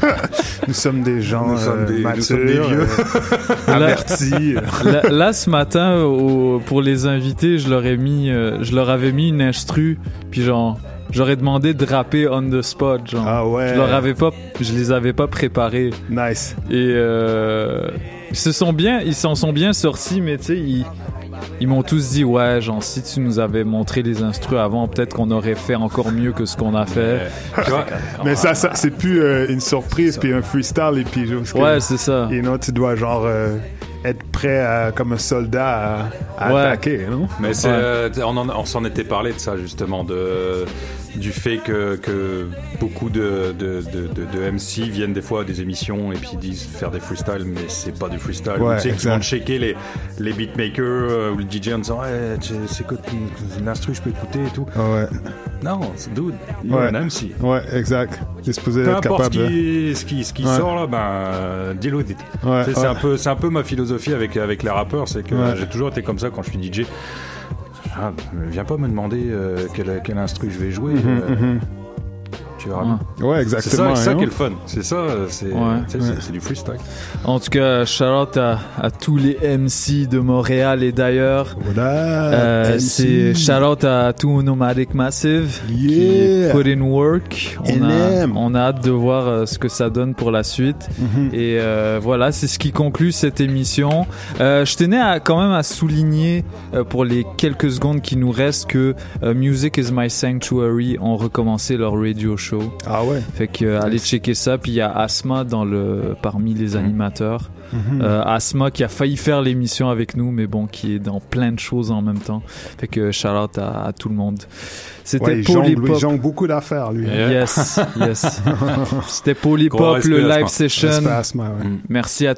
Nous sommes des gens nous sommes des, matures, nous sommes des vieux euh, avertis. Là, là ce matin au, pour les invités, je leur ai mis euh, je leur avais mis une instru puis genre j'aurais demandé de rapper on the spot, genre. Ah ouais. Je leur avais pas, je les avais pas préparés. Nice. Et euh, ils se sont bien, ils s'en sont bien sortis, mais tu sais, ils, ils m'ont tous dit ouais, genre si tu nous avais montré les instrus avant, peut-être qu'on aurait fait encore mieux que ce qu'on a fait. Mais, tu vois, mais ça, ça, c'est plus euh, une surprise puis un freestyle et puis juste. Ouais, que, c'est ça. You know, tu dois genre. Euh, être prêt à, comme un soldat à, à ouais. attaquer, non? Mais c'est, ouais. euh, on, en, on s'en était parlé de ça justement, de, du fait que, que beaucoup de, de, de, de, de M C viennent des fois à des émissions et puis disent faire des freestyles, mais c'est pas du freestyle. Ouais, tu sais qu'ils vont checker les, les beatmakers euh, ou le D J en disant ouais, c'est quoi l'instru, je peux écouter et tout. Ouais. Non, c'est dude, il ouais. y a un M C. Ouais, exact. Il est supposé peu être importe capable. Peu importe ce qui, ce qui ouais. sort là, ben, euh, deal with it. Ouais, c'est, ouais. c'est, un peu, c'est un peu ma philosophie avec, avec les rappeurs, c'est que ouais. j'ai toujours été comme ça quand je suis D J. Ah, viens pas me demander euh, quel, quel instru je vais jouer. Mm-hmm, euh, mm-hmm. Tu vois, ouais, exactement. C'est ça, c'est ça qui est le fun. C'est ça, c'est, ouais. c'est, c'est, c'est du freestyle. En tout cas, shout out à, à tous les M C de Montréal et d'ailleurs. Voilà. Euh, c'est shout out à tout Nomadic Massive yeah. qui put in work. On a, on a hâte de voir euh, ce que ça donne pour la suite. Mm-hmm. Et euh, voilà, c'est ce qui conclut cette émission. Euh, je tenais à, quand même à souligner euh, pour les quelques secondes qui nous restent que euh, Music is My Sanctuary ont recommencé leur radio show. Ah ouais. Fait que euh, allez checker ça. Puis il y a Asma dans le parmi les animateurs. Mm-hmm. Euh, Asma qui a failli faire l'émission avec nous, mais bon, qui est dans plein de choses en même temps. Fait que shout out à, à tout le monde. C'était ouais, Polypop. Il jongle beaucoup d'affaires, lui. Yes, yes. C'était Polypop, le live session. Asma, ouais. Merci à